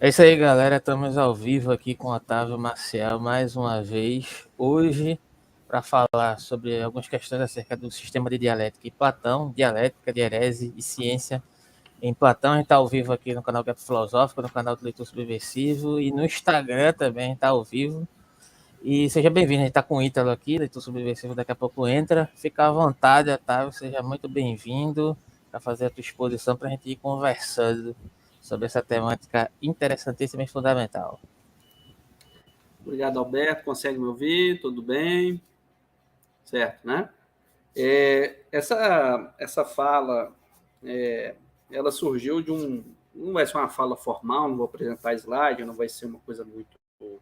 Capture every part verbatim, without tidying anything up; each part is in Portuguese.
É isso aí, galera. Estamos ao vivo aqui com o Otávio Marcial mais uma vez. Hoje, para falar sobre algumas questões acerca do sistema de dialética e Platão, dialética, dierese e ciência. Em Platão, a gente está ao vivo aqui no canal Gap Filosófico, no canal do Leitor Subversivo e no Instagram também está ao vivo. E seja bem-vindo, a gente está com o Ítalo aqui, Leitor Subversivo, daqui a pouco entra. Fica à vontade, Otávio, seja muito bem-vindo para fazer a tua exposição para a gente ir conversando sobre essa temática interessantíssima e fundamental. Obrigado, Alberto. Consegue me ouvir? Tudo bem? Certo, né? É, essa, essa fala, é, ela surgiu de um... Não vai ser uma fala formal, não vou apresentar slide, não vai ser uma coisa muito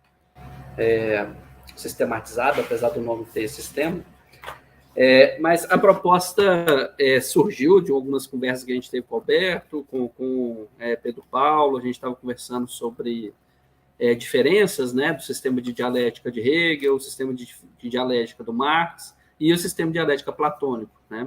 é, sistematizada, apesar do nome ter sistema. É, mas a proposta é, surgiu de algumas conversas que a gente teve com o Alberto, com, com é, Pedro Paulo, a gente estava conversando sobre é, diferenças, né, do sistema de dialética de Hegel, o sistema de, de dialética do Marx e o sistema de dialética platônico, né?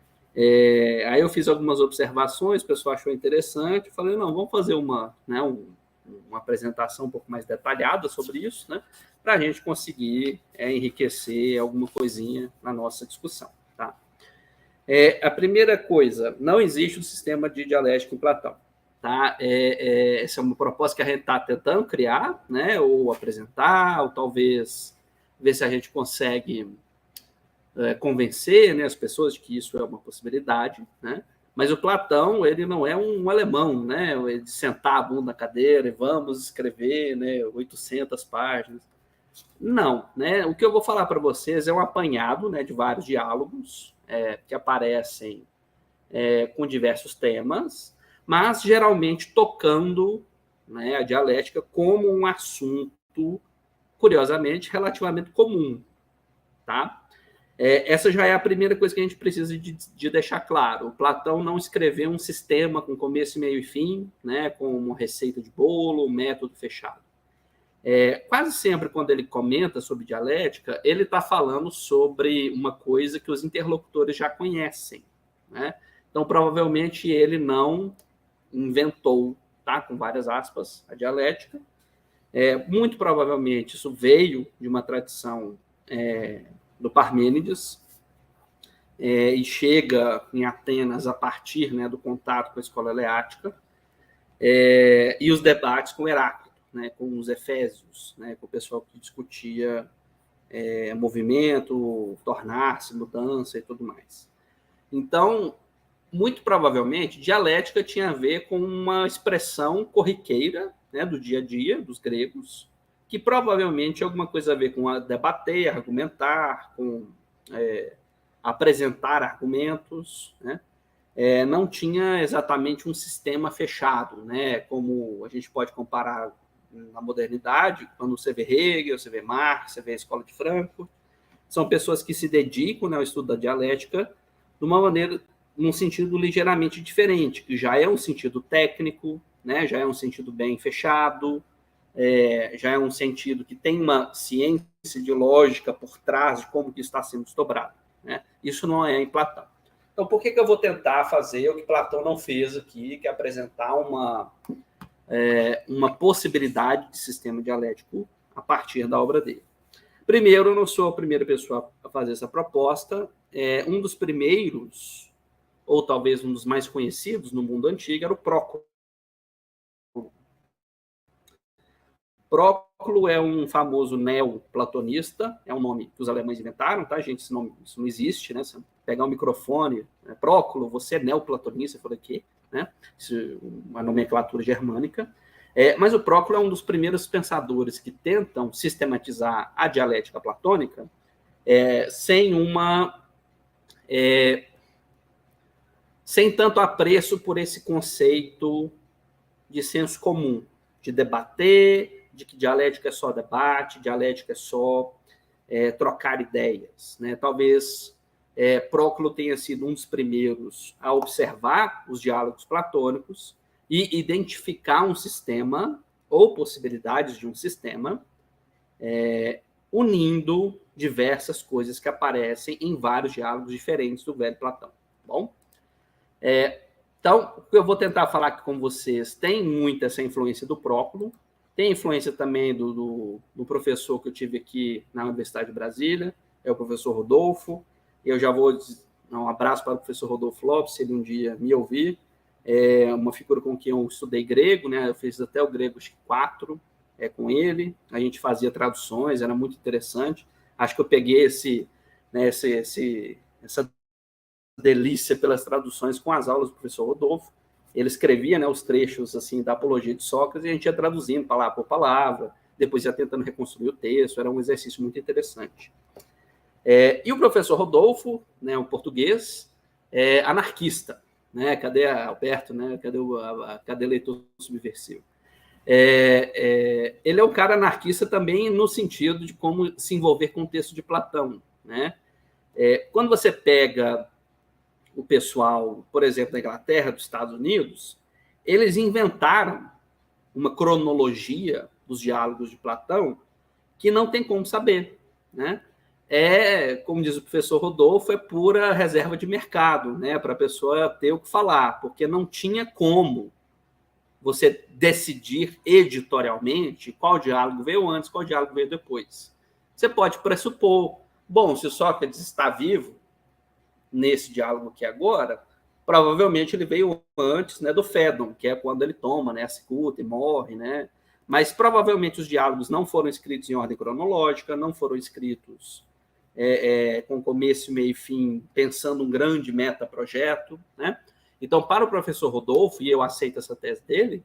É, aí eu fiz algumas observações, o pessoal achou interessante, falei, não, vamos fazer uma, né, um, uma apresentação um pouco mais detalhada sobre isso, né, para a gente conseguir é, enriquecer alguma coisinha na nossa discussão. Tá? É, a primeira coisa, não existe um sistema de dialética em Platão. Tá? É, é, essa é uma proposta que a gente está tentando criar, né, ou apresentar, ou talvez ver se a gente consegue é, convencer, né, as pessoas de que isso é uma possibilidade, né? Mas o Platão, ele não é um alemão, né, de sentar a bunda na cadeira e vamos escrever, né, oitocentas páginas. Não, né? O que eu vou falar para vocês é um apanhado, né, de vários diálogos é, que aparecem é, com diversos temas, mas geralmente tocando, né, a dialética como um assunto, curiosamente, relativamente comum, tá? É, essa já é a primeira coisa que a gente precisa de, de deixar claro. O Platão não escreveu um sistema com começo, meio e fim, né, com uma receita de bolo, um método fechado. É, quase sempre, quando ele comenta sobre dialética, ele está falando sobre uma coisa que os interlocutores já conhecem, né? Então, provavelmente, ele não inventou, tá, com várias aspas, a dialética. É, muito provavelmente, isso veio de uma tradição é, do Parmênides, é, e chega em Atenas a partir, né, do contato com a escola eleática, é, e os debates com Heráclito, né, com os efésios, né, com o pessoal que discutia é, movimento, tornar-se, mudança e tudo mais. Então, muito provavelmente, dialética tinha a ver com uma expressão corriqueira, né, do dia a dia dos gregos, que provavelmente tinha alguma coisa a ver com a debater, argumentar, com é, apresentar argumentos, né? É, não tinha exatamente um sistema fechado, né? Como a gente pode comparar na modernidade, quando você vê Hegel, você vê Marx, você vê a Escola de Frankfurt, são pessoas que se dedicam, né, ao estudo da dialética de uma maneira, num sentido ligeiramente diferente, que já é um sentido técnico, né, já é um sentido bem fechado, é, já é um sentido que tem uma ciência de lógica por trás de como que está sendo desdobrado, né? Isso não é em Platão. Então, por que, que eu vou tentar fazer o que Platão não fez aqui, que é apresentar uma, é, uma possibilidade de sistema dialético a partir da obra dele? Primeiro, eu não sou a primeira pessoa a fazer essa proposta. É, um dos primeiros, ou talvez um dos mais conhecidos no mundo antigo, era o Próclo. Próclo é um famoso neoplatonista, é um nome que os alemães inventaram, tá, gente? Esse nome, isso não existe, né? Você pegar um microfone, né? Próclo, você é neoplatonista, eu falei que, né? Isso é uma nomenclatura germânica. É, mas o Próclo é um dos primeiros pensadores que tentam sistematizar a dialética platônica é, sem uma... É, sem tanto apreço por esse conceito de senso comum, de debater, de que dialética é só debate, dialética é só é, trocar ideias, né? Talvez é, Próclo tenha sido um dos primeiros a observar os diálogos platônicos e identificar um sistema ou possibilidades de um sistema é, unindo diversas coisas que aparecem em vários diálogos diferentes do velho Platão. Bom, é, Então, o que eu vou tentar falar aqui com vocês tem muito essa influência do Próculo, tem influência também do, do, do professor que eu tive aqui na Universidade de Brasília, é o professor Rodolfo. Eu já vou dar um abraço para o professor Rodolfo Lopes, se ele um dia me ouvir. É uma figura com quem eu estudei grego, né? Eu fiz até o grego quatro é, com ele. A gente fazia traduções, era muito interessante. Acho que eu peguei esse, né, esse, esse, essa delícia pelas traduções com as aulas do professor Rodolfo. Ele escrevia, né, os trechos assim da Apologia de Sócrates e a gente ia traduzindo palavra por palavra, depois ia tentando reconstruir o texto. Era um exercício muito interessante. É, e o professor Rodolfo, né, um português, é anarquista, né? Cadê a Alberto, né? Cadê o a, a, cadê leitor subversivo? É, é, ele é um cara anarquista também no sentido de como se envolver com o texto de Platão, né? É, quando você pega o pessoal, por exemplo, da Inglaterra, dos Estados Unidos, eles inventaram uma cronologia dos diálogos de Platão que não tem como saber, né? É, como diz o professor Rodolfo, é pura reserva de mercado, né? Para a pessoa ter o que falar, porque não tinha como você decidir editorialmente qual diálogo veio antes, qual diálogo veio depois. Você pode pressupor, bom, se Sócrates está vivo nesse diálogo aqui agora, provavelmente ele veio antes, né, do Fédon, que é quando ele toma, né, a cicuta e morre, né? Mas provavelmente os diálogos não foram escritos em ordem cronológica, não foram escritos é, é, com começo, meio e fim, pensando um grande metaprojeto, né? Então, para o professor Rodolfo, e eu aceito essa tese dele,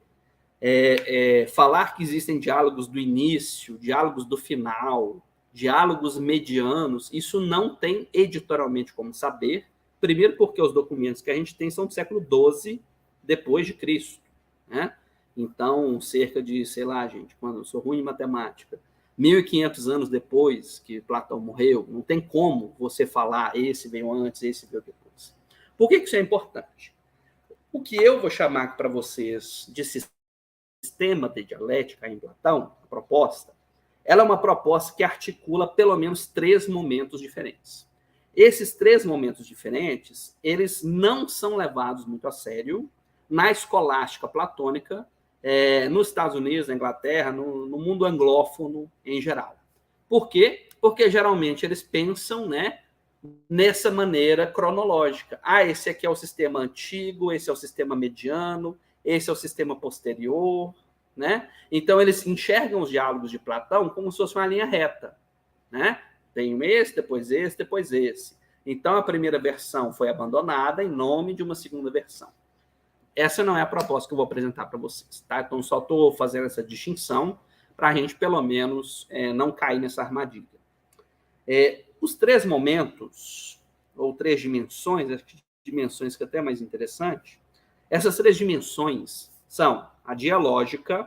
é, é, falar que existem diálogos do início, diálogos do final, diálogos medianos, isso não tem editorialmente como saber, primeiro porque os documentos que a gente tem são do século doze depois de Cristo, né? Então, cerca de, sei lá, gente, quando eu sou ruim em matemática, mil e quinhentos anos depois que Platão morreu, não tem como você falar esse veio antes, esse veio depois. Por que isso é importante? O que eu vou chamar para vocês de sistema de dialética em Platão, a proposta, ela é uma proposta que articula pelo menos três momentos diferentes. Esses três momentos diferentes, eles não são levados muito a sério na escolástica platônica, é, nos Estados Unidos, na Inglaterra, no, no mundo anglófono em geral. Por quê? Porque geralmente eles pensam, né, nessa maneira cronológica. Ah, esse aqui é o sistema antigo, esse é o sistema mediano, esse é o sistema posterior, né? Então, eles enxergam os diálogos de Platão como se fosse uma linha reta, né? Tem esse, depois esse, depois esse. Então, a primeira versão foi abandonada em nome de uma segunda versão. Essa não é a proposta que eu vou apresentar para vocês, tá? Então, só estou fazendo essa distinção para a gente, pelo menos, é, não cair nessa armadilha. É, os três momentos, ou três dimensões, as dimensões que é até mais interessante, essas três dimensões são a dialógica,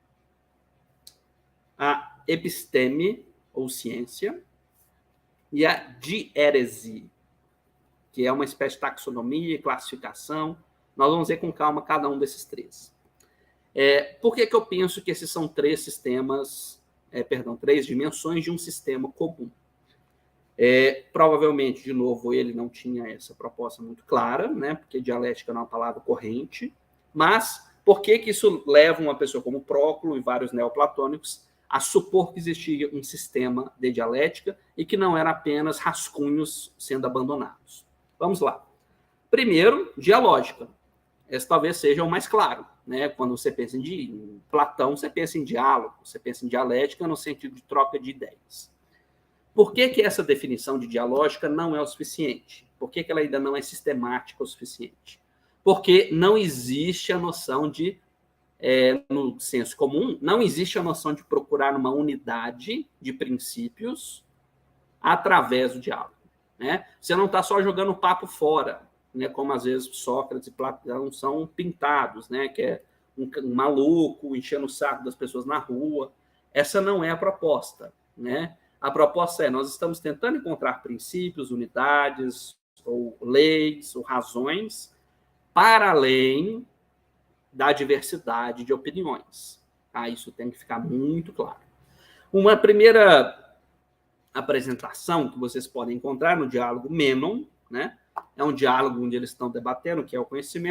a episteme, ou ciência, e a diérese, que é uma espécie de taxonomia e classificação. Nós vamos ver com calma cada um desses três. É, por que, que eu penso que esses são três sistemas, é, perdão, três dimensões de um sistema comum? É, provavelmente, de novo, ele não tinha essa proposta muito clara, né? Porque dialética não é uma palavra corrente, mas por que, que isso leva uma pessoa como Próculo e vários neoplatônicos a supor que existia um sistema de dialética e que não era apenas rascunhos sendo abandonados? Vamos lá. Primeiro, dialógica. Esse talvez seja o mais claro, né? Quando você pensa em Platão, você pensa em diálogo, você pensa em dialética no sentido de troca de ideias. Por que, que essa definição de dialógica não é o suficiente? Por que, que ela ainda não é sistemática o suficiente? Porque não existe a noção de, é, no senso comum, não existe a noção de procurar uma unidade de princípios através do diálogo, né? Você não está só jogando o papo fora, né? Como às vezes Sócrates e Platão são pintados, né? Que é um, um maluco enchendo o saco das pessoas na rua. Essa não é a proposta, né? A proposta é, nós estamos tentando encontrar princípios, unidades, ou leis, ou razões, para além da diversidade de opiniões. Tá? Isso tem que ficar muito claro. Uma primeira apresentação que vocês podem encontrar no diálogo Mênon, né? É um diálogo onde eles estão debatendo o que é o conhecimento.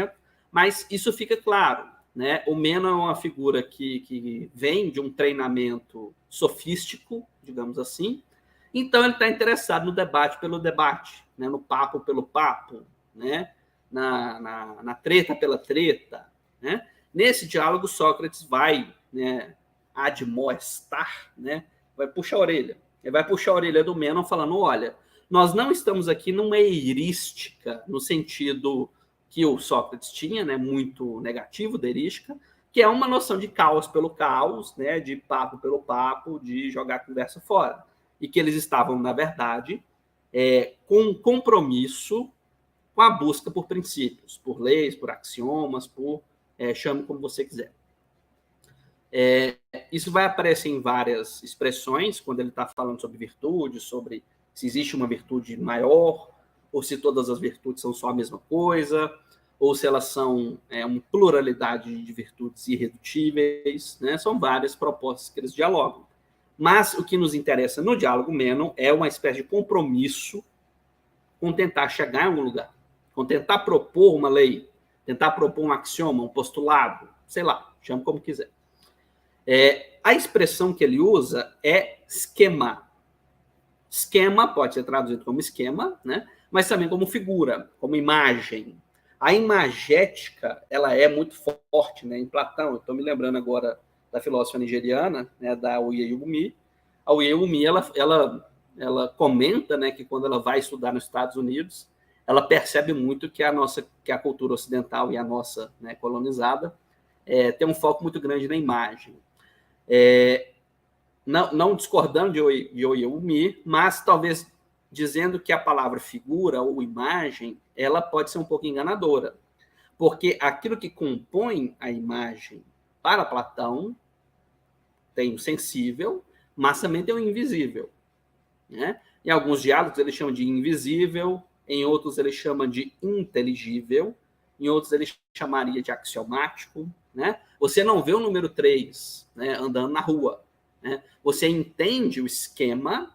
Mas isso fica claro, né? O Menon é uma figura que, que vem de um treinamento sofístico, digamos assim, então ele está interessado no debate pelo debate, né? No papo pelo papo, né? na, na, na treta pela treta. Né? Nesse diálogo, Sócrates vai, né, admoestar, né? Vai puxar a orelha. Ele vai puxar a orelha do Menon falando, olha, nós não estamos aqui numa heurística, no sentido que o Sócrates tinha, né, muito negativo da heurística, que é uma noção de caos pelo caos, né, de papo pelo papo, de jogar a conversa fora. E que eles estavam, na verdade, é, com um compromisso com a busca por princípios, por leis, por axiomas, por é, chame como você quiser. É, isso vai aparecer em várias expressões, quando ele está falando sobre virtude, sobre se existe uma virtude maior, ou se todas as virtudes são só a mesma coisa, ou se elas são é, uma pluralidade de virtudes irredutíveis, né? São várias propostas que eles dialogam. Mas o que nos interessa no diálogo Menon é uma espécie de compromisso com tentar chegar em algum lugar, com tentar propor uma lei, tentar propor um axioma, um postulado, sei lá, chame como quiser. É, a expressão que ele usa é esquema. Esquema pode ser traduzido como esquema, né? Mas também como figura, como imagem. A imagética, ela é muito forte, né? Em Platão, eu estou me lembrando agora da filósofa nigeriana, né, da Oyeyumi. A Oyeyumi, ela, ela, ela comenta, né, que quando ela vai estudar nos Estados Unidos, ela percebe muito que a nossa, que a cultura ocidental e a nossa, né, colonizada é, tem um foco muito grande na imagem. É, não, não discordando de, de Oyeyumi, mas talvez dizendo que a palavra figura ou imagem, ela pode ser um pouco enganadora, porque aquilo que compõe a imagem para Platão tem o sensível, mas também tem o invisível. Né? Em alguns diálogos ele chama de invisível, em outros ele chama de inteligível, em outros ele chamaria de axiomático. Né? Você não vê o número três, né, andando na rua. Né? Você entende o esquema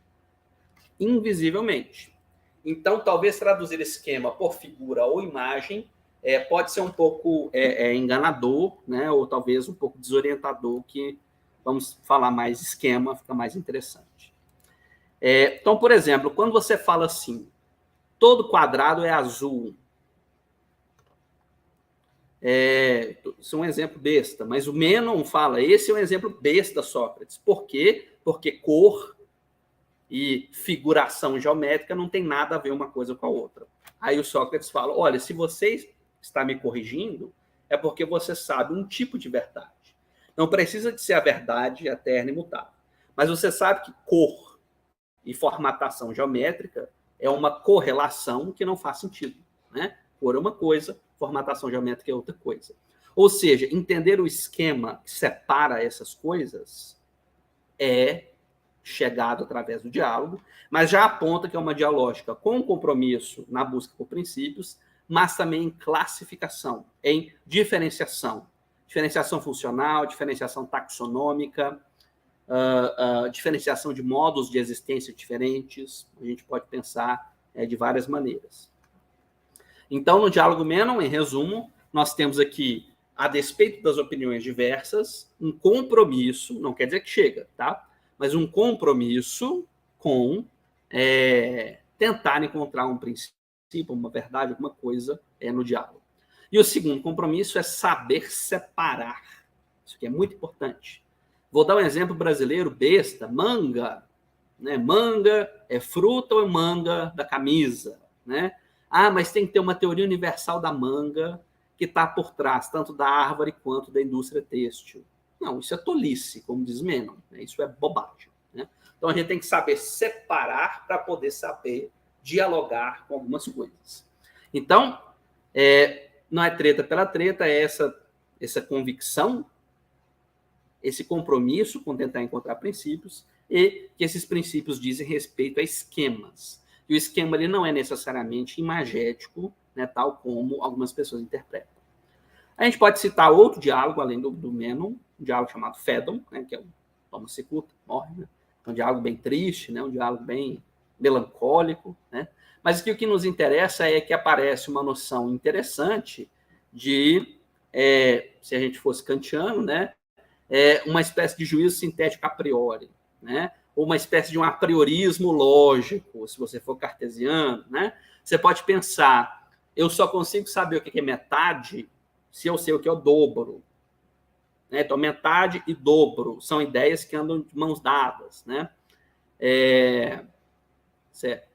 invisivelmente. Então, talvez traduzir esquema por figura ou imagem é, pode ser um pouco é, é, enganador, né? Ou talvez um pouco desorientador, que vamos falar mais esquema, fica mais interessante. É, então, por exemplo, quando você fala assim, todo quadrado é azul, é, isso é um exemplo besta, mas o Menon fala, esse é um exemplo besta, Sócrates. Por quê? Porque cor e figuração geométrica não tem nada a ver uma coisa com a outra. Aí o Sócrates fala, olha, se você está me corrigindo, é porque você sabe um tipo de verdade. Não precisa de ser a verdade eterna e mutável. Mas você sabe que cor e formatação geométrica é uma correlação que não faz sentido. Né? Cor é uma coisa, formatação geométrica é outra coisa. Ou seja, entender o esquema que separa essas coisas é chegado através do diálogo, mas já aponta que é uma dialógica com compromisso na busca por princípios, mas também em classificação, em diferenciação. Diferenciação funcional, diferenciação taxonômica, uh, uh, diferenciação de modos de existência diferentes. A gente pode pensar é, de várias maneiras. Então, no diálogo Menon, em resumo, nós temos aqui, a despeito das opiniões diversas, um compromisso, não quer dizer que chega, tá? Mas um compromisso com é, tentar encontrar um princípio, uma verdade, alguma coisa é, no diálogo. E o segundo compromisso é saber separar. Isso aqui é muito importante. Vou dar um exemplo brasileiro besta, manga. Né? Manga é fruta ou é manga da camisa? Né? Ah, mas tem que ter uma teoria universal da manga que está por trás, tanto da árvore quanto da indústria têxtil. Não, isso é tolice, como diz Menon. Né? Isso é bobagem. Né? Então, a gente tem que saber separar para poder saber dialogar com algumas coisas. Então, é, não é treta pela treta, é essa, essa convicção, esse compromisso com tentar encontrar princípios e que esses princípios dizem respeito a esquemas. E o esquema ele não é necessariamente imagético, né, tal como algumas pessoas interpretam. A gente pode citar outro diálogo, além do, do Menon, um diálogo chamado Fédon, né, que é o Toma Cicuta, morre, né? É um diálogo bem triste, né, um diálogo bem melancólico, né? Mas aqui o que nos interessa é que aparece uma noção interessante de, é, se a gente fosse kantiano, né, é, uma espécie de juízo sintético a priori, né, ou uma espécie de um apriorismo lógico, se você for cartesiano, né, você pode pensar, eu só consigo saber o que é metade se eu sei o que é o dobro. Né? Então, metade e dobro são ideias que andam de mãos dadas. Né? É... Certo.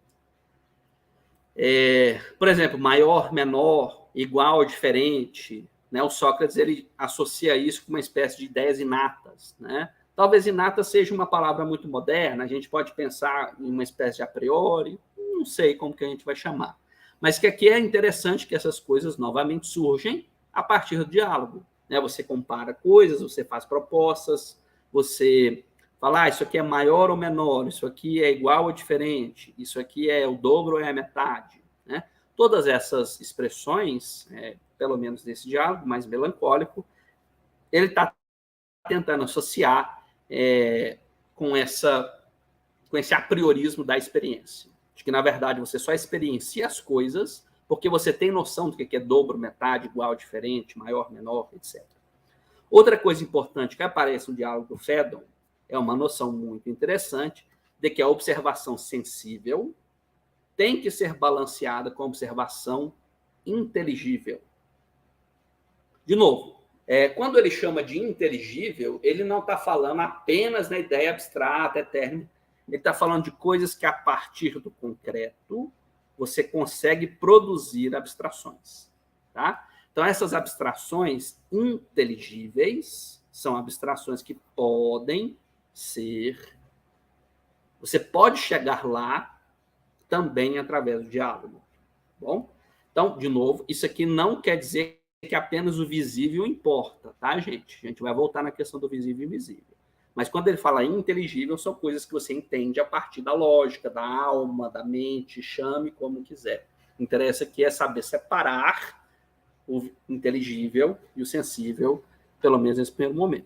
É... Por exemplo, maior, menor, igual, diferente. Né? O Sócrates ele associa isso com uma espécie de ideias inatas. Né? Talvez inata seja uma palavra muito moderna, a gente pode pensar em uma espécie de a priori, não sei como que a gente vai chamar. Mas que aqui é interessante que essas coisas novamente surgem a partir do diálogo. Né? Você compara coisas, você faz propostas, você fala, ah, isso aqui é maior ou menor, isso aqui é igual ou diferente, isso aqui é o dobro ou é a metade. Né? Todas essas expressões, é, pelo menos nesse diálogo mais melancólico, ele está tentando associar é, com, essa, com esse apriorismo da experiência. De que, na verdade, você só experiencia as coisas porque você tem noção do que é dobro, metade, igual, diferente, maior, menor, etcétera. Outra coisa importante que aparece no diálogo do Phaedon é uma noção muito interessante de que a observação sensível tem que ser balanceada com a observação inteligível. De novo, é, quando ele chama de inteligível, ele não está falando apenas na ideia abstrata, eterna. Ele está falando de coisas que, a partir do concreto, você consegue produzir abstrações. Tá? Então, essas abstrações inteligíveis são abstrações que podem ser... Você pode chegar lá também através do diálogo. Bom? Então, de novo, isso aqui não quer dizer que apenas o visível importa, tá, gente? A gente vai voltar na questão do visível e invisível. Mas quando ele fala inteligível, são coisas que você entende a partir da lógica, da alma, da mente, chame como quiser. O interesse aqui é saber separar o inteligível e o sensível, pelo menos nesse primeiro momento.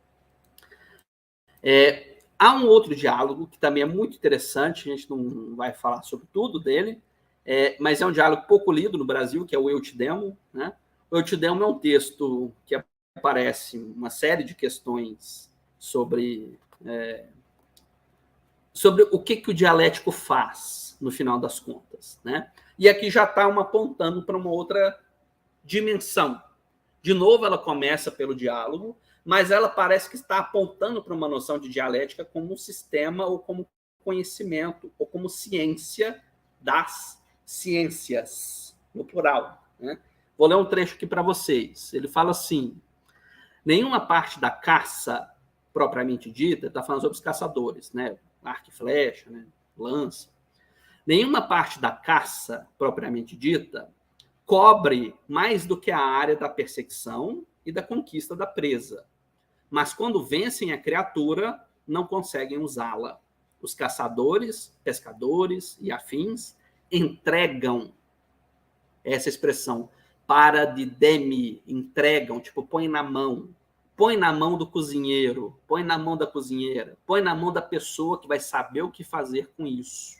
É, há um outro diálogo que também é muito interessante, a gente não vai falar sobre tudo dele, é, mas é um diálogo pouco lido no Brasil, que é o Eutidemo. Né? O Eutidemo é um texto que aparece uma série de questões sobre, é, sobre o que, que o dialético faz, no final das contas. Né? E aqui já está uma apontando para uma outra dimensão. De novo, ela começa pelo diálogo, mas ela parece que está apontando para uma noção de dialética como um sistema ou como conhecimento ou como ciência das ciências, no plural. Né? Vou ler um trecho aqui para vocês. Ele fala assim, nenhuma parte da caça propriamente dita, está falando sobre os caçadores, né? Arco e flecha, né? Lança. Nenhuma parte da caça propriamente dita cobre mais do que a área da perseguição e da conquista da presa. Mas quando vencem a criatura, não conseguem usá-la. Os caçadores, pescadores e afins entregam essa expressão para de demi, entregam, tipo, põe na mão. Põe na mão do cozinheiro, põe na mão da cozinheira, põe na mão da pessoa que vai saber o que fazer com isso.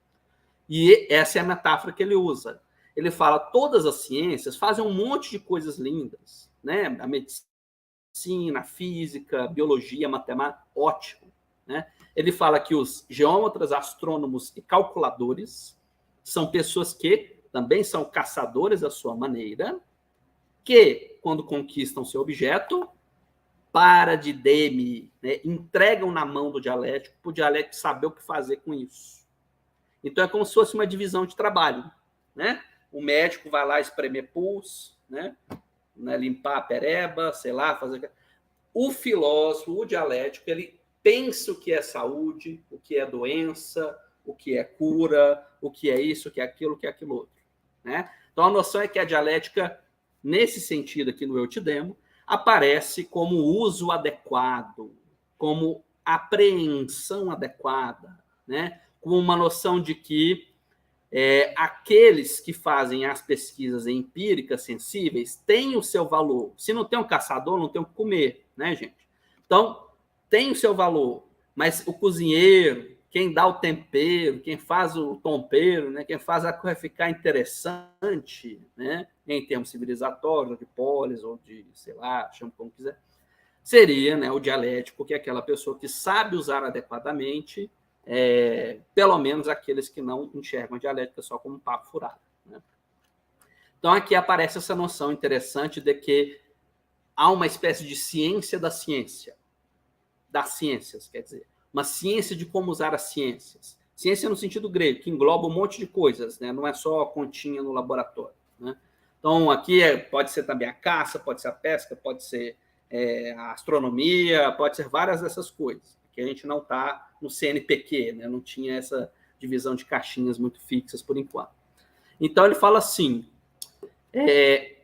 E essa é a metáfora que ele usa. Ele fala, todas as ciências fazem um monte de coisas lindas, né? A medicina, a física, a biologia, a matemática, ótimo. Né? Ele fala que os geômetras, astrônomos e calculadores são pessoas que também são caçadores à sua maneira, que, quando conquistam seu objeto, para de demi, né? Entregam na mão do dialético, para o dialético saber o que fazer com isso. Então, é como se fosse uma divisão de trabalho. Né? O médico vai lá espremer pulso, né? Né? Limpar a pereba, sei lá, fazer... O filósofo, o dialético, ele pensa o que é saúde, o que é doença, o que é cura, o que é isso, o que é aquilo, o que é aquilo outro. Né? Então, a noção é que a dialética, nesse sentido aqui no Eutidemo, aparece como uso adequado, como apreensão adequada, né? Com uma noção de que é, aqueles que fazem as pesquisas empíricas sensíveis têm o seu valor. Se não tem um caçador, não tem o que comer, né, gente? Então, tem o seu valor, mas o cozinheiro quem dá o tempero, quem faz o tompeiro, né? Quem faz a coisa ficar interessante, né? Em termos civilizatórios, ou de polis, ou de, sei lá, chama como quiser, seria, né, o dialético, que é aquela pessoa que sabe usar adequadamente, é, pelo menos aqueles que não enxergam a dialética só como um papo furado, né? Então, aqui aparece essa noção interessante de que há uma espécie de ciência da ciência, das ciências, quer dizer, uma ciência de como usar as ciências. Ciência no sentido grego, que engloba um monte de coisas, né? Não é só a continha no laboratório, né? Então, aqui é, pode ser também a caça, pode ser a pesca, pode ser é, a astronomia, pode ser várias dessas coisas. Aqui a gente não está no C N P Q, né? Não tinha essa divisão de caixinhas muito fixas por enquanto. Então, ele fala assim, é,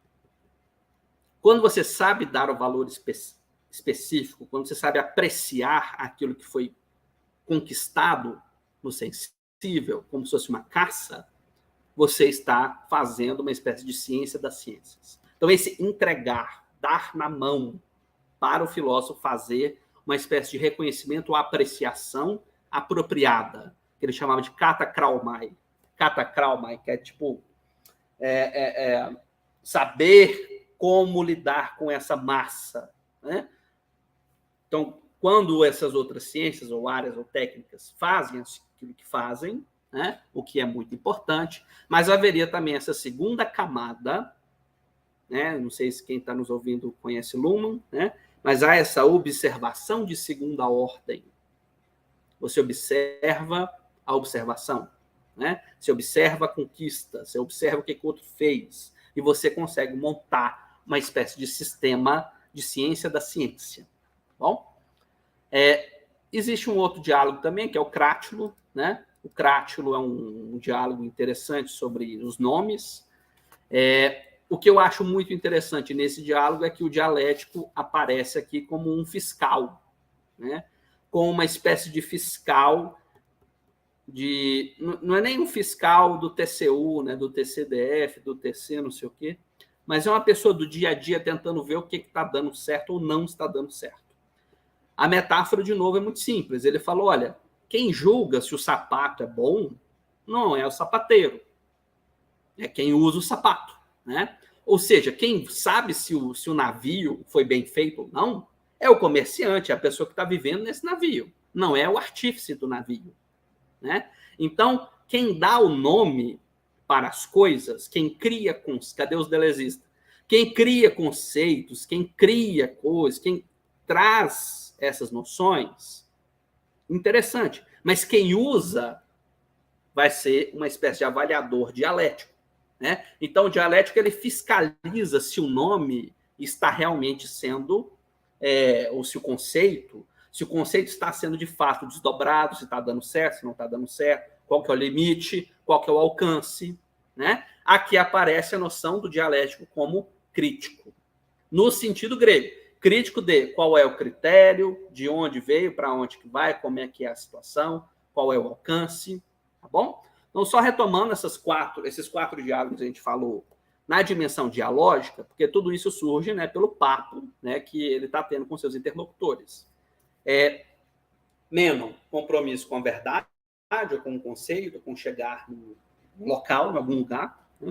quando você sabe dar o valor específico, específico, quando você sabe apreciar aquilo que foi conquistado no sensível, como se fosse uma caça, você está fazendo uma espécie de ciência das ciências. Então, esse entregar, dar na mão para o filósofo fazer uma espécie de reconhecimento ou apreciação apropriada, que ele chamava de katakraumai. Katakraumai, que é tipo é, é, é, saber como lidar com essa massa, né? Então, quando essas outras ciências, ou áreas, ou técnicas fazem aquilo que fazem, né, o que é muito importante, mas haveria também essa segunda camada, né, não sei se quem está nos ouvindo conhece Luhmann, né, mas há essa observação de segunda ordem. Você observa a observação, né? Você observa a conquista, você observa o que o outro fez, e você consegue montar uma espécie de sistema de ciência da ciência. Bom, é, existe um outro diálogo também, que é o Crátulo, né? O Crátulo é um, um diálogo interessante sobre os nomes. É, o que eu acho muito interessante nesse diálogo é que o dialético aparece aqui como um fiscal, né? Como uma espécie de fiscal, de, não é nem um fiscal do T C U, né? Do T C D F, do T C, não sei o quê, mas é uma pessoa do dia a dia tentando ver o que está dando certo ou não está dando certo. A metáfora, de novo, é muito simples. Ele falou, olha, quem julga se o sapato é bom não é o sapateiro, é quem usa o sapato, né? Ou seja, quem sabe se o, se o navio foi bem feito ou não é o comerciante, é a pessoa que está vivendo nesse navio, não é o artífice do navio, né? Então, quem dá o nome para as coisas, quem cria... Cadê os delezistas? Quem cria conceitos, quem cria coisas, quem traz essas noções, interessante. Mas quem usa vai ser uma espécie de avaliador dialético, né? Então, o dialético ele fiscaliza se o nome está realmente sendo, é, ou se o conceito, se o conceito está sendo de fato desdobrado, se está dando certo, se não está dando certo, qual que é o limite, qual que é o alcance, né? Aqui aparece a noção do dialético como crítico, no sentido grego. Crítico de qual é o critério, de onde veio, para onde que vai, como é que é a situação, qual é o alcance, tá bom? Então, só retomando essas quatro, esses quatro diálogos que a gente falou na dimensão dialógica, porque tudo isso surge, né, pelo papo, né, que ele está tendo com seus interlocutores. É, Menon, compromisso com a verdade, ou com o conceito, com chegar no local, em algum lugar, né?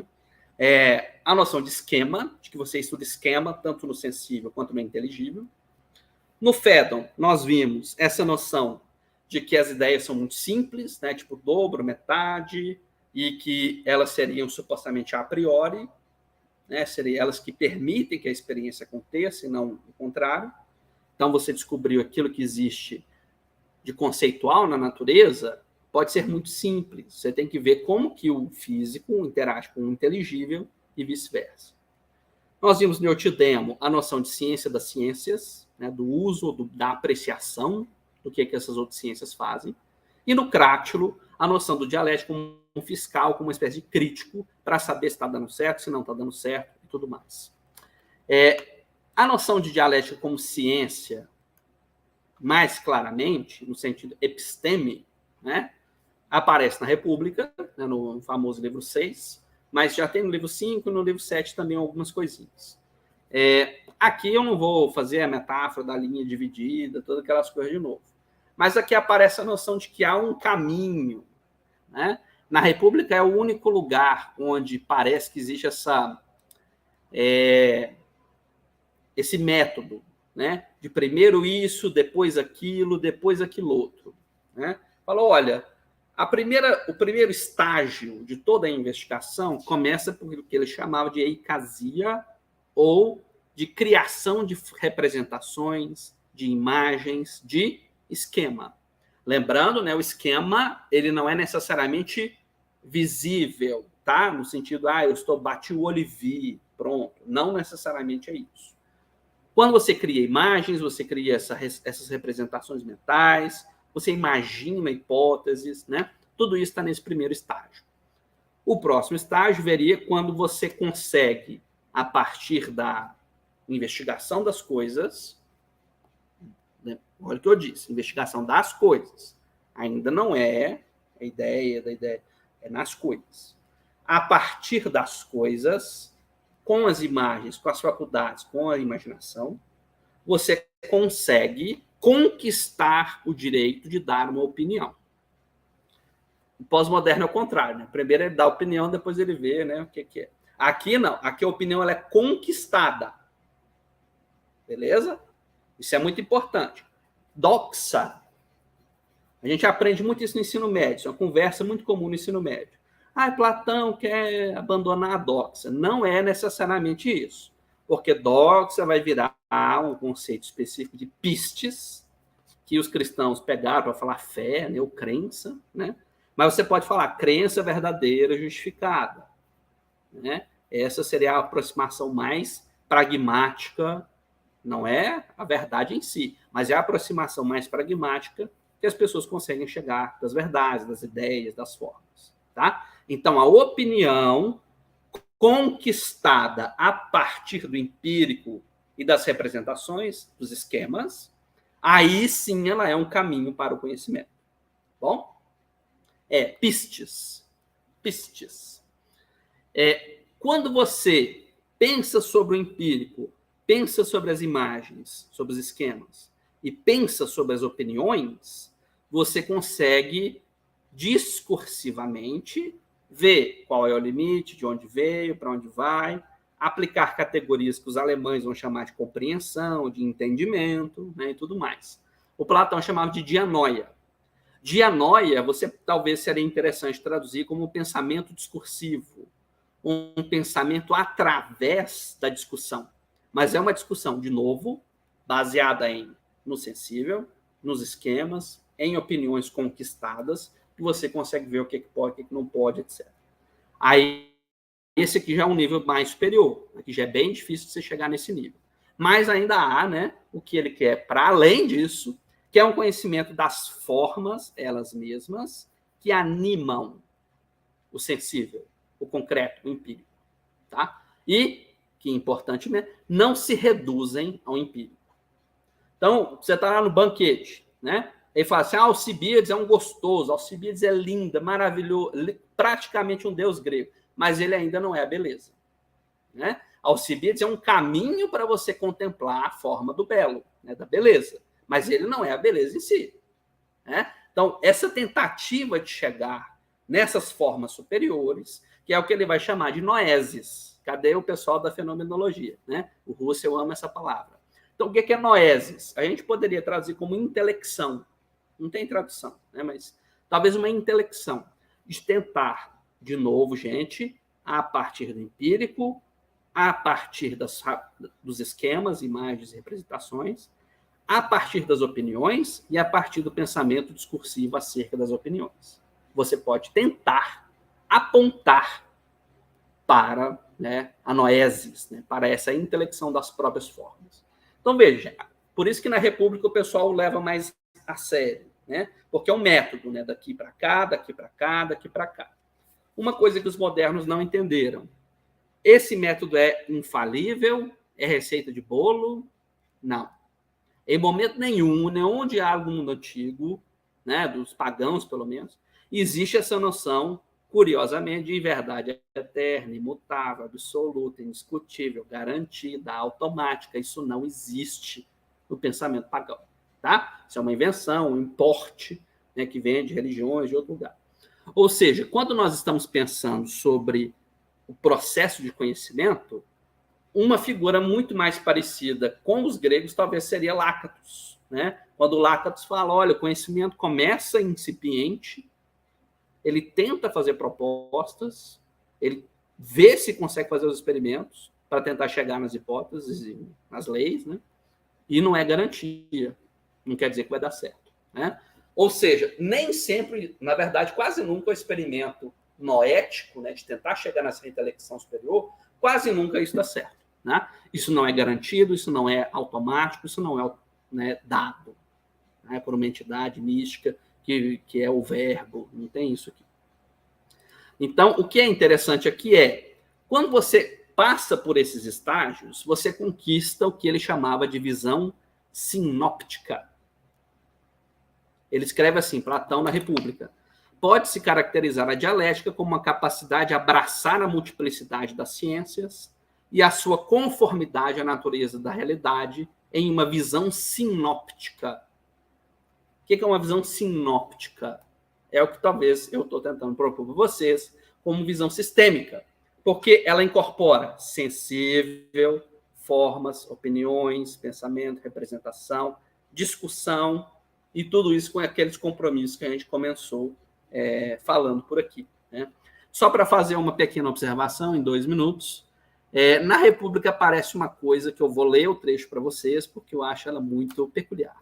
É, a noção de esquema, de que você estuda esquema, tanto no sensível quanto no inteligível. No Phaedon, nós vimos essa noção de que as ideias são muito simples, né, tipo dobro, metade, e que elas seriam supostamente a priori, né, seriam elas que permitem que a experiência aconteça, e não o contrário. Então, você descobriu aquilo que existe de conceitual na natureza, pode ser muito simples. Você tem que ver como que o físico interage com o inteligível e vice-versa. Nós vimos no Eutidemo a noção de ciência das ciências, né, do uso, do, da apreciação do que, que essas outras ciências fazem. E no Crátulo, a noção do dialético como um fiscal, como uma espécie de crítico, para saber se está dando certo, se não está dando certo e tudo mais. É, a noção de dialética como ciência, mais claramente, no sentido episteme, né, aparece na República, né, no famoso livro seis, mas já tem no livro cinco e no livro sete também algumas coisinhas. É, aqui eu não vou fazer a metáfora da linha dividida, todas aquelas coisas de novo. Mas aqui aparece a noção de que há um caminho, né? Na República é o único lugar onde parece que existe essa, é, esse método, né? De primeiro isso, depois aquilo, depois aquilo outro, né? Falou, olha, a primeira, o primeiro estágio de toda a investigação começa por o que ele chamava de eicasia, ou de criação de representações, de imagens, de esquema. Lembrando, né, o esquema ele não é necessariamente visível, tá? No sentido, ah, eu estou bati o olho e vi, pronto. Não necessariamente é isso. Quando você cria imagens, você cria essa, essas representações mentais, você imagina hipóteses, né? Tudo isso está nesse primeiro estágio. O próximo estágio viria quando você consegue, a partir da investigação das coisas, né? Olha o que eu disse, investigação das coisas. Ainda não é a ideia da ideia, é nas coisas. A partir das coisas, com as imagens, com as faculdades, com a imaginação, você consegue conquistar o direito de dar uma opinião. O pós-moderno é o contrário, né? Primeiro ele dá a opinião, depois ele vê, né, o que, que é. Aqui não, aqui a opinião ela é conquistada. Beleza? Isso é muito importante. Doxa. A gente aprende muito isso no ensino médio, isso é uma conversa muito comum no ensino médio. Ah, Platão quer abandonar a doxa. Não é necessariamente isso, porque doxa vai virar um conceito específico de pistes, que os cristãos pegaram para falar fé, né, ou crença, né? Mas você pode falar crença verdadeira justificada, né? Essa seria a aproximação mais pragmática, não é a verdade em si, mas é a aproximação mais pragmática que as pessoas conseguem chegar das verdades, das ideias, das formas, tá? Então, a opinião conquistada a partir do empírico e das representações, dos esquemas, aí sim ela é um caminho para o conhecimento. Bom? É, pistes. Pistes. É, quando você pensa sobre o empírico, pensa sobre as imagens, sobre os esquemas, e pensa sobre as opiniões, você consegue discursivamente ver qual é o limite, de onde veio, para onde vai, aplicar categorias que os alemães vão chamar de compreensão, de entendimento, né, e tudo mais. O Platão chamava de dianoia. Dianoia, você talvez seria interessante traduzir como um pensamento discursivo, um pensamento através da discussão. Mas é uma discussão, de novo, baseada em, no sensível, nos esquemas, em opiniões conquistadas, que você consegue ver o que pode, o que não pode, etcétera. Aí, esse aqui já é um nível mais superior. Aqui já é bem difícil de você chegar nesse nível. Mas ainda há, né, o que ele quer para além disso, que é um conhecimento das formas, elas mesmas, que animam o sensível, o concreto, o empírico. Tá? E, que é importante mesmo, não se reduzem ao empírico. Então, você está lá no banquete, né? Ele fala assim, ah, Alcibíades é um gostoso, Alcibíades é linda, maravilhoso, praticamente um deus grego, mas ele ainda não é a beleza. Né? Alcibíades é um caminho para você contemplar a forma do belo, né, da beleza, mas ele não é a beleza em si. Né? Então, essa tentativa de chegar nessas formas superiores, que é o que ele vai chamar de noesis. Cadê o pessoal da fenomenologia? Né? O Russell ama essa palavra. Então, o que é noesis? A gente poderia traduzir como intelecção. Não tem tradução, né? Mas talvez uma intelecção. De tentar, de novo, gente, a partir do empírico, a partir das, dos esquemas, imagens e representações, a partir das opiniões e a partir do pensamento discursivo acerca das opiniões. Você pode tentar apontar para, né, a noesis, né, para essa intelecção das próprias formas. Então, veja, por isso que na República o pessoal leva mais a sério, né, porque é um método, né, daqui para cá, daqui para cá, daqui para cá. Uma coisa que os modernos não entenderam, esse método é infalível? É receita de bolo? Não. Em momento nenhum, nenhum diálogo no mundo antigo, né, dos pagãos, pelo menos, existe essa noção, curiosamente, de verdade eterna, imutável, absoluta, indiscutível, garantida, automática. Isso não existe no pensamento pagão. tá? Isso é uma invenção, um importe, né, que vem de religiões de outro lugar. Ou seja, quando nós estamos pensando sobre o processo de conhecimento, uma figura muito mais parecida com os gregos talvez seria Lácrates, né? Quando Lácrates fala, olha, o conhecimento começa incipiente, ele tenta fazer propostas, ele vê se consegue fazer os experimentos para tentar chegar nas hipóteses e nas leis, né? E não é garantia, não quer dizer que vai dar certo, né? Ou seja, nem sempre, na verdade, quase nunca o experimento noético, né, de tentar chegar nessa intelecção superior, quase nunca isso dá certo, né? Isso não é garantido, isso não é automático, isso não é, né, dado, né, por uma entidade mística que, que é o verbo, não tem isso aqui. Então, o que é interessante aqui é, quando você passa por esses estágios, você conquista o que ele chamava de visão sinóptica. Ele escreve assim, Platão na República. Pode-se caracterizar a dialética como uma capacidade de abraçar a multiplicidade das ciências e a sua conformidade à natureza da realidade em uma visão sinóptica. O que é uma visão sinóptica? É o que talvez eu estou tentando propor para vocês como visão sistêmica, porque ela incorpora sensível, formas, opiniões, pensamento, representação, discussão, e tudo isso com aqueles compromissos que a gente começou é, falando por aqui, né? Só para fazer uma pequena observação em dois minutos, é, na República aparece uma coisa que eu vou ler o trecho para vocês, porque eu acho ela muito peculiar.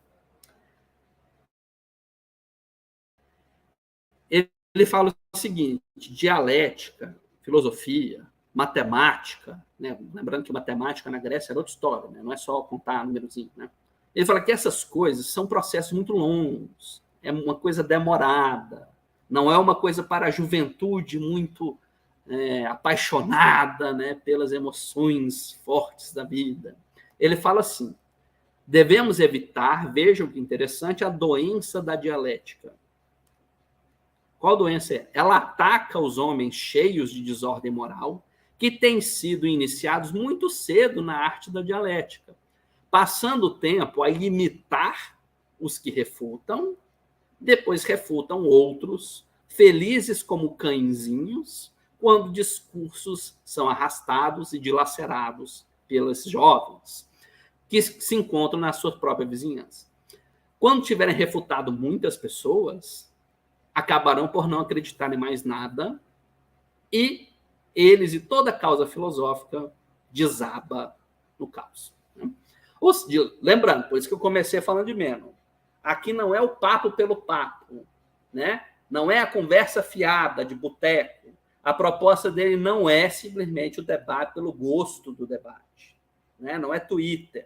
Ele, ele fala o seguinte, dialética, filosofia, matemática, né? Lembrando que matemática na Grécia era outra história, né? Não é só contar númerozinho, né? Ele fala que essas coisas são processos muito longos, é uma coisa demorada, não é uma coisa para a juventude muito é, apaixonada, né, pelas emoções fortes da vida. Ele fala assim, devemos evitar, vejam que interessante, a doença da dialética. Qual doença é? Ela ataca os homens cheios de desordem moral, que têm sido iniciados muito cedo na arte da dialética, passando o tempo a imitar os que refutam, depois refutam outros, felizes como cãezinhos, quando discursos são arrastados e dilacerados pelos jovens, que se encontram na sua própria vizinhança. Quando tiverem refutado muitas pessoas, acabarão por não acreditar em mais nada, e eles e toda a causa filosófica desaba no caos. Lembrando, por isso que eu comecei falando de Meno. Aqui não é o papo pelo papo, né? Não é a conversa fiada de boteco. A proposta dele não é simplesmente o debate pelo gosto do debate, né? Não é Twitter.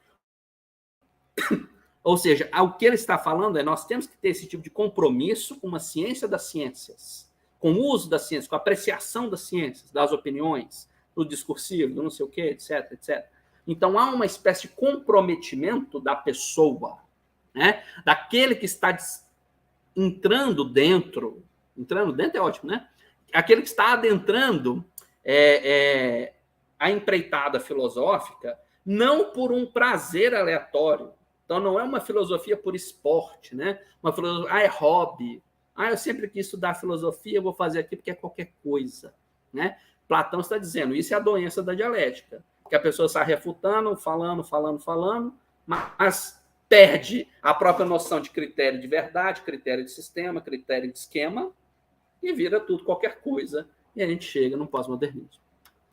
Ou seja, o que ele está falando é nós temos que ter esse tipo de compromisso com uma ciência das ciências, com o uso das ciências, com a apreciação das ciências, das opiniões, do discursivo, do não sei o quê, etc, etcétera. Então, há uma espécie de comprometimento da pessoa, né? Daquele que está entrando dentro, entrando dentro é ótimo, né? Aquele que está adentrando é, é, a empreitada filosófica, não por um prazer aleatório. Então, não é uma filosofia por esporte, né? Uma filosofia, ah, é hobby. Ah, eu sempre quis estudar filosofia, eu vou fazer aqui porque é qualquer coisa, né? Platão está dizendo, isso é a doença da dialética, que a pessoa está refutando, falando, falando, falando, mas perde a própria noção de critério de verdade, critério de sistema, critério de esquema, e vira tudo qualquer coisa, e a gente chega no pós-modernismo.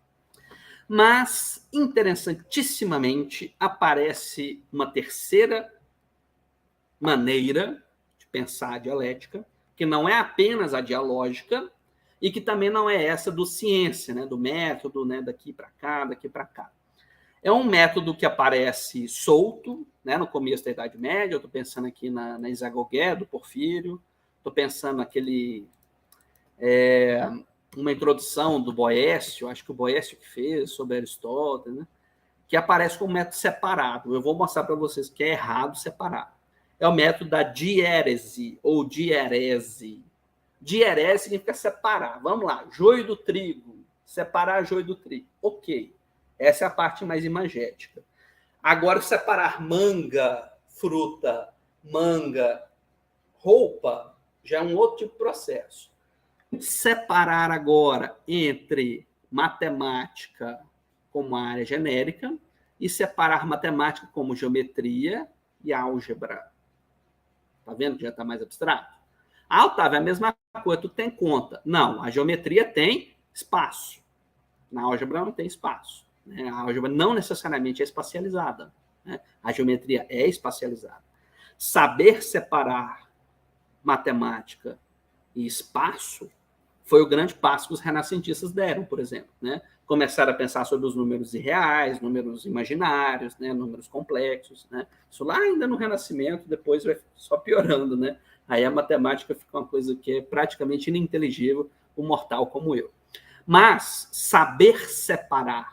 Mas, interessantissimamente, aparece uma terceira maneira de pensar a dialética, que não é apenas a dialógica, e que também não é essa do ciência, né, do método, né, daqui para cá, daqui para cá. É um método que aparece solto, né, no começo da Idade Média. Eu estou pensando aqui na, na Isagogué, do Porfírio, estou pensando naquele... É, uma introdução do Boécio, acho que o Boécio que fez, sobre Aristóteles, né, que aparece como método separado. Eu vou mostrar para vocês que é errado separar. É o método da diérese, ou dierese. Dierese significa separar. Vamos lá, joio do trigo. Separar joio do trigo. Ok. Essa é a parte mais imagética. Agora, separar manga, fruta, manga, roupa, já é um outro tipo de processo. Separar agora entre matemática como área genérica e separar matemática como geometria e álgebra. Tá vendo que já está mais abstrato? Ah, Otávio, é a mesma coisa, tu tem conta. Não, a geometria tem espaço. Na álgebra não tem espaço. Né? A álgebra não necessariamente é espacializada. Né? A geometria é espacializada. Saber separar matemática e espaço foi o grande passo que os renascentistas deram, por exemplo. Né? Começaram a pensar sobre os números irreais, números imaginários, né? Números complexos. Né? Isso lá ainda no Renascimento, depois vai só piorando. Né? Aí a matemática fica uma coisa que é praticamente ininteligível para um mortal como eu. Mas saber separar,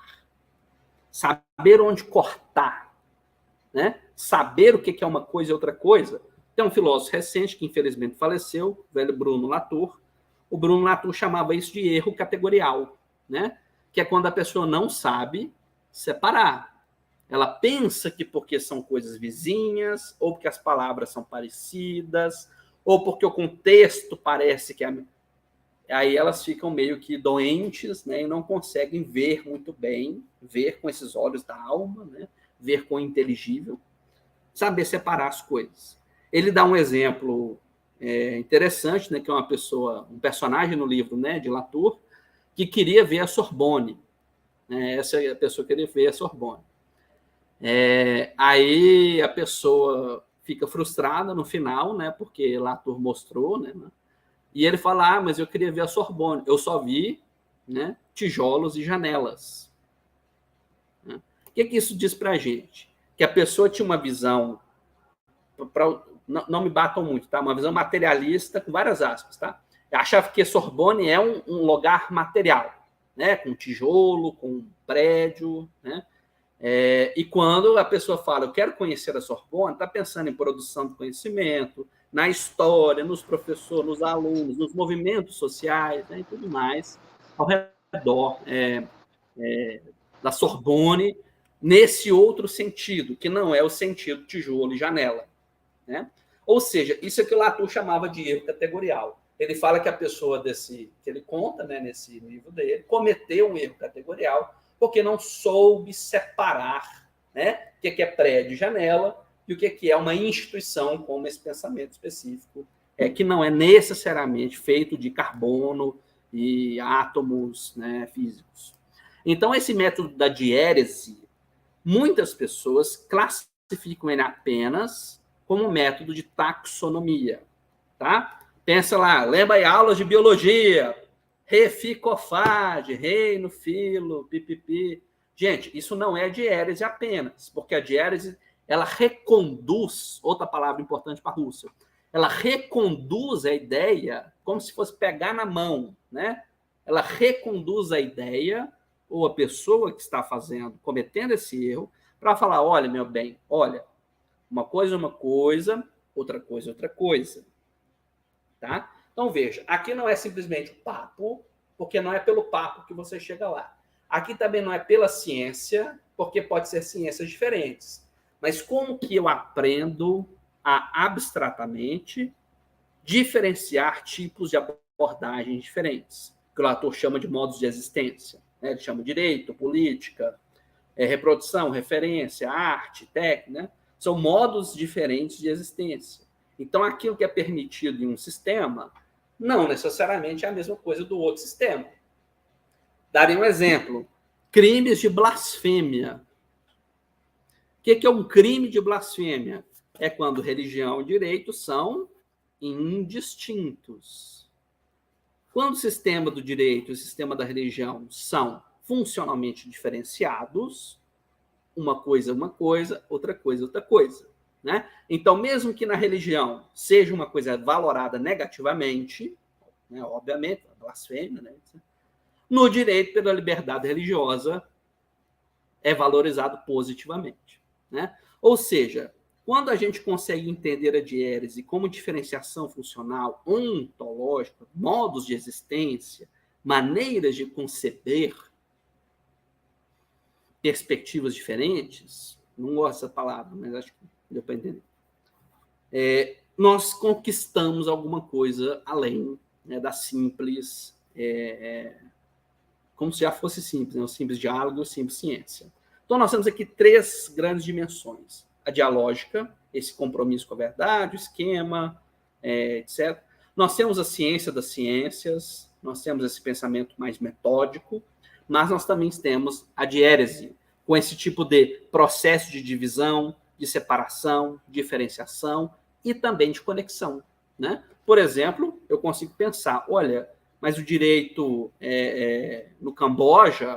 saber onde cortar, né? Saber o que é uma coisa e outra coisa. Tem um filósofo recente que infelizmente faleceu, o velho Bruno Latour. O Bruno Latour chamava isso de erro categorial, né? Que é quando a pessoa não sabe separar. Ela pensa que porque são coisas vizinhas, ou porque as palavras são parecidas, ou porque o contexto parece que é... Aí elas ficam meio que doentes, né? E não conseguem ver muito bem, ver com esses olhos da alma, né? Ver com o inteligível, saber separar as coisas. Ele dá um exemplo é, interessante, né, que é uma pessoa, um personagem no livro, né, de Latour, que queria ver a Sorbonne. Né, essa é a pessoa que queria ver a Sorbonne. É, aí a pessoa fica frustrada no final, né, porque Latour mostrou, né, e ele fala, ah, mas eu queria ver a Sorbonne. Eu só vi, né, tijolos e janelas. Né? O que, que isso diz para a gente? Que a pessoa tinha uma visão... Pra, não, não me batam muito, tá? Uma visão materialista, com várias aspas, tá? Eu achava que Sorbonne é um, um lugar material, né? Com tijolo, com prédio, né? É, e quando a pessoa fala, eu quero conhecer a Sorbonne, está pensando em produção de conhecimento, na história, nos professores, nos alunos, nos movimentos sociais, né? E tudo mais, ao redor é, é, da Sorbonne, nesse outro sentido, que não é o sentido tijolo e janela. Né? Ou seja, isso é que o Latour chamava de erro categorial. Ele fala que a pessoa desse, que ele conta, né, nesse livro dele, cometeu um erro categorial porque não soube separar, né, o que é prédio e janela e o que é uma instituição como esse pensamento específico, é, que não é necessariamente feito de carbono e átomos, né, físicos. Então, esse método da diérese, muitas pessoas classificam ele apenas como método de taxonomia, tá? Pensa lá, lembra aí, aulas de biologia, reficofage, reino, filo, pipipi. Gente, isso não é diérese apenas, porque a diérese, ela reconduz, outra palavra importante para a Rússia, ela reconduz a ideia como se fosse pegar na mão, né? Ela reconduz a ideia, ou a pessoa que está fazendo, cometendo esse erro, para falar, olha, meu bem, olha, uma coisa é uma coisa, outra coisa é outra coisa. Tá? Então, veja, aqui não é simplesmente o papo, porque não é pelo papo que você chega lá. Aqui também não é pela ciência, porque pode ser ciências diferentes. Mas como que eu aprendo a, abstratamente, diferenciar tipos de abordagens diferentes? Que o Latour chama de modos de existência. Né? Ele chama direito, política, é, reprodução, referência, arte, técnica, né? São modos diferentes de existência. Então, aquilo que é permitido em um sistema não necessariamente é a mesma coisa do outro sistema. Darei um exemplo. Crimes de blasfêmia. O que é um crime de blasfêmia? É quando religião e direito são indistintos. Quando o sistema do direito e o sistema da religião são funcionalmente diferenciados, uma coisa é uma coisa, outra coisa é outra coisa. Né? Então, mesmo que na religião seja uma coisa valorada negativamente, né, obviamente, a blasfêmia, né, no direito pela liberdade religiosa é valorizado positivamente. Né? Ou seja, quando a gente consegue entender a diérese como diferenciação funcional, ontológica, modos de existência, maneiras de conceber perspectivas diferentes, não gosto dessa palavra, mas acho que deu para entender. é, nós conquistamos alguma coisa além, né, da simples, é, como se já fosse simples, né, o simples diálogo e o simples ciência. Então, nós temos aqui três grandes dimensões. A dialógica, esse compromisso com a verdade, o esquema, é, etcétera. Nós temos a ciência das ciências, nós temos esse pensamento mais metódico, mas nós também temos a diérese, com esse tipo de processo de divisão, de separação, diferenciação e também de conexão, né? Por exemplo, eu consigo pensar, olha, mas o direito é, é, no Camboja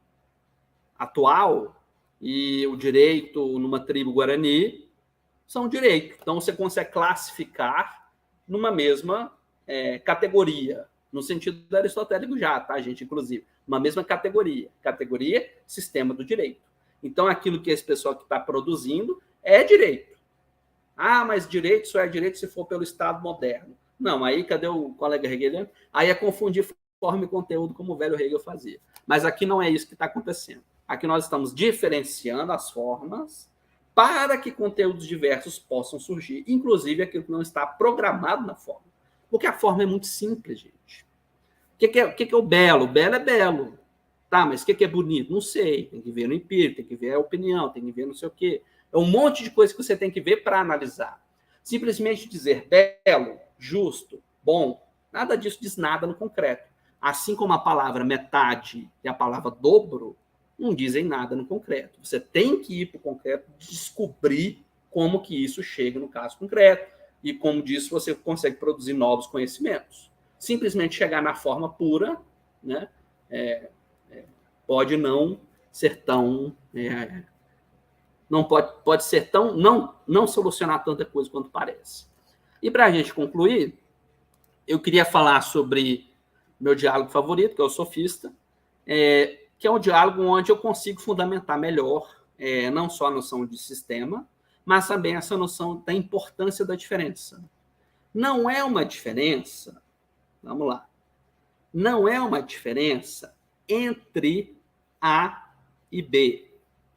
atual e o direito numa tribo guarani são direitos. Então, você consegue classificar numa mesma é, categoria, no sentido aristotélico já, tá, gente? Inclusive, uma mesma categoria. Categoria, sistema do direito. Então, aquilo que esse pessoal que está produzindo é direito. Ah, mas direito só é direito se for pelo Estado moderno. Não, aí cadê o colega hegeliano? Aí é confundir forma e conteúdo, como o velho Hegel fazia. Mas aqui não é isso que está acontecendo. Aqui nós estamos diferenciando as formas para que conteúdos diversos possam surgir, inclusive aquilo que não está programado na forma. Porque a forma é muito simples, gente. O que, que, é, o, que, que é o belo? O belo é belo. Tá, mas o que, que é bonito? Não sei. Tem que ver no empírico, tem que ver a opinião, tem que ver não sei o quê. É um monte de coisa que você tem que ver para analisar. Simplesmente dizer belo, justo, bom, nada disso diz nada no concreto. Assim como a palavra metade e a palavra dobro não dizem nada no concreto. Você tem que ir para o concreto, descobrir como que isso chega no caso concreto e como disso você consegue produzir novos conhecimentos. Simplesmente chegar na forma pura, né, é, é, pode não ser tão... É, não pode, pode ser tão... Não, não solucionar tanta coisa quanto parece. E para a gente concluir, eu queria falar sobre meu diálogo favorito, que é o sofista, é, que é um diálogo onde eu consigo fundamentar melhor é, não só a noção de sistema, mas também essa noção da importância da diferença. Não é uma diferença, vamos lá, não é uma diferença entre A e B.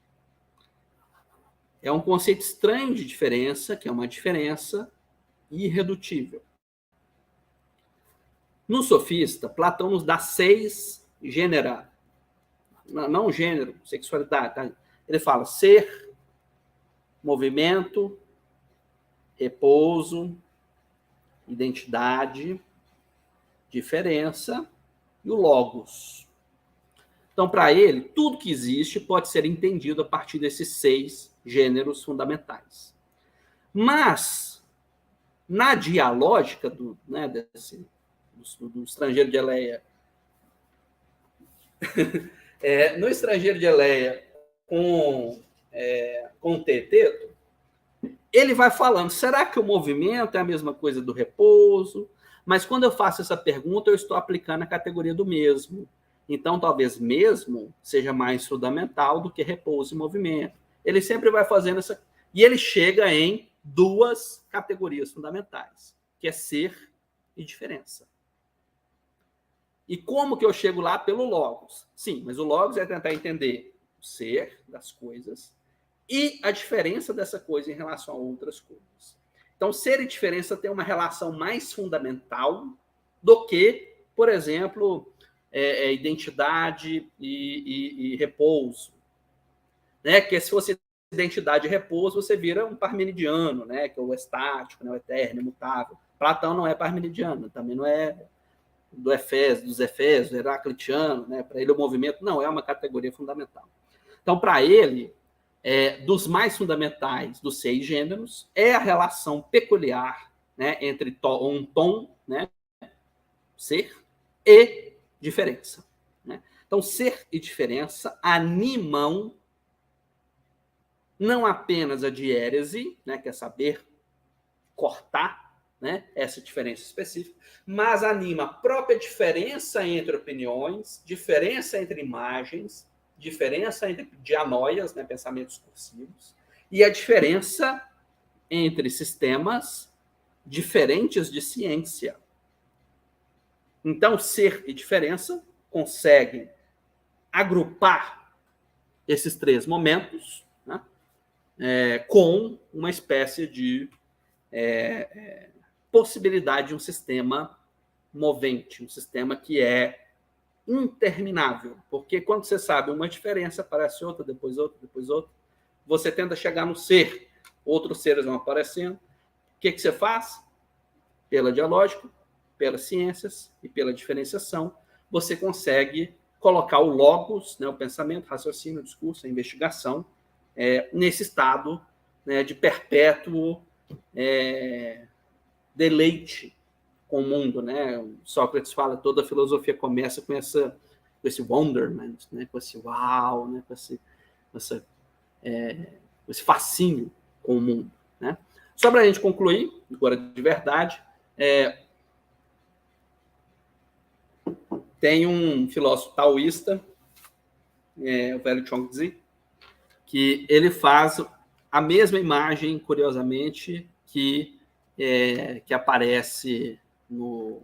É um conceito estranho de diferença, que é uma diferença irredutível. No Sofista, Platão nos dá seis gênera, não gênero, sexualidade, tá? Ele fala ser, movimento, repouso, identidade, diferença e o logos. Então, para ele, tudo que existe pode ser entendido a partir desses seis gêneros fundamentais. Mas, na dialógica do, né, desse, do, do estrangeiro de Eleia, é, no estrangeiro de Eleia, com, é, com o Teeteto, ele vai falando, será que o movimento é a mesma coisa do repouso? Mas quando eu faço essa pergunta, eu estou aplicando a categoria do mesmo. Então, talvez mesmo seja mais fundamental do que repouso e movimento. Ele sempre vai fazendo essa... E ele chega em duas categorias fundamentais, que é ser e diferença. E como que eu chego lá? Pelo logos. Sim, mas o logos é tentar entender o ser das coisas e a diferença dessa coisa em relação a outras coisas. Então, ser e diferença tem uma relação mais fundamental do que, por exemplo, é, é, identidade e, e, e repouso. Né? Que se você identidade e repouso, você vira um parmenidiano, né? Que é o estático, né? O eterno, imutável. Platão não é parmenidiano, também não é do Efésio, dos Efésios, heraclitiano, né? Para ele o movimento não é uma categoria fundamental. Então, para ele, é, dos mais fundamentais dos seis gêneros, é a relação peculiar, né, entre to, um tom, né, ser, e diferença. Né? Então, ser e diferença animam não apenas a diérese, né, que é saber cortar, né, essa diferença específica, mas anima a própria diferença entre opiniões, diferença entre imagens, diferença entre dianóias, né, pensamentos cursivos, e a diferença entre sistemas diferentes de ciência. Então, ser e diferença conseguem agrupar esses três momentos, né, é, com uma espécie de é, é, possibilidade de um sistema movente, um sistema que é interminável, porque quando você sabe uma diferença, aparece outra, depois outra, depois outra, você tenta chegar no ser, outros seres vão aparecendo. O que, que você faz? Pela dialógica, pelas ciências e pela diferenciação, você consegue colocar o logos, né, o pensamento, o raciocínio, o discurso, a investigação, é, nesse estado, né, de perpétuo é, deleite com o mundo, né? Sócrates fala, toda a filosofia começa com, essa, com esse wonderment, né? Com esse uau, né? com, esse, com, essa, é, com esse fascínio com o mundo, né? Só para a gente concluir, agora de verdade, é, tem um filósofo taoísta, é, o velho Chuang-Tzu, que ele faz a mesma imagem, curiosamente, que, é, que aparece no,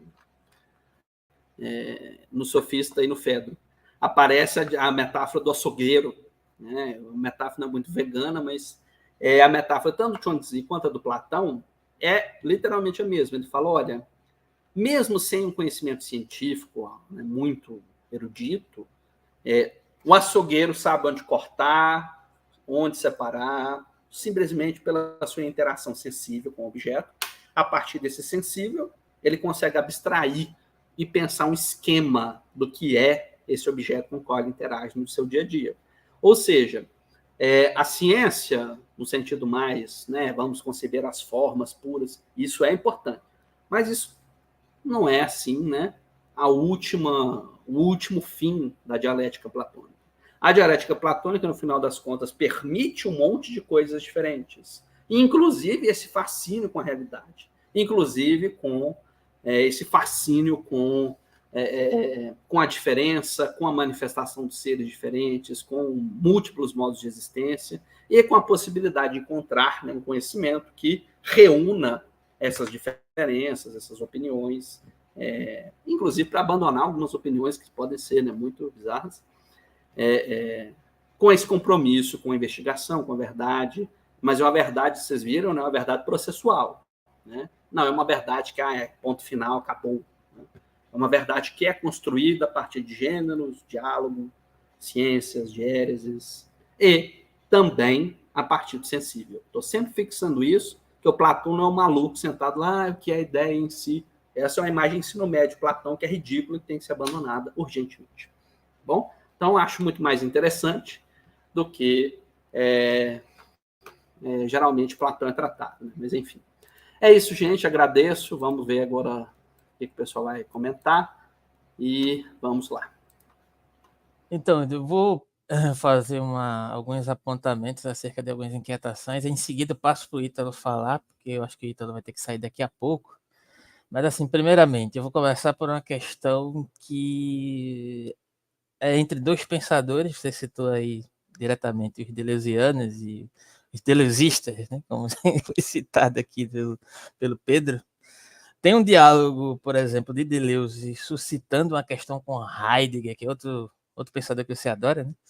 é, no Sofista e no Fedro. Aparece a, a metáfora do açougueiro, né? Uma metáfora não é muito vegana, mas é a metáfora tanto do Chuang-Tzu quanto a do Platão é literalmente a mesma. Ele fala, olha, mesmo sem um conhecimento científico, né, muito erudito, é, o açougueiro sabe onde cortar, onde separar, simplesmente pela sua interação sensível com o objeto. A partir desse sensível, ele consegue abstrair e pensar um esquema do que é esse objeto com o qual ele interage no seu dia a dia. Ou seja, é, a ciência, no sentido mais, né, vamos conceber as formas puras, isso é importante. Mas isso não é assim, né, a última, o último fim da dialética platônica. A dialética platônica, no final das contas, permite um monte de coisas diferentes, inclusive esse fascínio com a realidade, inclusive com é, esse fascínio com, é, é, com a diferença, com a manifestação de seres diferentes, com múltiplos modos de existência e com a possibilidade de encontrar, né, um conhecimento que reúna essas diferenças, essas opiniões, é, inclusive para abandonar algumas opiniões que podem ser, né, muito bizarras, é, é, com esse compromisso com a investigação, com a verdade, mas é uma verdade, vocês viram, né, uma verdade processual, né? Não é uma verdade que ah, é ponto final, acabou. Né? É uma verdade que é construída a partir de gêneros, diálogo, ciências, diéreses, e também a partir do sensível. Estou sempre fixando isso, que o Platão não é um maluco sentado lá, o que é a ideia em si. Essa é uma imagem ensino médio de Platão que é ridícula e tem que ser abandonada urgentemente. Bom, então acho muito mais interessante do que é, é, geralmente Platão é tratado, né? Mas enfim. É isso, gente. Agradeço. Vamos ver agora o que o pessoal vai comentar. E vamos lá. Então, eu vou fazer uma, alguns apontamentos acerca de algumas inquietações. Em seguida, passo para o Ítalo falar, porque eu acho que o Ítalo vai ter que sair daqui a pouco. Mas, assim, primeiramente, eu vou começar por uma questão que é entre dois pensadores. Você citou aí diretamente os deleuzianos e os deleuzistas, né? Como foi citado aqui pelo, pelo Pedro. Tem um diálogo, por exemplo, de Deleuze suscitando uma questão com Heidegger, que é outro, outro pensador que você adora, né?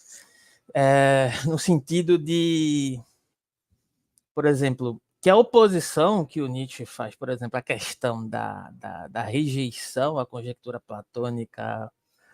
É, no sentido de, por exemplo, que a oposição que o Nietzsche faz, por exemplo, a questão da, da, da rejeição à conjectura platônica,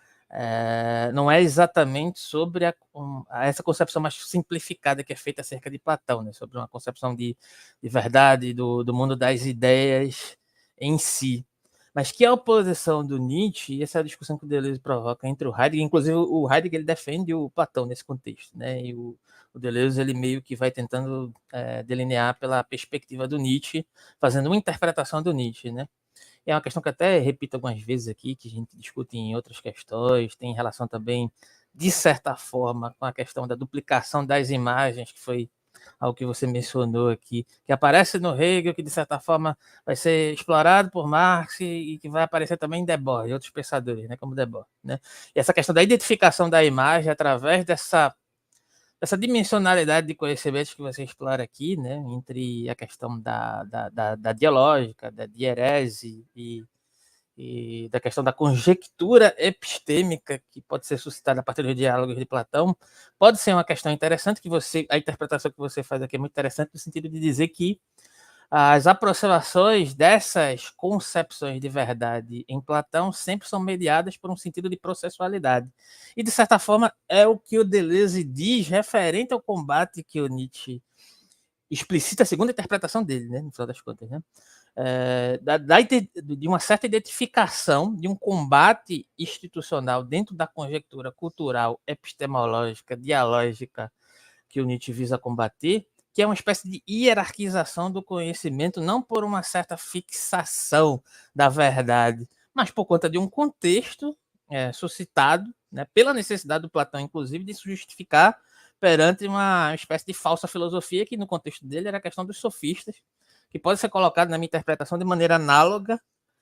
é, não é exatamente sobre a, um, essa concepção mais simplificada que é feita acerca de Platão, né? Sobre uma concepção de, de verdade, do, do mundo das ideias em si. Mas que a oposição do Nietzsche, e essa é a discussão que o Deleuze provoca entre o Heidegger, inclusive o Heidegger ele defende o Platão nesse contexto, né? E o, o Deleuze ele meio que vai tentando é, delinear pela perspectiva do Nietzsche, fazendo uma interpretação do Nietzsche, né? É uma questão que até repito algumas vezes aqui, que a gente discute em outras questões, tem relação também, de certa forma, com a questão da duplicação das imagens, que foi algo que você mencionou aqui, que aparece no Hegel, que de certa forma vai ser explorado por Marx e que vai aparecer também em Debord e outros pensadores, né, como Debord, né? E essa questão da identificação da imagem através dessa essa dimensionalidade de conhecimentos que você explora aqui, né, entre a questão da, da, da, da dialógica, da dierese e, e da questão da conjectura epistêmica que pode ser suscitada a partir dos diálogos de Platão, pode ser uma questão interessante que você, a interpretação que você faz aqui é muito interessante no sentido de dizer que as aproximações dessas concepções de verdade em Platão sempre são mediadas por um sentido de processualidade. E, de certa forma, é o que o Deleuze diz referente ao combate que o Nietzsche explicita, segundo a interpretação dele, né, no final das contas, né? É, da, da, de uma certa identificação de um combate institucional dentro da conjectura cultural, epistemológica, dialógica que o Nietzsche visa combater, que é uma espécie de hierarquização do conhecimento, não por uma certa fixação da verdade, mas por conta de um contexto é, suscitado, né, pela necessidade do Platão, inclusive, de se justificar perante uma espécie de falsa filosofia, que no contexto dele era a questão dos sofistas, que pode ser colocado na minha interpretação de maneira análoga,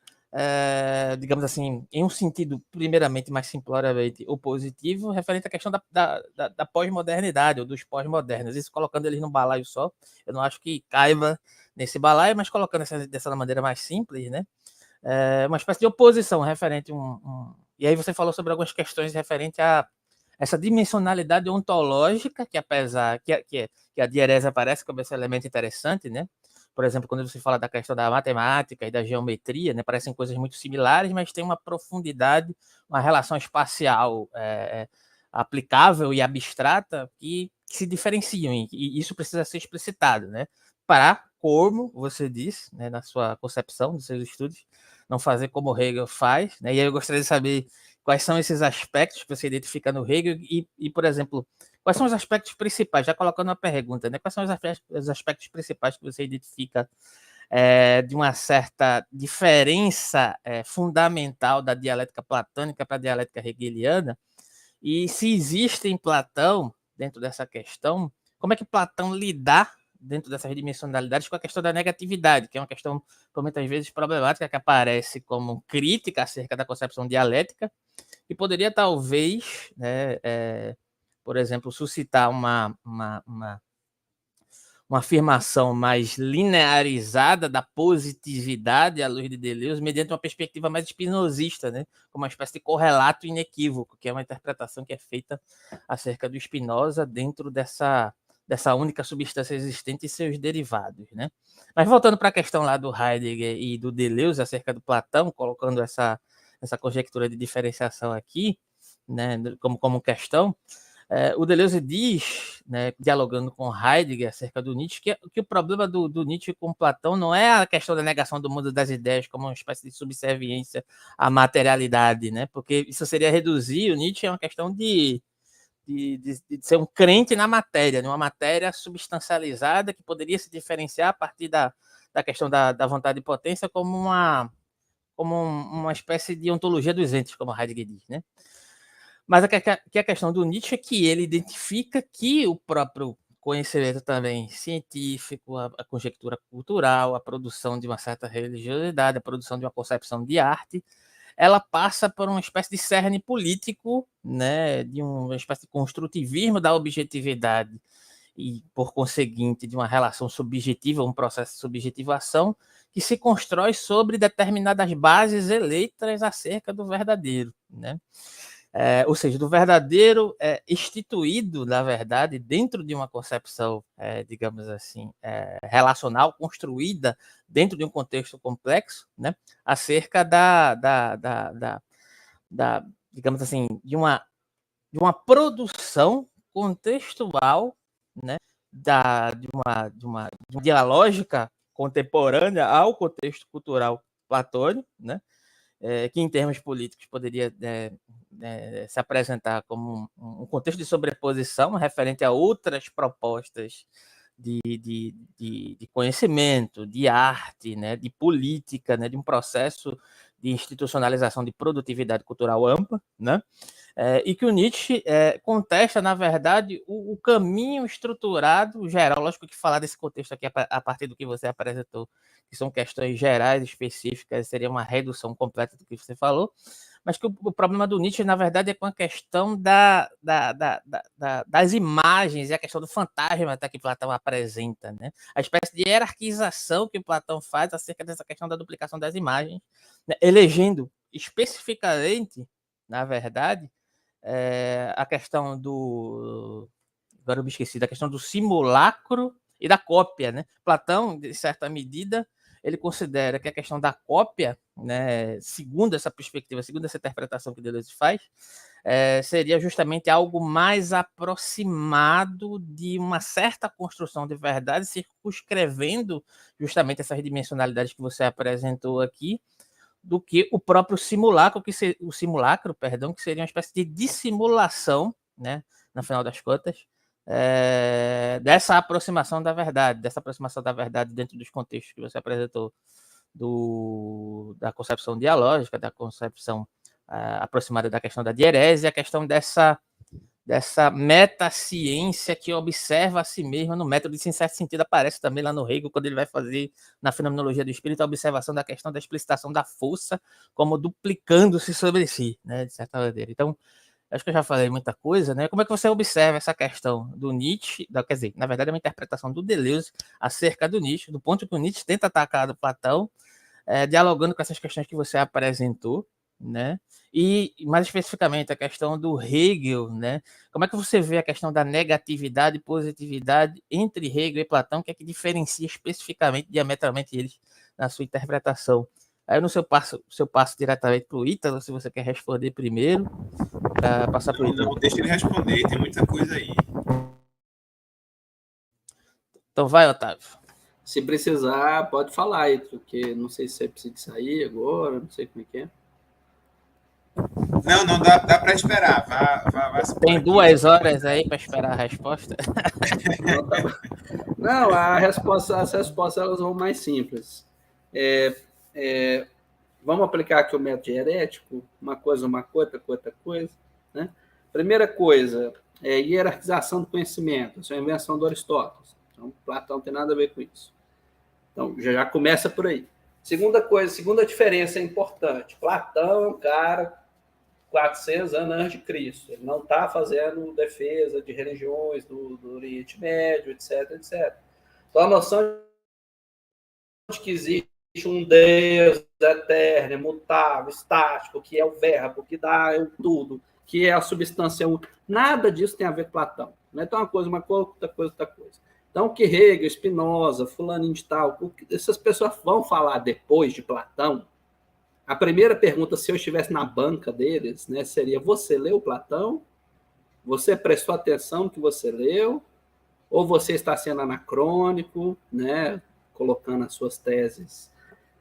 é, digamos assim, em um sentido primeiramente mais simploriamente opositivo, referente à questão da, da, da, da pós-modernidade ou dos pós-modernos. Isso colocando eles num balaio só, eu não acho que caiba nesse balaio, mas colocando essa, dessa maneira mais simples, né? É uma espécie de oposição referente a um, um... E aí você falou sobre algumas questões referente a essa dimensionalidade ontológica, que apesar que a, que, que a dierese aparece como esse elemento interessante, né? Por exemplo, quando você fala da questão da matemática e da geometria, né, parecem coisas muito similares, mas tem uma profundidade, uma relação espacial é, aplicável e abstrata que, que se diferenciam, e isso precisa ser explicitado, né? Para, como você disse, né, na sua concepção dos seus estudos, não fazer como Hegel faz, né? E aí eu gostaria de saber quais são esses aspectos que você identifica no Hegel e, e, por exemplo, quais são os aspectos principais, já colocando uma pergunta, né? Quais são os aspectos, os aspectos principais que você identifica é, de uma certa diferença é, fundamental da dialética platônica para a dialética hegeliana? E se existe em Platão, dentro dessa questão, como é que Platão lidar dentro dessas dimensionalidades com a questão da negatividade, que é uma questão, por muitas vezes, problemática, que aparece como crítica acerca da concepção dialética, e poderia, talvez, né, é, por exemplo, suscitar uma, uma, uma, uma afirmação mais linearizada da positividade à luz de Deleuze, mediante uma perspectiva mais espinosista, né, como uma espécie de correlato inequívoco, que é uma interpretação que é feita acerca do Spinoza dentro dessa, dessa única substância existente e seus derivados, né? Mas voltando para a questão lá do Heidegger e do Deleuze acerca do Platão, colocando essa, essa conjectura de diferenciação aqui, né, como, como questão, é, o Deleuze diz, né, dialogando com Heidegger acerca do Nietzsche, que, que o problema do, do Nietzsche com Platão não é a questão da negação do mundo das ideias como uma espécie de subserviência à materialidade, né? Porque isso seria reduzir o Nietzsche a uma questão de, de, de, de ser um crente na matéria, numa matéria substancializada que poderia se diferenciar a partir da, da questão da, da vontade e potência como uma, como uma espécie de ontologia dos entes, como Heidegger diz, né? Mas a, que a questão do Nietzsche é que ele identifica que o próprio conhecimento também científico, a, a conjectura cultural, a produção de uma certa religiosidade, a produção de uma concepção de arte, ela passa por uma espécie de cerne político, né, de uma espécie de construtivismo da objetividade e, por conseguinte, de uma relação subjetiva, um processo de subjetivação que se constrói sobre determinadas bases eleitas acerca do verdadeiro, né? É, ou seja, do verdadeiro é, instituído, na verdade, dentro de uma concepção, é, digamos assim, é, relacional, construída dentro de um contexto complexo, né, acerca da, da, da, da, da digamos assim, de uma, de uma produção contextual, né, da, de, uma, de, uma, de uma dialógica contemporânea ao contexto cultural platônico, né, é, que em termos políticos poderia é, é, se apresentar como um, um contexto de sobreposição referente a outras propostas de, de, de, de conhecimento, de arte, né, de política, né, de um processo de institucionalização de produtividade cultural ampla, né, é, e que o Nietzsche é, contesta, na verdade, o, o caminho estruturado geral. Lógico que falar desse contexto aqui a partir do que você apresentou, que são questões gerais, específicas, seria uma redução completa do que você falou, mas que o, o problema do Nietzsche, na verdade, é com a questão da, da, da, da, das imagens e a questão do fantasma até que Platão apresenta, né? A espécie de hierarquização que Platão faz acerca dessa questão da duplicação das imagens, né? Elegendo especificamente, na verdade, é, a questão do... Agora eu me esqueci da questão do simulacro e da cópia, né? Platão, de certa medida, ele considera que a questão da cópia, né, segundo essa perspectiva, segundo essa interpretação que Deleuze faz, é, seria justamente algo mais aproximado de uma certa construção de verdade, circunscrevendo justamente essas dimensionalidades que você apresentou aqui, do que o próprio simulacro, que se, o simulacro, perdão, que seria uma espécie de dissimulação, né, no final das contas, é, dessa aproximação da verdade, dessa aproximação da verdade dentro dos contextos que você apresentou, do, da concepção dialógica, da concepção uh, aproximada da questão da dierese, a questão dessa, dessa metaciência que observa a si mesma no método, isso em certo sentido aparece também lá no Hegel, quando ele vai fazer na fenomenologia do espírito a observação da questão da explicitação da força como duplicando-se sobre si, né, de certa maneira. Então, acho que eu já falei muita coisa, né? Como é que você observa essa questão do Nietzsche, da, quer dizer, na verdade é uma interpretação do Deleuze acerca do Nietzsche, do ponto que o Nietzsche tenta atacar do Platão, é, dialogando com essas questões que você apresentou, né? E, mais especificamente, a questão do Hegel, né? Como é que você vê a questão da negatividade e positividade entre Hegel e Platão, que é que diferencia especificamente, diametralmente eles na sua interpretação? Aí eu não sei se eu passo, se eu passo diretamente para o Ítalo, se você quer responder primeiro, para passar para o Ítalo. Não, deixa ele responder, tem muita coisa aí. Então vai, Otávio. Se precisar, pode falar aí, porque não sei se você precisa sair agora, não sei como é que é. Não, não, dá, dá para esperar. Vá, vá, vá Tem duas horas aí para esperar a resposta? Não, tá... não, a resposta, as respostas elas vão mais simples. É, é, vamos aplicar aqui o método hierético, uma coisa, uma coisa, outra coisa. Né? Primeira coisa, é hierarquização do conhecimento. Isso é uma invenção do Aristóteles. Então, Platão não tem nada a ver com isso. Então, já, já começa por aí. Segunda coisa, segunda diferença importante. Platão é um cara quatrocentos anos antes de Cristo. Ele não está fazendo defesa de religiões do, do Oriente Médio, etc, etcétera. Então, a noção de que existe um Deus eterno, imutável, estático, que é o verbo, que dá o tudo, que é a substância única, nada disso tem a ver com Platão. Então, uma coisa, uma coisa, outra coisa, outra coisa. Então, o que Hegel, Spinoza, fulaninho de tal, essas pessoas vão falar depois de Platão. A primeira pergunta, se eu estivesse na banca deles, né, seria: você leu Platão? Você prestou atenção no que você leu? Ou você está sendo anacrônico, né, colocando as suas teses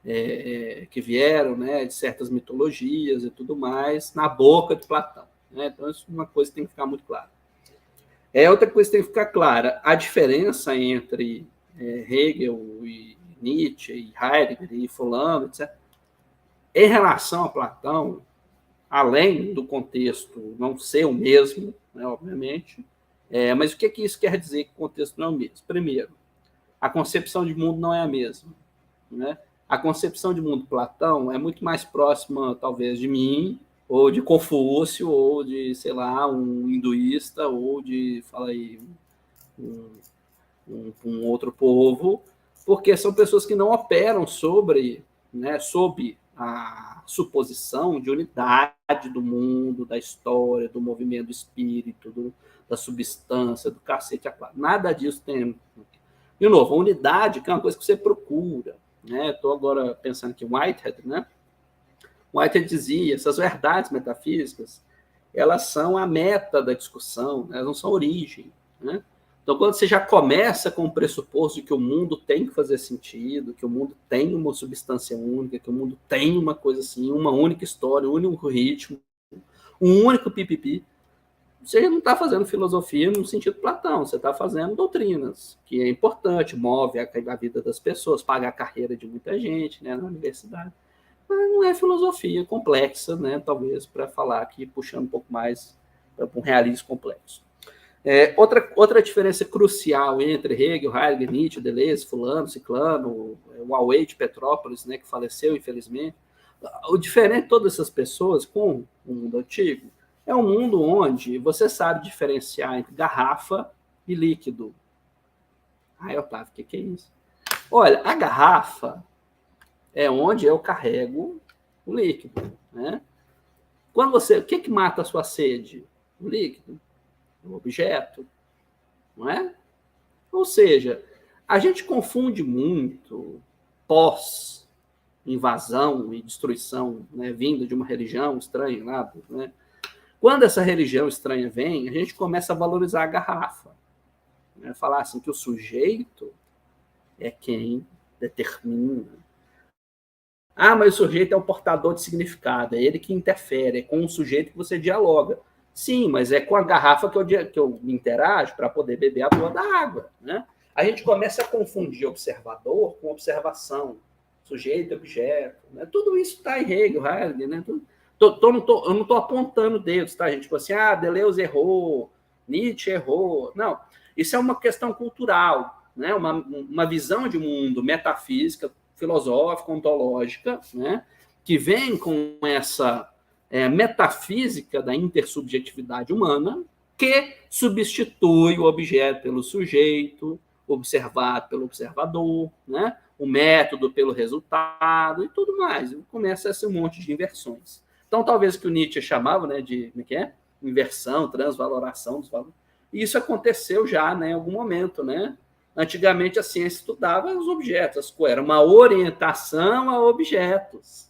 é, que vieram, né, de certas mitologias e tudo mais na boca de Platão? Né? Então, isso é uma coisa que tem que ficar muito clara. É, outra coisa que tem que ficar clara: a diferença entre é, Hegel e Nietzsche e Heidegger e fulano, etcétera, em relação a Platão, além do contexto não ser o mesmo, né, obviamente, é, mas o que, que isso quer dizer que o contexto não é o mesmo? Primeiro, a concepção de mundo não é a mesma. Né? A concepção de mundo de Platão é muito mais próxima, talvez, de mim, ou de Confúcio, ou de, sei lá, um hinduísta, ou de, fala aí, um, um, um outro povo, porque são pessoas que não operam sobre, né, sob a suposição de unidade do mundo, da história, do movimento do espírito, do, da substância, do cacete a quatro. Nada disso tem. De novo, a unidade, que é uma coisa que você procura. Estou né? agora pensando que Whitehead, né? Whitehead dizia: essas verdades metafísicas, elas são a meta da discussão, elas não são a origem. Né? Então, quando você já começa com o pressuposto de que o mundo tem que fazer sentido, que o mundo tem uma substância única, que o mundo tem uma coisa assim, uma única história, um único ritmo, um único pipipi, você não está fazendo filosofia no sentido Platão, você está fazendo doutrinas, que é importante, move a, a vida das pessoas, paga a carreira de muita gente, né, na universidade. Mas não é filosofia complexa, né, talvez, para falar aqui, puxando um pouco mais para um realismo complexo. É, outra, outra diferença crucial entre Hegel, Heidegger, Nietzsche, Deleuze, fulano, ciclano, o Auê de Petrópolis, né, que faleceu, infelizmente. O diferente de todas essas pessoas com o mundo antigo é um mundo onde você sabe diferenciar entre garrafa e líquido. Ai, Otávio, o que, que é isso? Olha, a garrafa é onde eu carrego o líquido. Né? Quando você, o que, que mata a sua sede? O líquido. O objeto, não é? Ou seja, A gente confunde muito pós-invasão e destruição, né, vinda de uma religião estranha, nada, né? Quando essa religião estranha vem, a gente começa a valorizar a garrafa. Né? Falar assim que o sujeito é quem determina. Ah, mas o sujeito é o portador de significado, é ele que interfere, é com o sujeito que você dialoga. Sim, mas é com a garrafa que eu, que eu me interajo para poder beber a porra da água. Né? A gente começa a confundir observador com observação, sujeito, objeto. Né? Tudo isso está em Hegel, Heidegger, né? Tudo, tô, tô, não tô, eu não estou apontando dedos, tá, gente? Tipo assim, ah, Deleuze errou, Nietzsche errou. Não, isso é uma questão cultural, né? uma, uma visão de mundo metafísica, filosófica, ontológica, né? Que vem com essa é, metafísica da intersubjetividade humana, que substitui o objeto pelo sujeito, observado pelo observador, né? O método pelo resultado e tudo mais. Começa esse monte de inversões. Então, talvez o que o Nietzsche chamava, né, de como é que é? Inversão, transvaloração dos valores. E isso aconteceu já, né, em algum momento, né? Antigamente a ciência estudava os objetos, era uma orientação a objetos.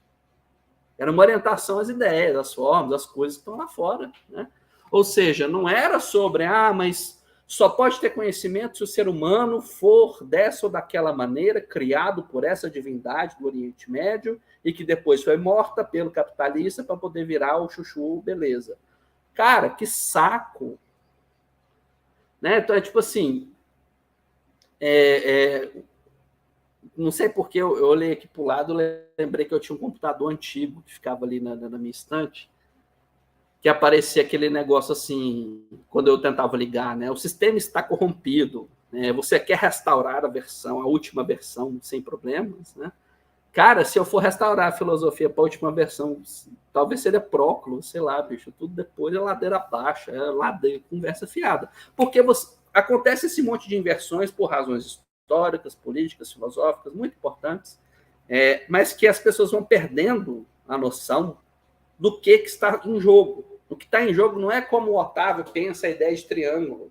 Era uma orientação às ideias, às formas, às coisas que estão lá fora. Né? Ou seja, não era sobre, ah, mas só pode ter conhecimento se o ser humano for dessa ou daquela maneira, criado por essa divindade do Oriente Médio e que depois foi morta pelo capitalista para poder virar o chuchu, beleza. Cara, que saco! Né? Então, é tipo assim, É, é, não sei porque eu, eu olhei aqui para o lado, lembrei que eu tinha um computador antigo que ficava ali na, na minha estante, que aparecia aquele negócio assim, quando eu tentava ligar, né? O sistema está corrompido, né? Você quer restaurar a versão, a última versão, sem problemas, né? Cara, se eu for restaurar a filosofia para a última versão, talvez seria Próclo, sei lá, bicho, tudo depois é ladeira abaixo, é ladeira, conversa fiada. Porque você acontece esse monte de inversões por razões históricas, políticas, filosóficas, muito importantes, é, mas que as pessoas vão perdendo a noção do que, que está em jogo. O que está em jogo não é como o Otávio pensa a ideia de triângulo.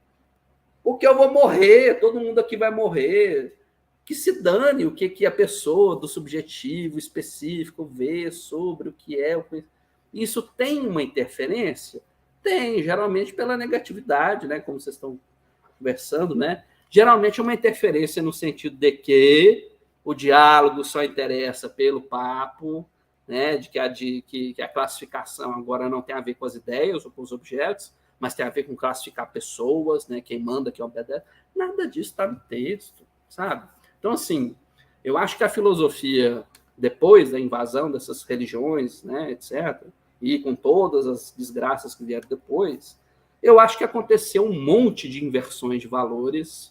Porque eu vou morrer, todo mundo aqui vai morrer. Que se dane o que, que a pessoa do subjetivo específico vê sobre o que é o conhecimento. Isso tem uma interferência? Tem, geralmente pela negatividade, né? Como vocês estão conversando, né? Geralmente uma interferência no sentido de que o diálogo só interessa pelo papo, né? De, que a, de que, que a classificação agora não tem a ver com as ideias ou com os objetos, mas tem a ver com classificar pessoas, né? Quem manda, quem obedece. Nada disso está no texto, sabe? Então, assim, eu acho que a filosofia, depois da invasão dessas religiões, né, etcétera, e com todas as desgraças que vieram depois, eu acho que aconteceu um monte de inversões de valores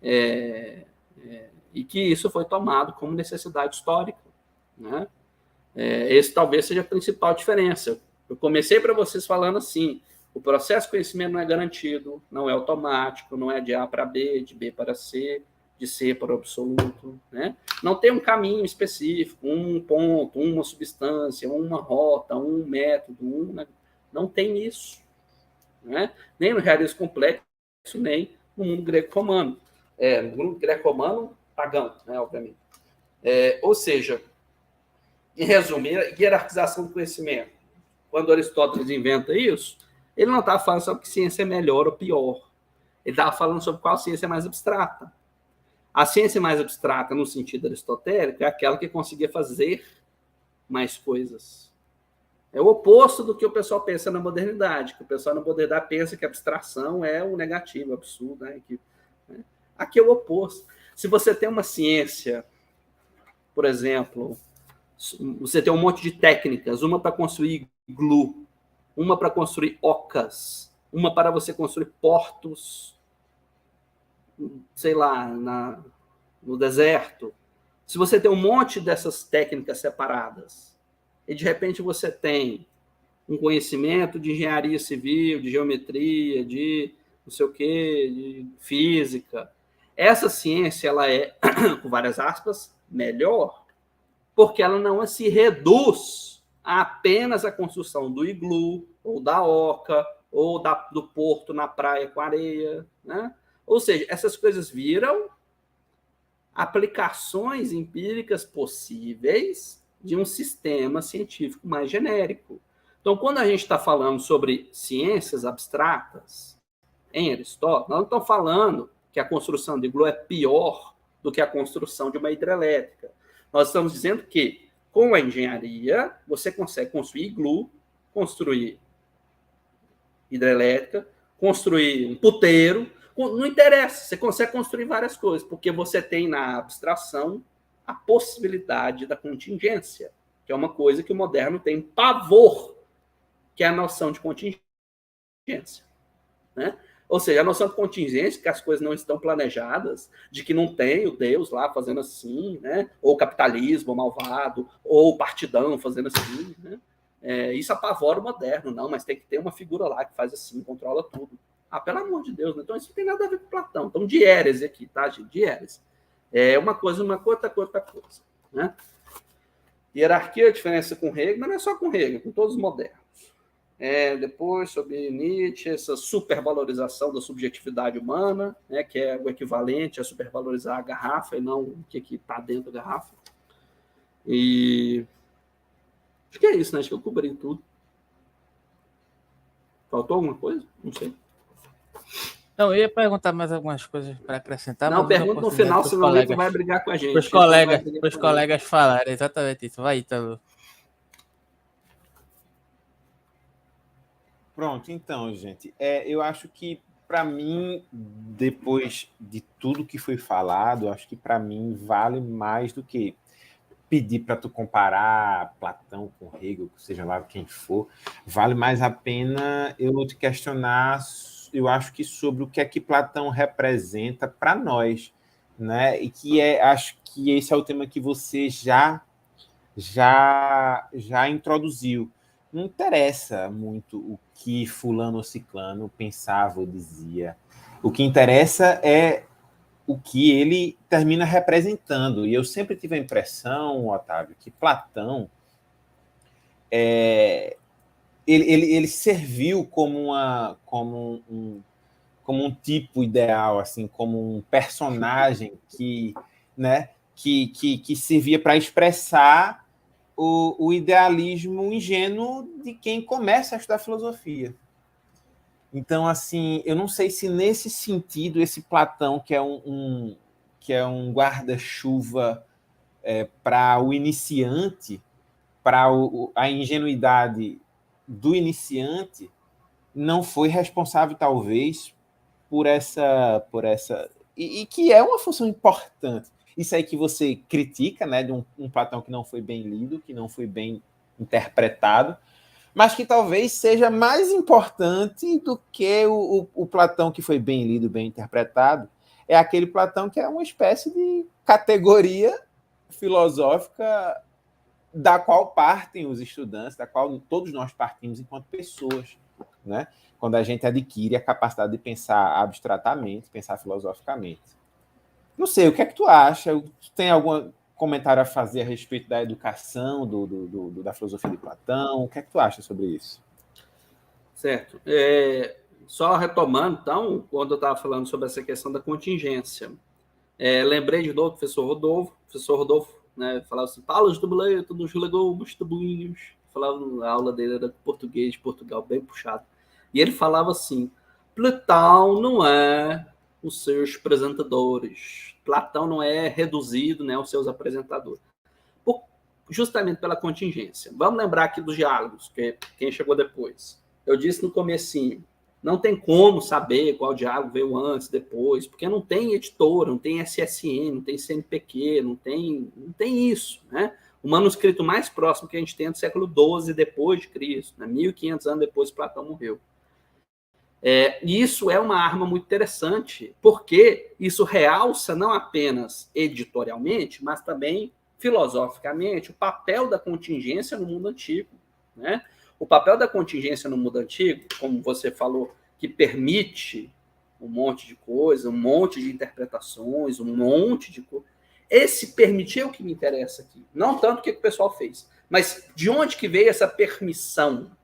é, é, e que isso foi tomado como necessidade histórica. Né? É, esse talvez seja a principal diferença. Eu comecei para vocês falando assim, o processo de conhecimento não é garantido, não é automático, não é de A para B, de B para C, de C para o absoluto, né? Não tem um caminho específico, um ponto, uma substância, uma rota, um método, um... não tem isso, né? Nem no realismo complexo, nem no mundo greco-romano. É, no mundo greco-romano, pagão, né, obviamente. É, ou seja, em resumo, hierarquização do conhecimento. Quando Aristóteles inventa isso, ele não estava falando sobre que ciência é melhor ou pior. Ele estava falando sobre qual ciência é mais abstrata. A ciência mais abstrata, no sentido aristotélico, é aquela que conseguia fazer mais coisas. É o oposto do que o pessoal pensa na modernidade, que o pessoal na modernidade pensa que a abstração é o negativo, o absurdo. Né? Que, né? Aqui é o oposto. Se você tem uma ciência, por exemplo, você tem um monte de técnicas, uma para construir glue, uma para construir ocas, uma para você construir portos, sei lá, na, no deserto. Se você tem um monte dessas técnicas separadas, e de repente você tem um conhecimento de engenharia civil, de geometria, de não sei o quê, de física, essa ciência ela é, com várias aspas, melhor, porque ela não se reduz a apenas a construção do iglu, ou da oca, ou da, do porto na praia com areia, né? Ou seja, essas coisas viram aplicações empíricas possíveis de um sistema científico mais genérico. Então, quando a gente está falando sobre ciências abstratas, em Aristóteles, nós não estamos falando que a construção de iglu é pior do que a construção de uma hidrelétrica. Nós estamos dizendo que, com a engenharia, você consegue construir iglu, construir hidrelétrica, construir um puteiro. Não interessa, você consegue construir várias coisas, porque você tem na abstração a possibilidade da contingência, que é uma coisa que o moderno tem pavor, que é a noção de contingência. Né? Ou seja, a noção de contingência, que as coisas não estão planejadas, de que não tem o Deus lá fazendo assim, né? Ou o capitalismo malvado, ou o partidão fazendo assim. Né? É, isso apavora o moderno, não, mas tem que ter uma figura lá que faz assim, controla tudo. Ah, pelo amor de Deus, né? Então isso não tem nada a ver com Platão. Então, diérese aqui, tá, gente? Diérese. É uma coisa, uma coisa, outra coisa, outra coisa. Né? Hierarquia, a diferença com Hegel, mas não é só com Hegel, com todos os modernos. É, depois, sobre Nietzsche, essa supervalorização da subjetividade humana, né, que é o equivalente a supervalorizar a garrafa e não o que está dentro da garrafa. E acho que é isso, né? Acho que eu cobri tudo. Faltou alguma coisa? Não sei. Não, eu ia perguntar mais algumas coisas para acrescentar. Não, pergunta no final, senão alguém que vai brigar com a gente. Os colegas, os colegas falaram exatamente isso. Vai, Ítalo. Pronto, então, gente, é, eu acho que, para mim, depois de tudo que foi falado, acho que, para mim, vale mais do que pedir para tu comparar Platão com Hegel, seja lá quem for, vale mais a pena eu te questionar, eu acho que sobre o que é que Platão representa para nós, né? E que é, acho que esse é o tema que você já, já, já introduziu. Não interessa muito o que fulano ou ciclano pensava ou dizia. O que interessa é o que ele termina representando. E eu sempre tive a impressão, Otávio, que Platão é, ele, ele, ele serviu como, uma, como, um, como um tipo ideal, assim, como um personagem que, né, que, que, que servia para expressar O, o idealismo ingênuo de quem começa a estudar filosofia. Então, assim, eu não sei se nesse sentido esse Platão, que é um, um, que é um guarda-chuva é, para o iniciante, para a ingenuidade do iniciante, não foi responsável, talvez, por essa... Por essa e, e que é uma função importante. Isso aí que você critica, né, de um, um Platão que não foi bem lido, que não foi bem interpretado, mas que talvez seja mais importante do que o, o, o Platão que foi bem lido, bem interpretado. É aquele Platão que é uma espécie de categoria filosófica da qual partem os estudantes, da qual todos nós partimos enquanto pessoas, né? Quando a gente adquire a capacidade de pensar abstratamente, pensar filosoficamente. Não sei, o que é que tu acha? Tu tem algum comentário a fazer a respeito da educação, do, do, do, da filosofia de Platão? O que é que tu acha sobre isso? Certo. É, só retomando, então, quando eu estava falando sobre essa questão da contingência, é, lembrei de novo do professor Rodolfo, professor Rodolfo, né, falava assim, Paulo de Dubleto, dos legumes, tabuinhos, falava na aula dele, era português de Portugal, bem puxado. E ele falava assim, Platão não é os seus apresentadores. Platão não é reduzido, né, aos seus apresentadores. Por, justamente pela contingência. Vamos lembrar aqui dos diálogos, que quem chegou depois. Eu disse no comecinho, não tem como saber qual diálogo veio antes, depois, porque não tem editora, não tem S S N, não tem C N P Q, não tem, não tem isso, né? O manuscrito mais próximo que a gente tem é do século doze depois de Cristo, né? mil e quinhentos anos depois que Platão morreu. É, e isso é uma arma muito interessante, porque isso realça não apenas editorialmente, mas também filosoficamente o papel da contingência no mundo antigo, né? O papel da contingência no mundo antigo, como você falou, que permite um monte de coisa, um monte de interpretações, um monte de coisa. Esse permitir é o que me interessa aqui. Não tanto o que o pessoal fez, mas de onde que veio essa permissão?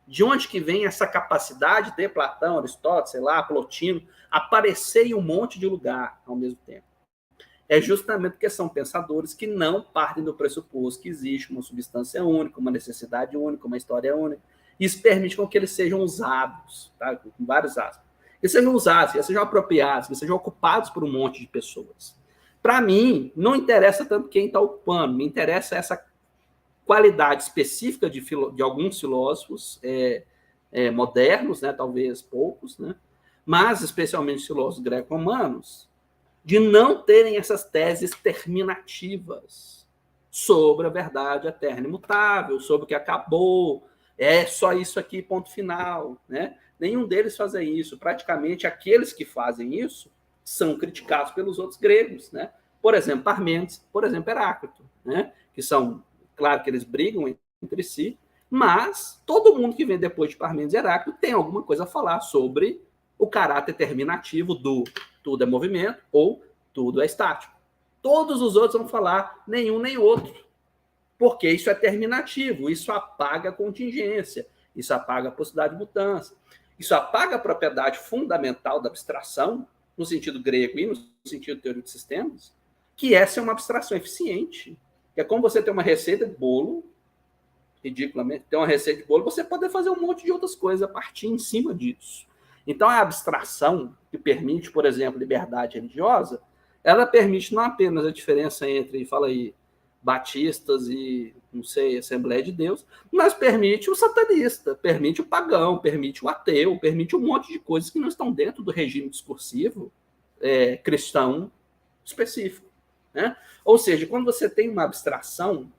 De onde que vem essa capacidade de Platão, Aristóteles, sei lá, Plotino, aparecer em um monte de lugar ao mesmo tempo? É justamente porque são pensadores que não partem do pressuposto que existe uma substância única, uma necessidade única, uma história única. Isso permite com que eles sejam usados, tá? Com vários aspas. Que sejam usados, que sejam apropriados, que sejam ocupados por um monte de pessoas. Para mim, não interessa tanto quem está ocupando, me interessa essa qualidade específica de, filo, de alguns filósofos é, é, modernos, né? Talvez poucos, né? Mas especialmente filósofos greco-romanos, de não terem essas teses terminativas sobre a verdade eterna e imutável, sobre o que acabou, é só isso aqui, ponto final, né? Nenhum deles fazem isso. Praticamente, aqueles que fazem isso são criticados pelos outros gregos, né? Por exemplo, Parmênides, por exemplo, Heráclito, né? Que são, claro que eles brigam entre si, mas todo mundo que vem depois de Parmênides e Heráclito tem alguma coisa a falar sobre o caráter terminativo do tudo é movimento ou tudo é estático. Todos os outros vão falar nenhum nem outro, porque isso é terminativo, isso apaga a contingência, isso apaga a possibilidade de mudança, isso apaga a propriedade fundamental da abstração, no sentido grego e no sentido de teoria de sistemas, que essa é uma abstração eficiente, que é como você ter uma receita de bolo, ridiculamente, ter uma receita de bolo, você pode fazer um monte de outras coisas a partir em cima disso. Então, a abstração que permite, por exemplo, liberdade religiosa, ela permite não apenas a diferença entre, fala aí, batistas e, não sei, Assembleia de Deus, mas permite o satanista, permite o pagão, permite o ateu, permite um monte de coisas que não estão dentro do regime discursivo é, cristão específico, né? Ou seja, quando você tem uma abstração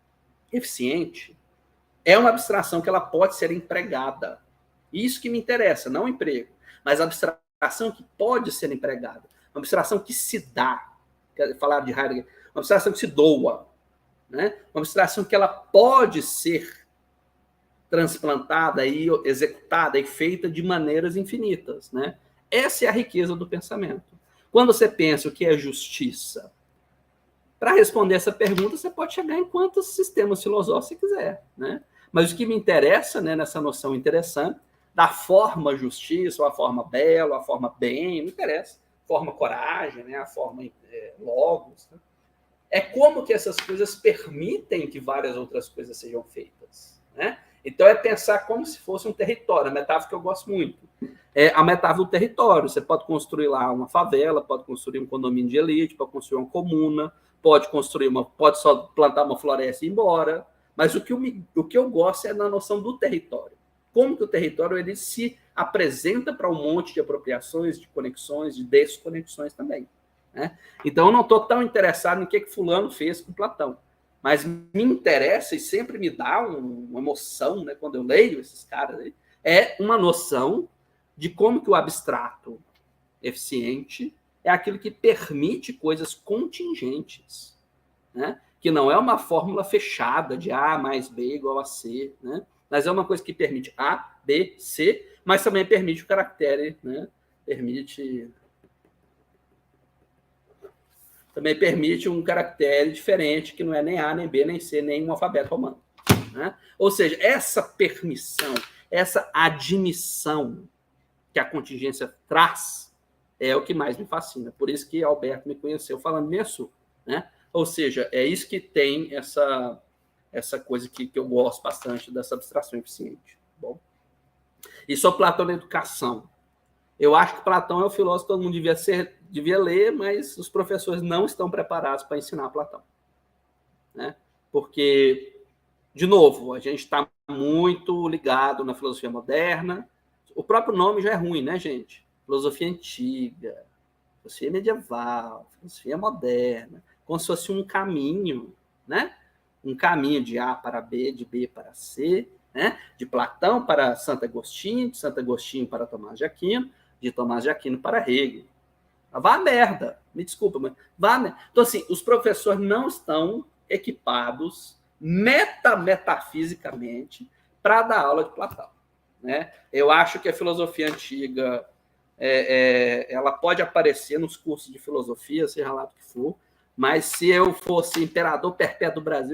eficiente, é uma abstração que ela pode ser empregada. Isso que me interessa, não o emprego, mas a abstração que pode ser empregada, uma abstração que se dá, falar de Heidegger, uma abstração que se doa, né? Uma abstração que ela pode ser transplantada e executada e feita de maneiras infinitas, né? Essa é a riqueza do pensamento. Quando você pensa o que é justiça, para responder essa pergunta, você pode chegar em quantos sistemas filosóficos você quiser, né? Mas o que me interessa, né, nessa noção interessante, da forma justiça, ou a forma belo, a forma bem, não interessa, forma coragem, né, a forma é, logos, né? É como que essas coisas permitem que várias outras coisas sejam feitas, né? Então é pensar como se fosse um território, a metáfora que eu gosto muito. É a metáfora do território, você pode construir lá uma favela, pode construir um condomínio de elite, pode construir uma comuna, pode construir uma, pode só plantar uma floresta e ir embora, mas o que, eu me, o que eu gosto é na noção do território. Como que o território ele se apresenta para um monte de apropriações, de conexões, de desconexões também, né? Então, eu não estou tão interessado no que, que fulano fez com Platão, mas me interessa e sempre me dá um, uma emoção, né, quando eu leio esses caras aí, é uma noção de como que o abstrato eficiente é aquilo que permite coisas contingentes, né? Que não é uma fórmula fechada de A mais B igual a C, né? Mas é uma coisa que permite A, B, C, mas também permite o caractere, né? Permite... Também permite um caractere diferente, que não é nem A, nem B, nem C, nem um alfabeto romano, né? Ou seja, essa permissão, essa admissão que a contingência traz é o que mais me fascina. Por isso que Alberto me conheceu falando nisso, né? Ou seja, é isso que tem essa... essa coisa que, que eu gosto bastante dessa abstração eficiente. Bom, e sobre Platão na educação. Eu acho que Platão é o filósofo que todo mundo devia, ser, devia ler, mas os professores não estão preparados para ensinar Platão, né? Porque, de novo, a gente está muito ligado na filosofia moderna. O próprio nome já é ruim, né, gente? Filosofia antiga, filosofia medieval, filosofia moderna, como se fosse um caminho, né? Um caminho de A para B, de B para C, né? De Platão para Santo Agostinho, de Santo Agostinho para Tomás de Aquino, de Tomás de Aquino para Hegel. Vá a merda, me desculpa, mas vá a merda. Então, assim, os professores não estão equipados metametafisicamente para dar aula de Platão, né? Eu acho que a filosofia antiga é, é, ela pode aparecer nos cursos de filosofia, seja lá o que for, mas se eu fosse imperador perpétuo do Brasil,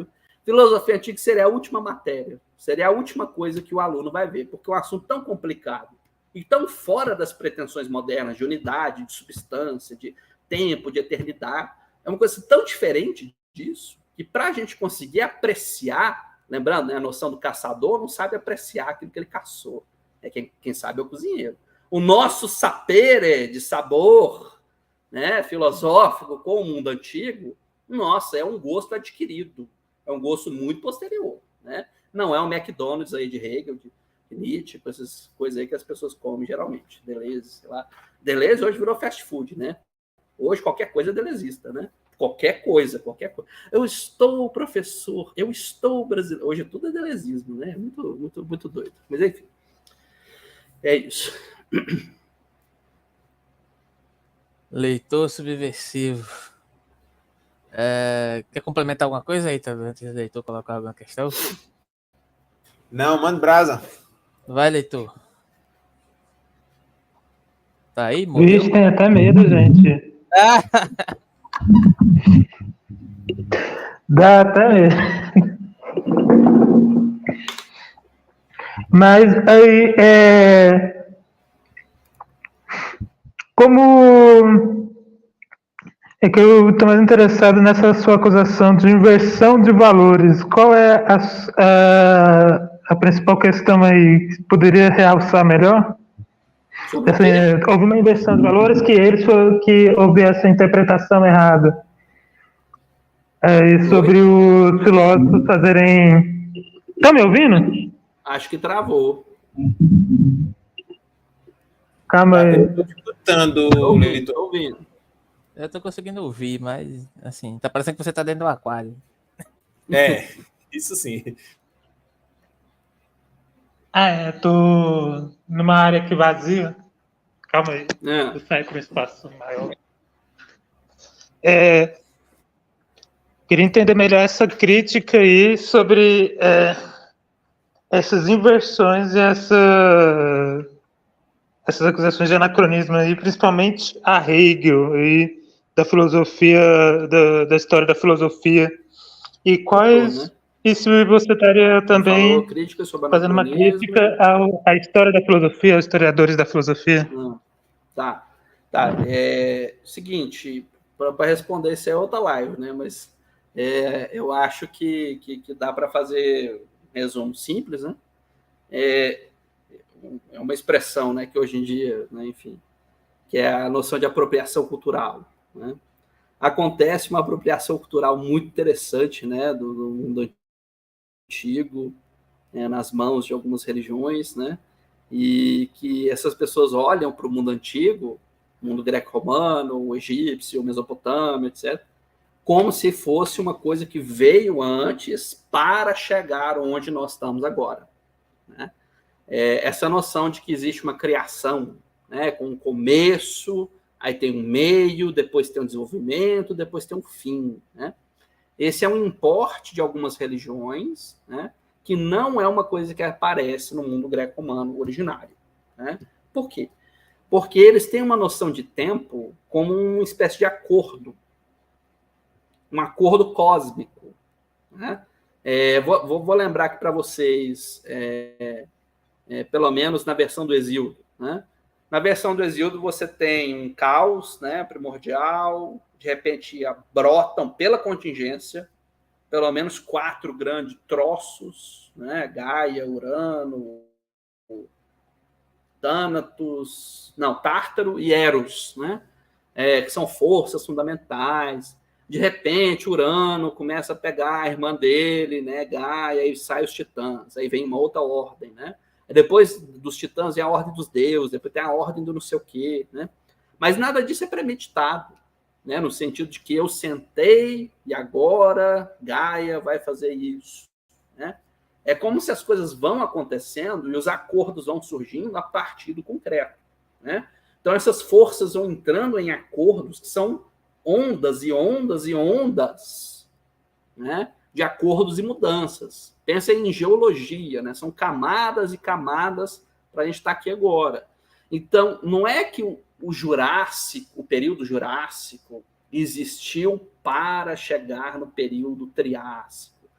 Filosofia antiga seria a última matéria, seria a última coisa que o aluno vai ver, porque é um assunto tão complicado e tão fora das pretensões modernas de unidade, de substância, de tempo, de eternidade. É uma coisa tão diferente disso que, para a gente conseguir apreciar, lembrando, né, a noção do caçador não sabe apreciar aquilo que ele caçou. É quem, quem sabe é o cozinheiro. O nosso sapere de sabor, né, filosófico com o mundo antigo, nossa, é um gosto adquirido. É um gosto muito posterior, né? Não é um McDonald's aí de Hegel, de Nietzsche, com essas coisas aí que as pessoas comem geralmente. Deleuze, sei lá. Deleuze hoje virou fast food, né? Hoje qualquer coisa é delezista, né? Qualquer coisa, qualquer coisa. Eu estou professor, eu estou brasileiro. Hoje tudo é delezismo, né? Muito, muito, muito doido. Mas enfim, é isso. Leitor subversivo. É, quer complementar alguma coisa aí, tá? Antes do leitor colocar alguma questão? Não, manda brasa. Vai, leitor. Tá aí, morreu? Vixe, tem até medo, gente. Ah! Dá até medo. Mas aí, é... como... É que eu estou mais interessado nessa sua acusação de inversão de valores. Qual é a, a, a principal questão aí? Poderia realçar melhor? Assim, houve uma inversão de valores que eles foram que houve essa interpretação errada. É, e sobre os filósofos fazerem... Estão me ouvindo? Acho que travou. Calma aí. Estou escutando, Tô ouvindo, leitor. tô ouvindo. Eu tô conseguindo ouvir, mas, assim, tá parecendo que você tá dentro do aquário. É, isso sim. Ah, é, tô numa área aqui vazia. Calma aí. É. Vou sair para um espaço maior. É, queria entender melhor essa crítica aí sobre é, essas inversões e essa, essas acusações de anacronismo aí, principalmente a Hegel e da filosofia, da, da história da filosofia. E quais... Né? E se você estaria também crítica sobre fazendo uma crítica ao, à história da filosofia, aos historiadores da filosofia? Não. Tá. Tá. É seguinte, para responder, isso é outra live, né? Mas é, eu acho que, que, que dá para fazer um resumo simples, né? É, é uma expressão, né, que hoje em dia, né, enfim, que é a noção de apropriação cultural, né? Acontece uma apropriação cultural muito interessante, né, do, do mundo antigo, é, nas mãos de algumas religiões, né, e que essas pessoas olham para o mundo antigo, o mundo greco-romano, o egípcio, o mesopotâmio, etcétera, como se fosse uma coisa que veio antes para chegar onde nós estamos agora, né? É, essa noção de que existe uma criação, né, com um começo, aí tem um meio, depois tem um desenvolvimento, depois tem um fim, né? Esse é um importe de algumas religiões, né, que não é uma coisa que aparece no mundo greco-romano originário, né? Por quê? Porque eles têm uma noção de tempo como uma espécie de acordo, um acordo cósmico, né? É, vou, vou lembrar aqui para vocês, é, é, pelo menos na versão do Hesíodo, né? Na versão do Hesíodo você tem um caos, né, primordial, de repente brotam pela contingência pelo menos quatro grandes troços, né, Gaia, Urano, Thanatos, não, Tártaro e Eros, né, é, que são forças fundamentais. De repente, Urano começa a pegar a irmã dele, né, Gaia, e sai os titãs, aí vem uma outra ordem, né? Depois dos titãs vem a ordem dos deuses, depois tem a ordem do não sei o quê, né? Mas nada disso é premeditado, né? No sentido de que eu sentei e agora Gaia vai fazer isso, né? É como se as coisas vão acontecendo e os acordos vão surgindo a partir do concreto, né? Então essas forças vão entrando em acordos que são ondas e ondas e ondas, né, de acordos e mudanças. Pensa em geologia, né? São camadas e camadas para a gente estar aqui agora. Então, não é que o, o Jurássico, o período Jurássico, existiu para chegar no período Triássico.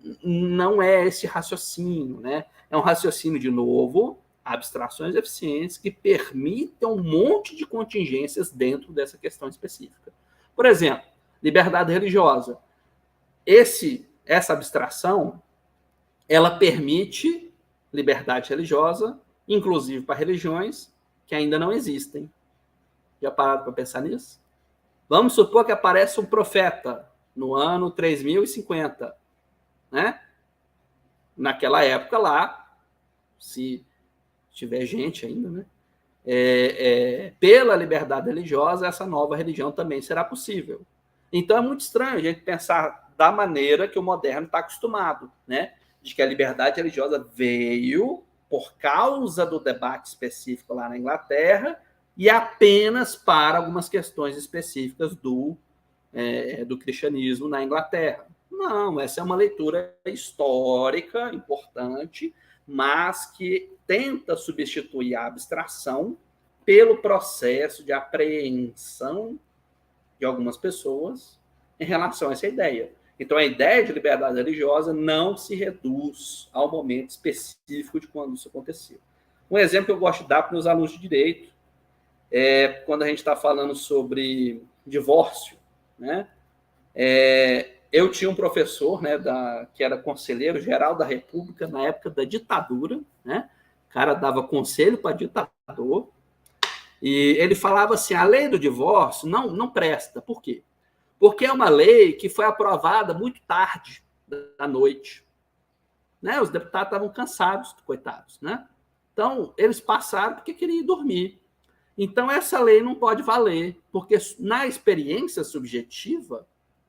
não é esse raciocínio, né? É um raciocínio, de novo, abstrações eficientes que permitem um monte de contingências dentro dessa questão específica. Por exemplo, liberdade religiosa. Esse, essa abstração, ela permite liberdade religiosa, inclusive para religiões que ainda não existem. Já pararam para pensar nisso? Vamos supor que aparece um profeta no ano três mil e cinquenta, né? Naquela época lá, se tiver gente ainda, né? É, é, pela liberdade religiosa, essa nova religião também será possível. Então é muito estranho a gente pensar da maneira que o moderno está acostumado, né? De que a liberdade religiosa veio por causa do debate específico lá na Inglaterra e apenas para algumas questões específicas do, é, do cristianismo na Inglaterra. Não, essa é uma leitura histórica importante, mas que tenta substituir a abstração pelo processo de apreensão de algumas pessoas em relação a essa ideia. Então, a ideia de liberdade religiosa não se reduz ao momento específico de quando isso aconteceu. Um exemplo que eu gosto de dar para os meus alunos de direito é quando a gente está falando sobre divórcio, né? É, eu tinha um professor, né, da, que era conselheiro geral da República na época da ditadura, né? O cara dava conselho para ditador e ele falava assim, a lei do divórcio não, não presta. Por quê? Porque é uma lei que foi aprovada muito tarde da noite. Né? Os deputados estavam cansados, coitados. Né? Então, eles passaram porque queriam ir dormir. Então, essa lei não pode valer, porque na experiência subjetiva,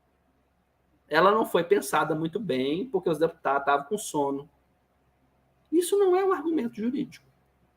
ela não foi pensada muito bem, porque os deputados estavam com sono. Isso não é um argumento jurídico.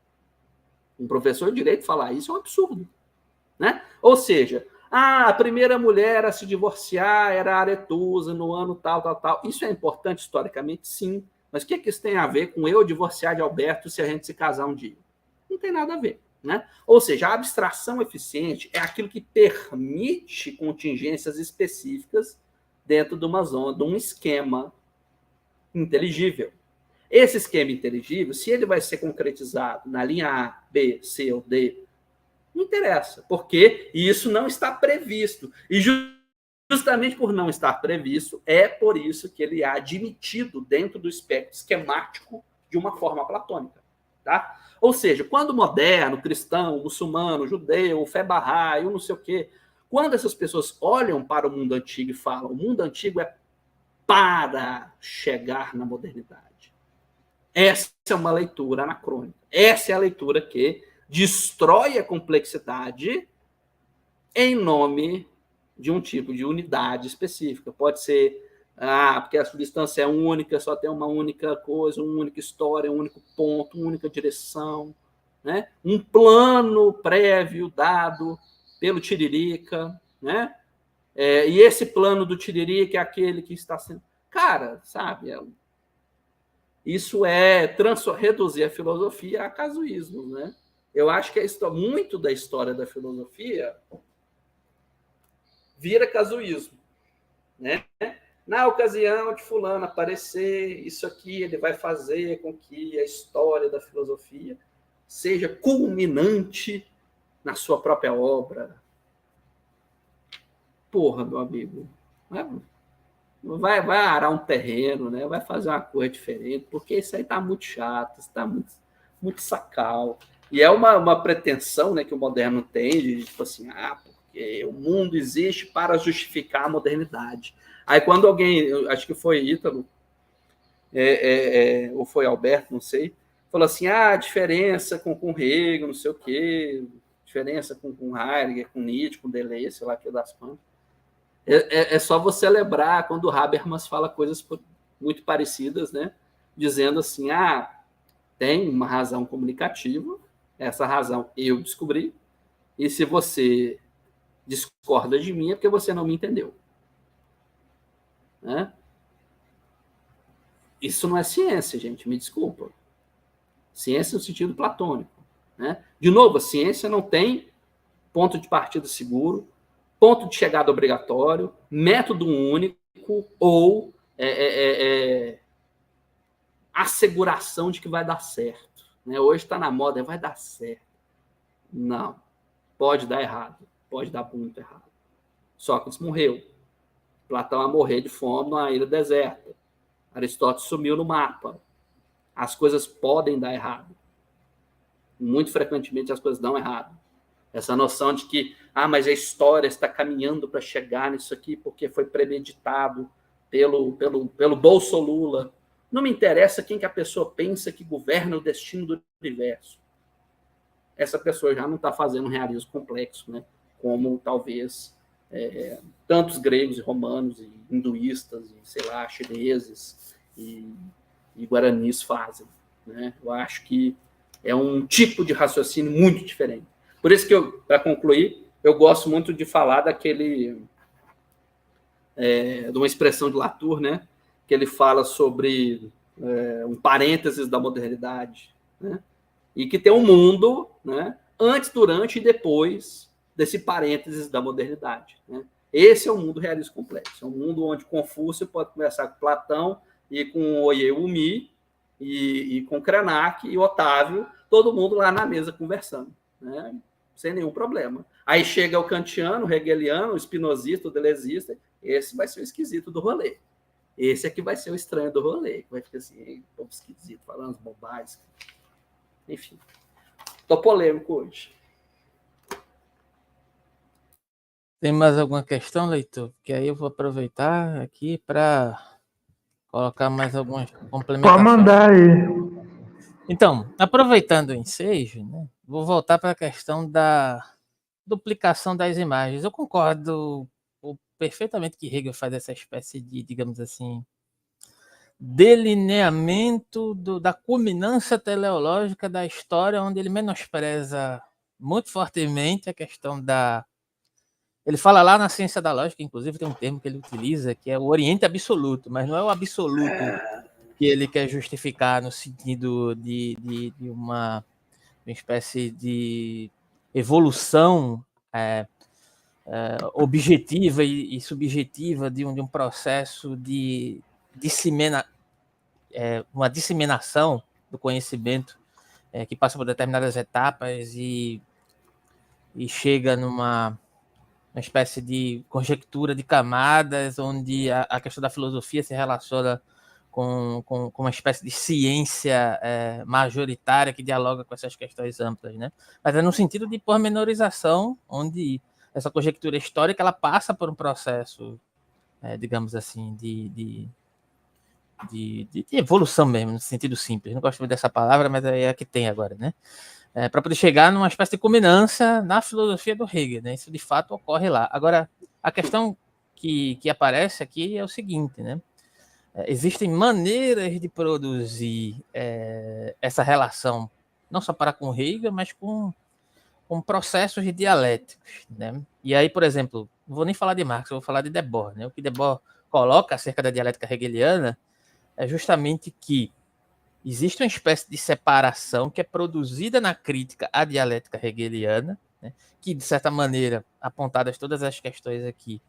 Um professor de direito falar isso é um absurdo. Né? Ou seja, ah, a primeira mulher a se divorciar era a Aretusa no ano tal, tal, tal. Isso é importante historicamente, sim. Mas o que, é que isso tem a ver com eu divorciar de Alberto se a gente se casar um dia? Não tem nada a ver. Né? Ou seja, a abstração eficiente é aquilo que permite contingências específicas dentro de uma zona, de um esquema inteligível. Esse esquema inteligível, se ele vai ser concretizado na linha A, B, C ou D, não interessa, porque isso não está previsto. E justamente por não estar previsto, é por isso que ele é admitido dentro do espectro esquemático de uma forma platônica. Tá? Ou seja, quando o moderno, cristão, muçulmano, judeu, fé bahá'í, não sei o quê, quando essas pessoas olham para o mundo antigo e falam o mundo antigo é para chegar na modernidade. Essa é uma leitura anacrônica. Essa é a leitura que destrói a complexidade em nome de um tipo de unidade específica. Pode ser, ah, porque a substância é única, só tem uma única coisa, uma única história, um único ponto, uma única direção, né? Um plano prévio dado pelo Tiririca, né? É, e esse plano do Tiririca é aquele que está sendo... Cara, sabe, é... isso é trans... reduzir a filosofia a casuísmo, né? Eu acho que a... muito da história da filosofia vira casuísmo, né? Na ocasião de fulano aparecer, isso aqui ele vai fazer com que a história da filosofia seja culminante na sua própria obra. Porra, meu amigo, vai, vai arar um terreno, né? Vai fazer uma coisa diferente, porque isso aí está muito chato, está muito, muito sacal. E é uma, uma pretensão, né, que o moderno tem de, tipo assim, ah, porque o mundo existe para justificar a modernidade. Aí quando alguém, acho que foi Ítalo, é, é, é, ou foi Alberto, não sei, falou assim, ah, a diferença com, com Hegel, não sei o quê, diferença com, com Heidegger, com Nietzsche, com Deleuze, sei lá que das quantas. É, é, é só você lembrar quando o Habermas fala coisas muito parecidas, né? Dizendo assim, ah, tem uma razão comunicativa, essa razão eu descobri, e se você discorda de mim é porque você não me entendeu. Né? Isso não é ciência, gente, me desculpa. Ciência no sentido platônico. Né? De novo, a ciência não tem ponto de partida seguro, ponto de chegada obrigatório, método único ou é, é, é, asseguração de que vai dar certo. Né? Hoje está na moda, vai dar certo. Não. Pode dar errado. Pode dar muito errado. Sócrates morreu. Platão vai morrer de fome numa ilha deserta. Aristóteles sumiu no mapa. As coisas podem dar errado. Muito frequentemente as coisas dão errado. Essa noção de que, ah, mas a história está caminhando para chegar nisso aqui porque foi premeditado pelo, pelo, pelo Bolso Lula. Não me interessa quem que a pessoa pensa que governa o destino do universo. Essa pessoa já não está fazendo um realismo complexo, né? Como talvez é, tantos gregos e romanos e hinduístas e, sei lá, chineses e, e guaranis fazem. Né? Eu acho que é um tipo de raciocínio muito diferente. Por isso que, eu, para concluir, eu gosto muito de falar daquele... É, de uma expressão de Latour, né? Que ele fala sobre é, um parênteses da modernidade, né? E que tem um mundo, né? Antes, durante e depois desse parênteses da modernidade. Né? Esse é o mundo realista complexo. É um mundo onde Confúcio pode conversar com Platão e com Oyeyumi e, e com Krenak e Otávio, todo mundo lá na mesa conversando, né? Sem nenhum problema. Aí chega o kantiano, o hegeliano, o spinozista, o delezista, esse vai ser o esquisito do rolê. Esse aqui vai ser o estranho do rolê, vai ficar assim, povo esquisito, falando as bobagens. Enfim, tô polêmico hoje. Tem mais alguma questão, leitor? Porque aí eu vou aproveitar aqui para colocar mais algumas complementações. Pode mandar aí. Então, aproveitando o ensejo, né, vou voltar para a questão da duplicação das imagens. Eu concordo perfeitamente que Hegel faz essa espécie de, digamos assim, delineamento do, da culminância teleológica da história, onde ele menospreza muito fortemente a questão da... Ele fala lá na ciência da lógica, inclusive tem um termo que ele utiliza, que é o Oriente Absoluto, mas não é o absoluto que ele quer justificar no sentido de, de, de uma, uma espécie de evolução é, é, objetiva e, e subjetiva de um, de um processo de dissemina, é, uma disseminação do conhecimento é, que passa por determinadas etapas e, e chega numa uma espécie de conjectura de camadas, onde a, a questão da filosofia se relaciona com, com, com uma espécie de ciência é, majoritária que dialoga com essas questões amplas, né? Mas é no sentido de pormenorização, onde essa conjectura histórica ela passa por um processo, é, digamos assim, de, de, de, de evolução mesmo, no sentido simples. Não gosto muito dessa palavra, mas é a que tem agora, né? É, para poder chegar numa espécie de culminância na filosofia do Hegel, né? Isso de fato ocorre lá. Agora, a questão que, que aparece aqui é o seguinte, né? É, existem maneiras de produzir é, essa relação, não só para com Hegel, mas com, com processos dialéticos, né? E aí, por exemplo, não vou nem falar de Marx, eu vou falar de Debord, né? O que Debord coloca acerca da dialética hegeliana é justamente que existe uma espécie de separação que é produzida na crítica à dialética hegeliana, né, que, de certa maneira, apontadas todas as questões aqui,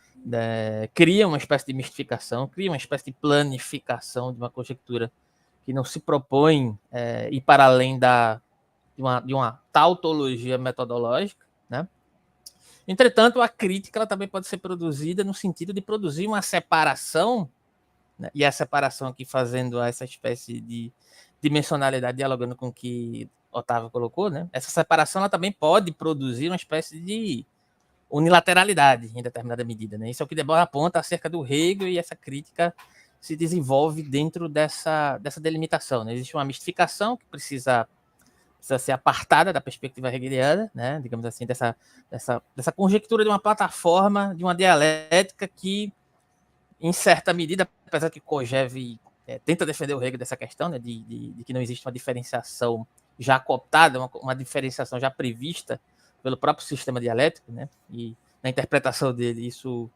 né, cria uma espécie de mistificação, cria uma espécie de planificação de uma conjectura que não se propõe é, ir para além da, de, uma, de uma tautologia metodológica. Né? Entretanto, a crítica ela também pode ser produzida no sentido de produzir uma separação, né? E a separação aqui fazendo essa espécie de dimensionalidade, dialogando com o que Otávio colocou, né? Essa separação ela também pode produzir uma espécie de unilateralidade em determinada medida. Né? Isso é o que Debord aponta acerca do Hegel, e essa crítica se desenvolve dentro dessa, dessa delimitação. Né? Existe uma mistificação que precisa, precisa ser apartada da perspectiva hegeliana, né? Digamos assim, dessa, dessa, dessa conjectura de uma plataforma, de uma dialética que, em certa medida, apesar que Kojève é, tenta defender o Hegel dessa questão, né, de, de, de que não existe uma diferenciação já cooptada, uma, uma diferenciação já prevista pelo próprio sistema dialético, né, e na interpretação dele, isso,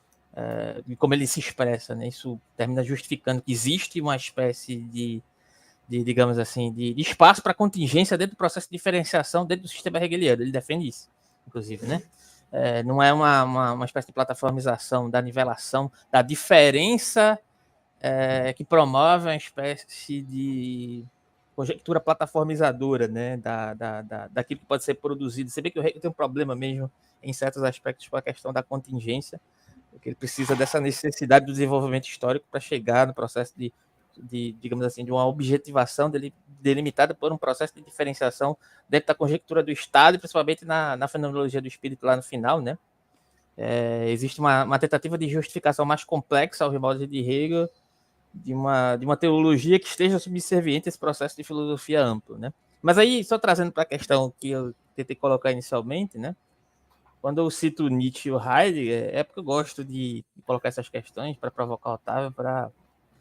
é, como ele se expressa, né, isso termina justificando que existe uma espécie de, de digamos assim, de, de espaço para contingência dentro do processo de diferenciação dentro do sistema hegeliano. Ele defende isso, inclusive, né? É, não é uma, uma, uma espécie de plataformização da nivelação, da diferença é, que promove uma espécie de conjectura plataformizadora, né, da, da, da, daquilo que pode ser produzido. Você vê que o Hegel tem um problema mesmo em certos aspectos com a questão da contingência, porque ele precisa dessa necessidade do desenvolvimento histórico para chegar no processo de, de, digamos assim, de uma objetivação dele, delimitada por um processo de diferenciação dentro da conjectura do Estado, e principalmente na, na fenomenologia do espírito lá no final, né? É, existe uma, uma tentativa de justificação mais complexa aos moldes de Hegel, de uma, de uma teologia que esteja subserviente a esse processo de filosofia amplo, né? Mas aí, só trazendo para a questão que eu tentei colocar inicialmente, né? Quando eu cito Nietzsche e o Heidegger, é porque eu gosto de colocar essas questões para provocar o Otávio para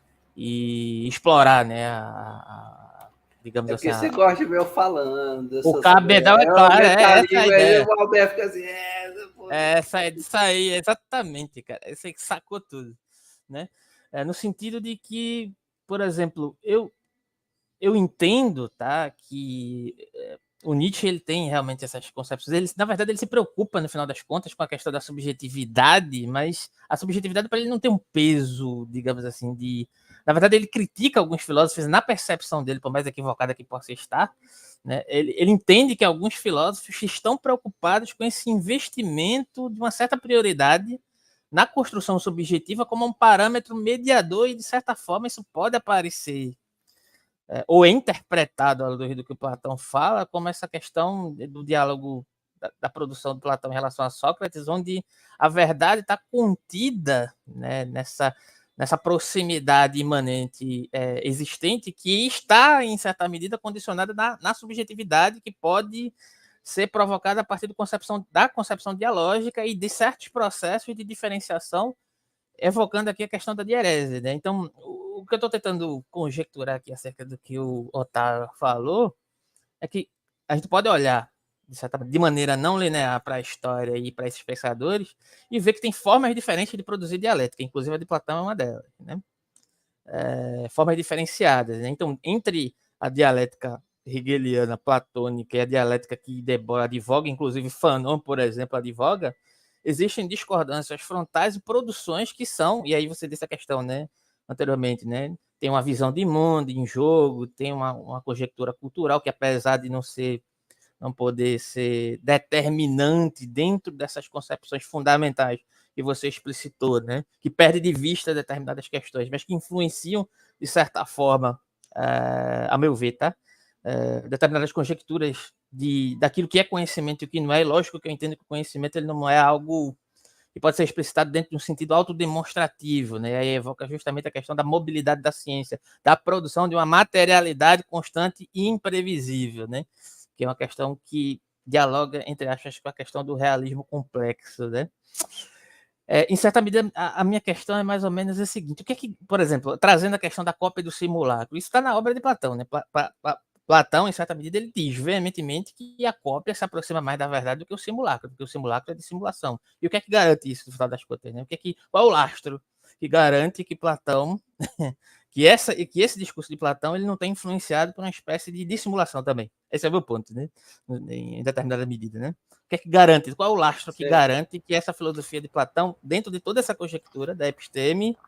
e explorar, né? A, a, digamos É porque assim, você a, gosta de ver eu falando. o cabedal é claro, é essa a ideia. O Alberto fica assim, é, pô, É essa é disso aí, exatamente, cara. Esse aí que sacou tudo, né? É, no sentido de que, por exemplo, eu eu entendo, tá, que é, o Nietzsche ele tem realmente essas concepções. Ele, na verdade, ele se preocupa no final das contas com a questão da subjetividade, mas a subjetividade para ele não tem um peso, digamos assim, de. Na verdade, ele critica alguns filósofos na percepção dele, por mais equivocada que possa estar. Né? Ele, ele entende que alguns filósofos estão preocupados com esse investimento de uma certa prioridade na construção subjetiva como um parâmetro mediador, e, de certa forma, isso pode aparecer é, ou é interpretado, à luz do que o Platão fala, como essa questão do diálogo da, da produção de Platão em relação a Sócrates, onde a verdade está contida, né, nessa, nessa proximidade imanente é, existente, que está, em certa medida, condicionada na, na subjetividade, que pode ser provocada a partir do concepção, da concepção dialógica e de certos processos de diferenciação, evocando aqui a questão da diérese, né? Então, o que eu estou tentando conjecturar aqui acerca do que o Otávio falou é que a gente pode olhar de, certa, de maneira não linear para a história e para esses pensadores e ver que tem formas diferentes de produzir dialética, inclusive a de Platão é uma delas, né? É, formas diferenciadas, né? Então, entre a dialética hegeliana, platônica e a dialética que Debord advoga, inclusive Fanon, por exemplo, advoga, existem discordâncias frontais e produções que são, e aí você disse a questão, né, anteriormente, né, tem uma visão de mundo em jogo, tem uma, uma conjectura cultural que, apesar de não ser, não poder ser determinante dentro dessas concepções fundamentais que você explicitou, né, que perde de vista determinadas questões, mas que influenciam, de certa forma, uh, a meu ver, tá? Uh, determinadas conjecturas de, daquilo que é conhecimento e o que não é. Lógico que eu entendo que o conhecimento ele não é algo que pode ser explicitado dentro de um sentido autodemonstrativo, né? Aí evoca justamente a questão da mobilidade da ciência, da produção de uma materialidade constante e imprevisível, né? Que é uma questão que dialoga, entre aspas, com a questão do realismo complexo, né? É, em certa medida, a, a minha questão é mais ou menos a seguinte: o que é que, por exemplo, trazendo a questão da cópia do simulacro, isso está na obra de Platão, né? Pla, pla, pla, Platão, em certa medida, ele diz veementemente que a cópia se aproxima mais da verdade do que o simulacro, porque o simulacro é de simulação. E o que é que garante isso, no final das contas? Né? O que é que, qual é o lastro que garante que Platão, que, essa, que esse discurso de Platão ele não tem influenciado por uma espécie de dissimulação também? Esse é o meu ponto, né? Em determinada medida, né? O que é que garante? Qual é o lastro que certo. garante que essa filosofia de Platão, dentro de toda essa conjectura da episteme,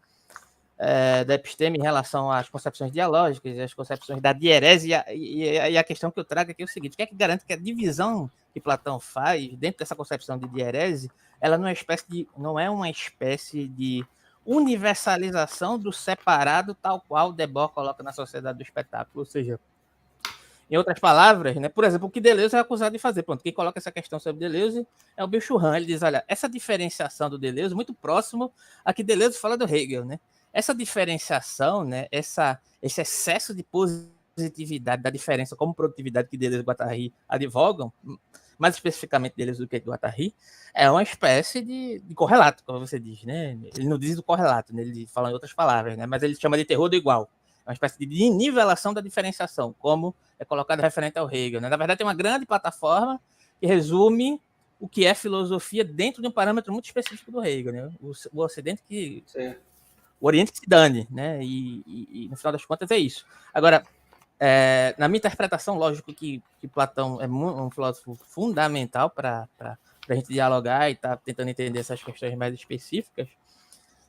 é, da episteme em relação às concepções dialógicas, às concepções da diérese, e a, e a questão que eu trago aqui é o seguinte: o que é que garante que a divisão que Platão faz dentro dessa concepção de diérese, ela não é, espécie de, não é uma espécie de universalização do separado, tal qual Debord coloca na Sociedade do Espetáculo? Ou seja, em outras palavras, né, por exemplo, o que Deleuze é acusado de fazer. Pronto, quem coloca essa questão sobre Deleuze é o Bill Churran. Ele diz, olha, essa diferenciação do Deleuze muito próximo a que Deleuze fala do Hegel, né? Essa diferenciação, né, essa, esse excesso de positividade da diferença como produtividade que Deleuze e Guattari advogam, mais especificamente Deleuze do que Guattari, é uma espécie de, de correlato, como você diz, né? Ele não diz do correlato, né? Ele fala em outras palavras, né? Mas ele chama de terror do igual. É uma espécie de nivelação da diferenciação, como é colocado referente ao Hegel, né? Na verdade, tem uma grande plataforma que resume o que é filosofia dentro de um parâmetro muito específico do Hegel, né? O, o Ocidente que... Sim. O Oriente que se dane, né? E, e, e no final das contas é isso. Agora, é, na minha interpretação, lógico que, que Platão é um filósofo fundamental para a gente dialogar e estar tá tentando entender essas questões mais específicas,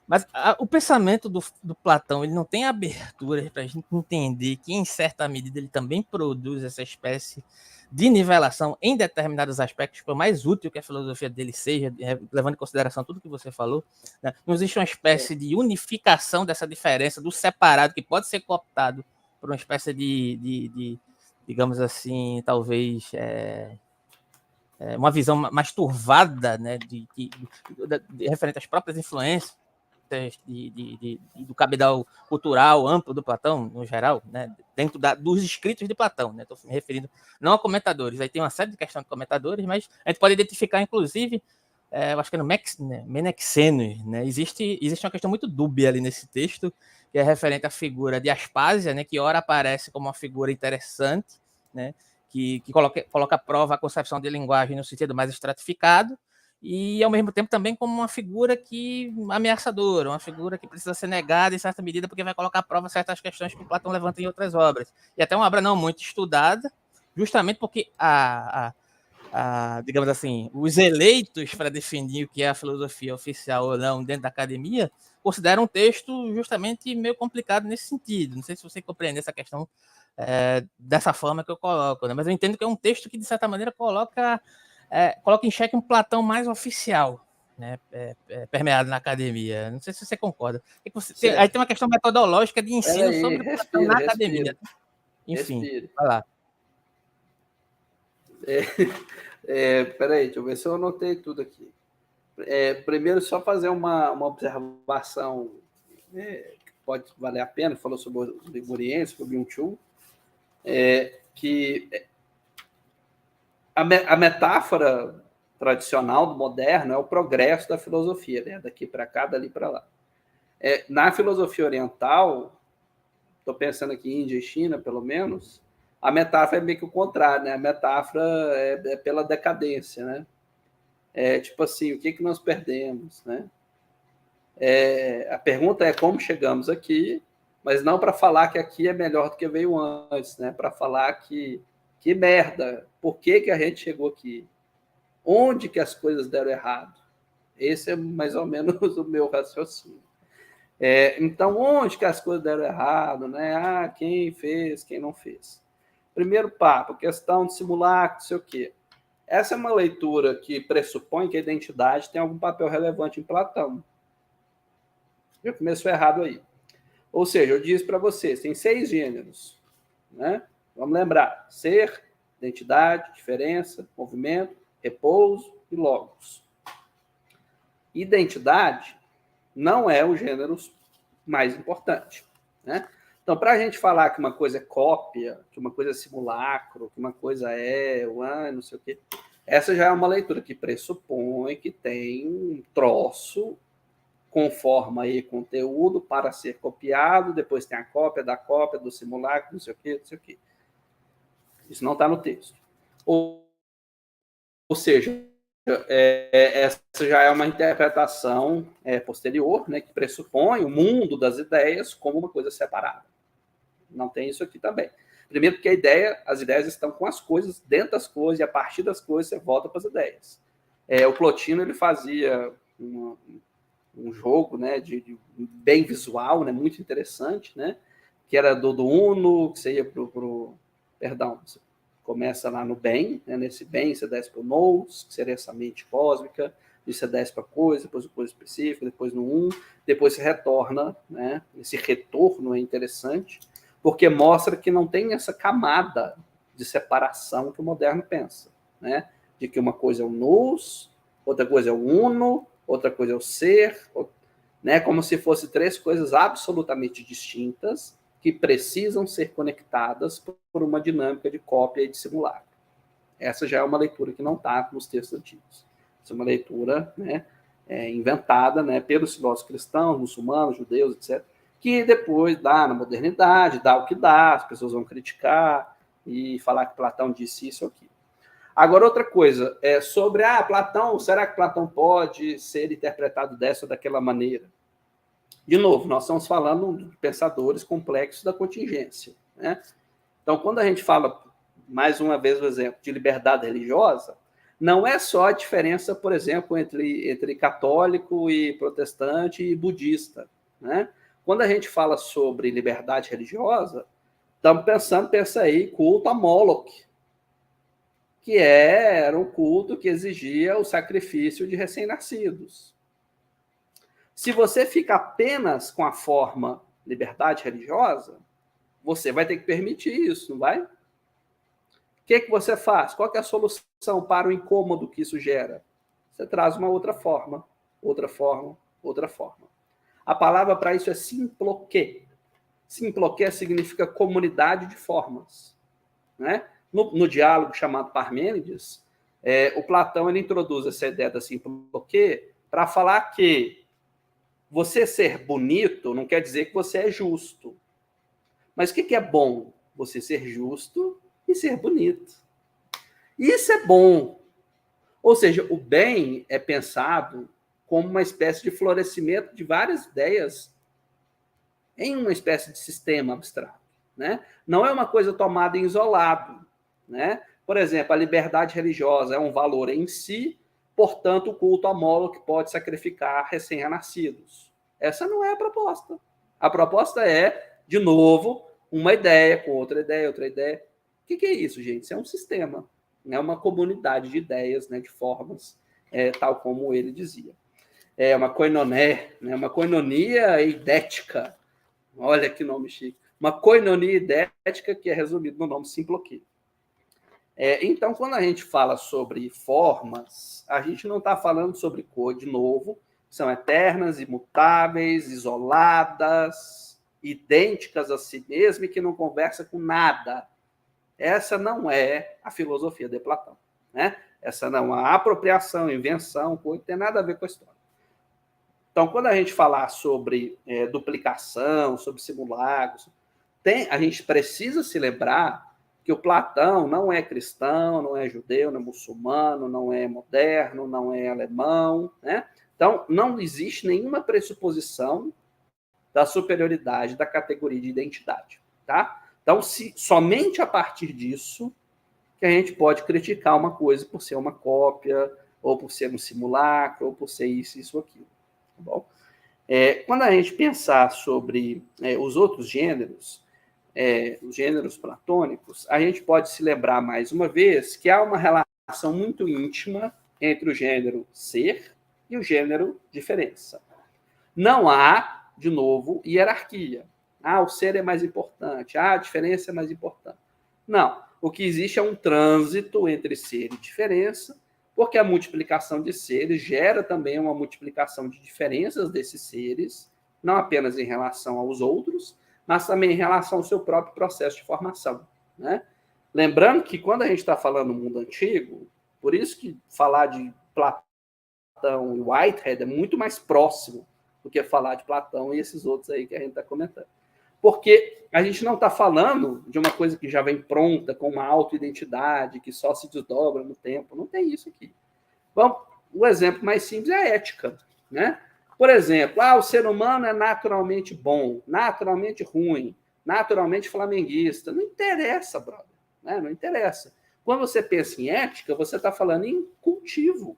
Mas a, o pensamento do, do Platão, ele não tem abertura para a gente entender que, em certa medida, ele também produz essa espécie de nivelação em determinados aspectos, por mais útil que a filosofia dele seja, levando em consideração tudo que você falou, né? Não existe uma espécie de unificação dessa diferença, do separado, que pode ser cooptado por uma espécie de, de, de digamos assim, talvez... É, é uma visão mais turvada, né, de, de, de, de, referente às próprias influências de, de, de, do cabedal cultural amplo do Platão, no geral, né, dentro da, dos escritos de Platão. Estou, né, me referindo não a comentadores, aí tem uma série de questões de comentadores, mas a gente pode identificar, inclusive, é, eu acho que é no Mex, né, Menexenos, né, existe, existe uma questão muito dúbia ali nesse texto, que é referente à figura de Aspásia, né, que ora aparece como uma figura interessante, né, que, que coloca, coloca à prova a concepção de linguagem no sentido mais estratificado, e, ao mesmo tempo, também como uma figura que ameaçadora, uma figura que precisa ser negada em certa medida, porque vai colocar à prova certas questões que Platão levanta em outras obras. E até uma obra não muito estudada, justamente porque, a, a, a, digamos assim, os eleitos para definir o que é a filosofia oficial ou não dentro da academia consideram um texto justamente meio complicado nesse sentido. Não sei se você compreende essa questão é, dessa forma que eu coloco, né? Mas eu entendo que é um texto que, de certa maneira, coloca... É, coloca em xeque um Platão mais oficial, né, é, é, permeado na academia. Não sei se você concorda. Você tem, aí tem uma questão metodológica de ensino aí, sobre respira, Platão na respira, academia. Enfim, respira. vai lá. É, é, peraí, deixa eu ver se eu anotei tudo aqui. É, primeiro, só fazer uma, uma observação é, que pode valer a pena. Falou sobre os ligurienses, sobre o Byung-Chul, é, que a, me, a metáfora tradicional do moderno é o progresso da filosofia, né? Daqui para cá, dali para lá. É, na filosofia oriental, estou pensando aqui em Índia e China, pelo menos, a metáfora é meio que o contrário, né? A metáfora é, é pela decadência, né? É tipo assim, o que, que nós perdemos, né? É, a pergunta é como chegamos aqui, mas não para falar que aqui é melhor do que veio antes, né? Para falar que que merda, por que, que a gente chegou aqui? Onde que as coisas deram errado? Esse é mais ou menos o meu raciocínio. É, então, onde que as coisas deram errado, né? Ah, quem fez, quem não fez. Primeiro papo, questão de simulacro, não sei o quê. Essa é uma leitura que pressupõe que a identidade tem algum papel relevante em Platão. Já começou errado aí. Ou seja, eu disse para vocês, tem seis gêneros, né? Vamos lembrar, ser, identidade, diferença, movimento, repouso e logos. Identidade não é o gênero mais importante, né? Então, para a gente falar que uma coisa é cópia, que uma coisa é simulacro, que uma coisa é, ah, não sei o quê, essa já é uma leitura que pressupõe que tem um troço com forma e conteúdo para ser copiado, depois tem a cópia da cópia, do simulacro, não sei o quê, não sei o quê. Isso não está no texto. Ou, ou seja, é, essa já é uma interpretação é, posterior, né, que pressupõe o mundo das ideias como uma coisa separada. Não tem isso aqui também. Primeiro porque a ideia, as ideias estão com as coisas, dentro das coisas, e a partir das coisas você volta para as ideias. É, o Plotino ele fazia uma, um jogo, né, de, de bem visual, né, muito interessante, né, que era do, do Uno, que você ia para o... Perdão, você começa lá no bem, né, nesse bem você desce para o nous, que seria essa mente cósmica, e você desce para coisa, depois o coisa específica, depois no um, depois você retorna, né, esse retorno é interessante, porque mostra que não tem essa camada de separação que o moderno pensa, né, de que uma coisa é o nous, outra coisa é o uno, outra coisa é o ser, né, como se fossem três coisas absolutamente distintas, que precisam ser conectadas por uma dinâmica de cópia e de simulacro. Essa já é uma leitura que não está nos textos antigos. Essa é uma leitura, né, é, inventada, né, pelos filósofos cristãos, muçulmanos, judeus, etcétera, que depois dá na modernidade, dá o que dá, as pessoas vão criticar e falar que Platão disse isso ou aquilo. Agora, outra coisa, é sobre, ah, Platão, será que Platão pode ser interpretado dessa ou daquela maneira? De novo, nós estamos falando de pensadores complexos da contingência, né? Então, quando a gente fala, mais uma vez o exemplo, de liberdade religiosa, não é só a diferença, por exemplo, entre, entre católico e protestante e budista, né? Quando a gente fala sobre liberdade religiosa, estamos pensando, pensa aí, culto a Moloch, que era um culto que exigia o sacrifício de recém-nascidos. Se você fica apenas com a forma liberdade religiosa, você vai ter que permitir isso, não vai? O que, que você faz? Qual que é a solução para o incômodo que isso gera? Você traz uma outra forma, outra forma, outra forma. A palavra para isso é simploquê. Simploquê significa comunidade de formas, né? No, no diálogo chamado Parmênides, é, o Platão ele introduz essa ideia da simploquê para falar que você ser bonito não quer dizer que você é justo. Mas o que é bom? Você ser justo e ser bonito. Isso é bom. Ou seja, o bem é pensado como uma espécie de florescimento de várias ideias em uma espécie de sistema abstrato, né? Não é uma coisa tomada em isolado, né? Por exemplo, a liberdade religiosa é um valor em si, portanto, o culto a Moloch pode sacrificar recém-nascidos. Essa não é a proposta. A proposta é, de novo, uma ideia com outra ideia, outra ideia. O que é isso, gente? Isso é um sistema, é uma comunidade de ideias, né, de formas, é, tal como ele dizia. É uma koinoné, né, uma koinonia eidética. Olha que nome chique. Uma koinonia idética que é resumido no nome simploquê. É, então, quando a gente fala sobre formas, a gente não está falando sobre cor, de novo, são eternas, imutáveis, isoladas, idênticas a si mesma e que não conversa com nada. Essa não é a filosofia de Platão, né? Essa não é a apropriação, invenção, coisa, não tem nada a ver com a história. Então, quando a gente falar sobre é, duplicação, sobre simulacros, tem, a gente precisa se lembrar que o Platão não é cristão, não é judeu, não é muçulmano, não é moderno, não é alemão, né? Então, não existe nenhuma pressuposição da superioridade da categoria de identidade, tá? Então, se, somente a partir disso que a gente pode criticar uma coisa por ser uma cópia, ou por ser um simulacro, ou por ser isso, isso, aquilo. Tá bom? É, quando a gente pensar sobre é, os outros gêneros, é, os gêneros platônicos, a gente pode se lembrar mais uma vez que há uma relação muito íntima entre o gênero ser e o gênero diferença. Não há, de novo, hierarquia. Ah, o ser é mais importante. Ah, a diferença é mais importante. Não. O que existe é um trânsito entre ser e diferença, porque a multiplicação de seres gera também uma multiplicação de diferenças desses seres, não apenas em relação aos outros, mas também em relação ao seu próprio processo de formação, né? Lembrando que quando a gente está falando do mundo antigo, por isso que falar de Platão e Whitehead é muito mais próximo do que falar de Platão e esses outros aí que a gente está comentando. Porque a gente não está falando de uma coisa que já vem pronta, com uma auto-identidade, que só se desdobra no tempo. Não tem isso aqui. Bom, o exemplo mais simples é a ética, né? Por exemplo, ah, o ser humano é naturalmente bom, naturalmente ruim, naturalmente flamenguista. Não interessa, brother. Né? Não interessa. Quando você pensa em ética, você está falando em cultivo.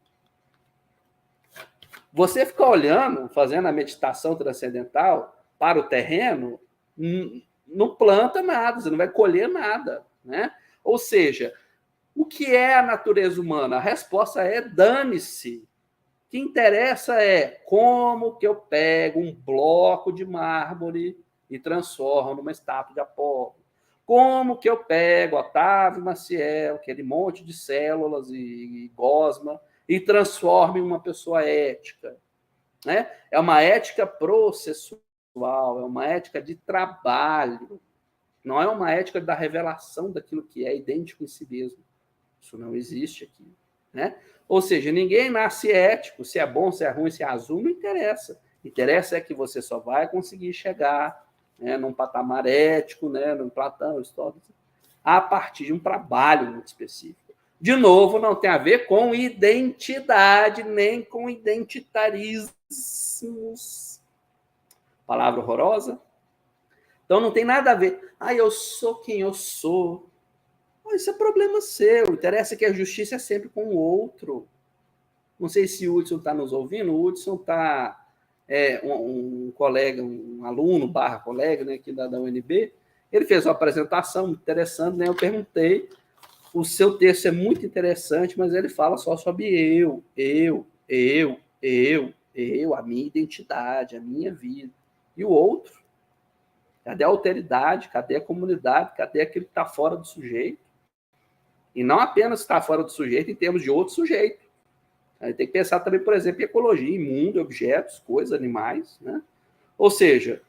Você ficar olhando, fazendo a meditação transcendental para o terreno, não planta nada, você não vai colher nada, né? Ou seja, o que é a natureza humana? A resposta é dane-se. O que interessa é como que eu pego um bloco de mármore e transformo numa estátua de Apolo. Como que eu pego Otávio Maciel, aquele monte de células e, e gosma, e transformo em uma pessoa ética, né? É uma ética processual, é uma ética de trabalho, não é uma ética da revelação daquilo que é idêntico em si mesmo. Isso não existe aqui, né? Ou seja, ninguém nasce ético, se é bom, se é ruim, se é azul, não interessa. Interessa é que você só vai conseguir chegar, né, num patamar ético, né, no Platão, Aristóteles, a partir de um trabalho muito específico. De novo, não tem a ver com identidade, nem com identitarismos. Palavra horrorosa. Então, não tem nada a ver. Ah, eu sou quem eu sou. isso é problema seu. Interessa que a justiça é sempre com o outro. Não sei se o Hudson está nos ouvindo. O Hudson está... É, um, um colega, um aluno barra colega, né, aqui da, da U N B, ele fez uma apresentação muito interessante, né? Eu perguntei, o seu texto é muito interessante, mas ele fala só sobre eu, eu, eu, eu, eu, a minha identidade, a minha vida. E o outro? Cadê a alteridade? Cadê a comunidade? Cadê aquele que está fora do sujeito? E não apenas está fora do sujeito em termos de outro sujeito. A gente tem que pensar também, por exemplo, em ecologia, em mundo, objetos, coisas, animais, né? Ou seja,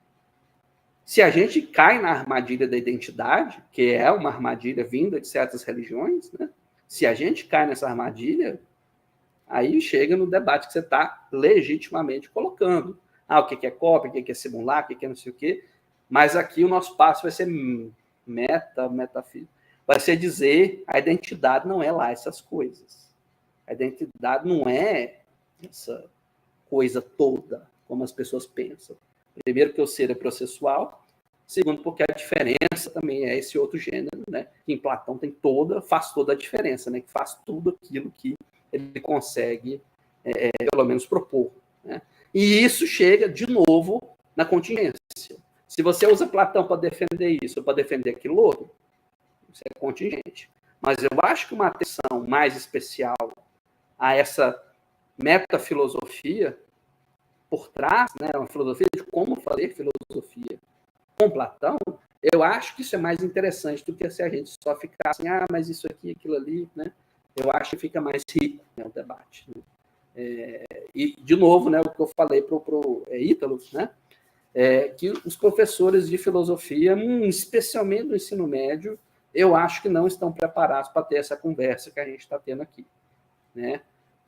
se a gente cai na armadilha da identidade, que é uma armadilha vinda de certas religiões, né? Se a gente cai nessa armadilha, aí chega no debate que você está legitimamente colocando. Ah, o que é cópia, o que é simular, o que é não sei o quê. Mas aqui o nosso passo vai ser meta, metafísica. Vai ser dizer a identidade não é lá essas coisas. A identidade não é essa coisa toda, como as pessoas pensam. Primeiro, porque o ser é processual. Segundo, porque a diferença também é esse outro gênero, né? Que em Platão tem toda, faz toda a diferença, né? Que faz tudo aquilo que ele consegue, é, pelo menos, propor, né? E isso chega, de novo, na contingência. Se você usa Platão para defender isso, ou para defender aquilo outro, isso é contingente. Mas eu acho que uma atenção mais especial a essa metafilosofia por trás, né, uma filosofia de como fazer filosofia com Platão, eu acho que isso é mais interessante do que se a gente só ficar assim, ah, mas isso aqui, aquilo ali, né? Eu acho que fica mais rico, né, o debate. Né? É, e, de novo, né, o que eu falei para o é, Ítalo, né, é, que os professores de filosofia, hum, especialmente no ensino médio, eu acho que não estão preparados para ter essa conversa que a gente está tendo aqui. Né?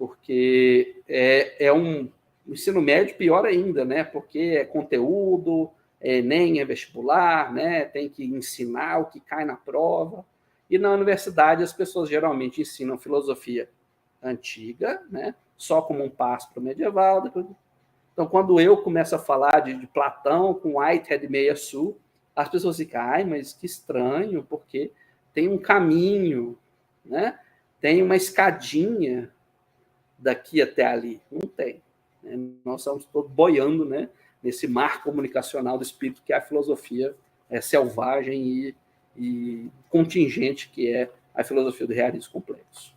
Porque é, é um ensino médio pior ainda, né? Porque é conteúdo, é, nem é vestibular, né? Tem que ensinar o que cai na prova. E na universidade as pessoas geralmente ensinam filosofia antiga, né? Só como um passo para o medieval. Depois... Então, quando eu começo a falar de, de Platão com Whitehead Meia Sul, as pessoas ficam, ai, mas que estranho, porque tem um caminho, né? Tem uma escadinha daqui até ali. Não tem. Né? Nós estamos todos boiando, né, nesse mar comunicacional do espírito que é a filosofia é, selvagem e, e contingente, que é a filosofia do realismo complexo.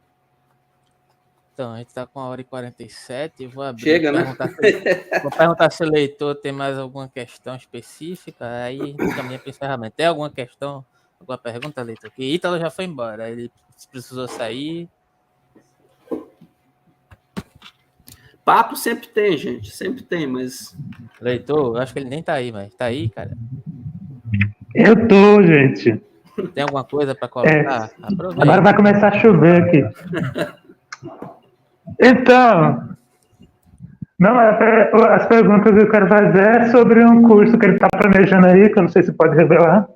Então, a gente está com a hora e quarenta e sete. Vou abrir. Chega, né? Se, vou perguntar se o leitor tem mais alguma questão específica. Aí caminha para o encerramento. Tem alguma questão? Alguma pergunta, leitor? Que Ítalo já foi embora. Ele precisou sair. Papo sempre tem, gente. Sempre tem, mas... Leitor, eu acho que ele nem tá aí, mas tá aí, cara? Eu tô, gente. Tem alguma coisa para colocar? É, agora vai começar a chover aqui. Então... Não, as perguntas que eu quero fazer é sobre um curso que ele está planejando aí, que eu não sei se pode revelar.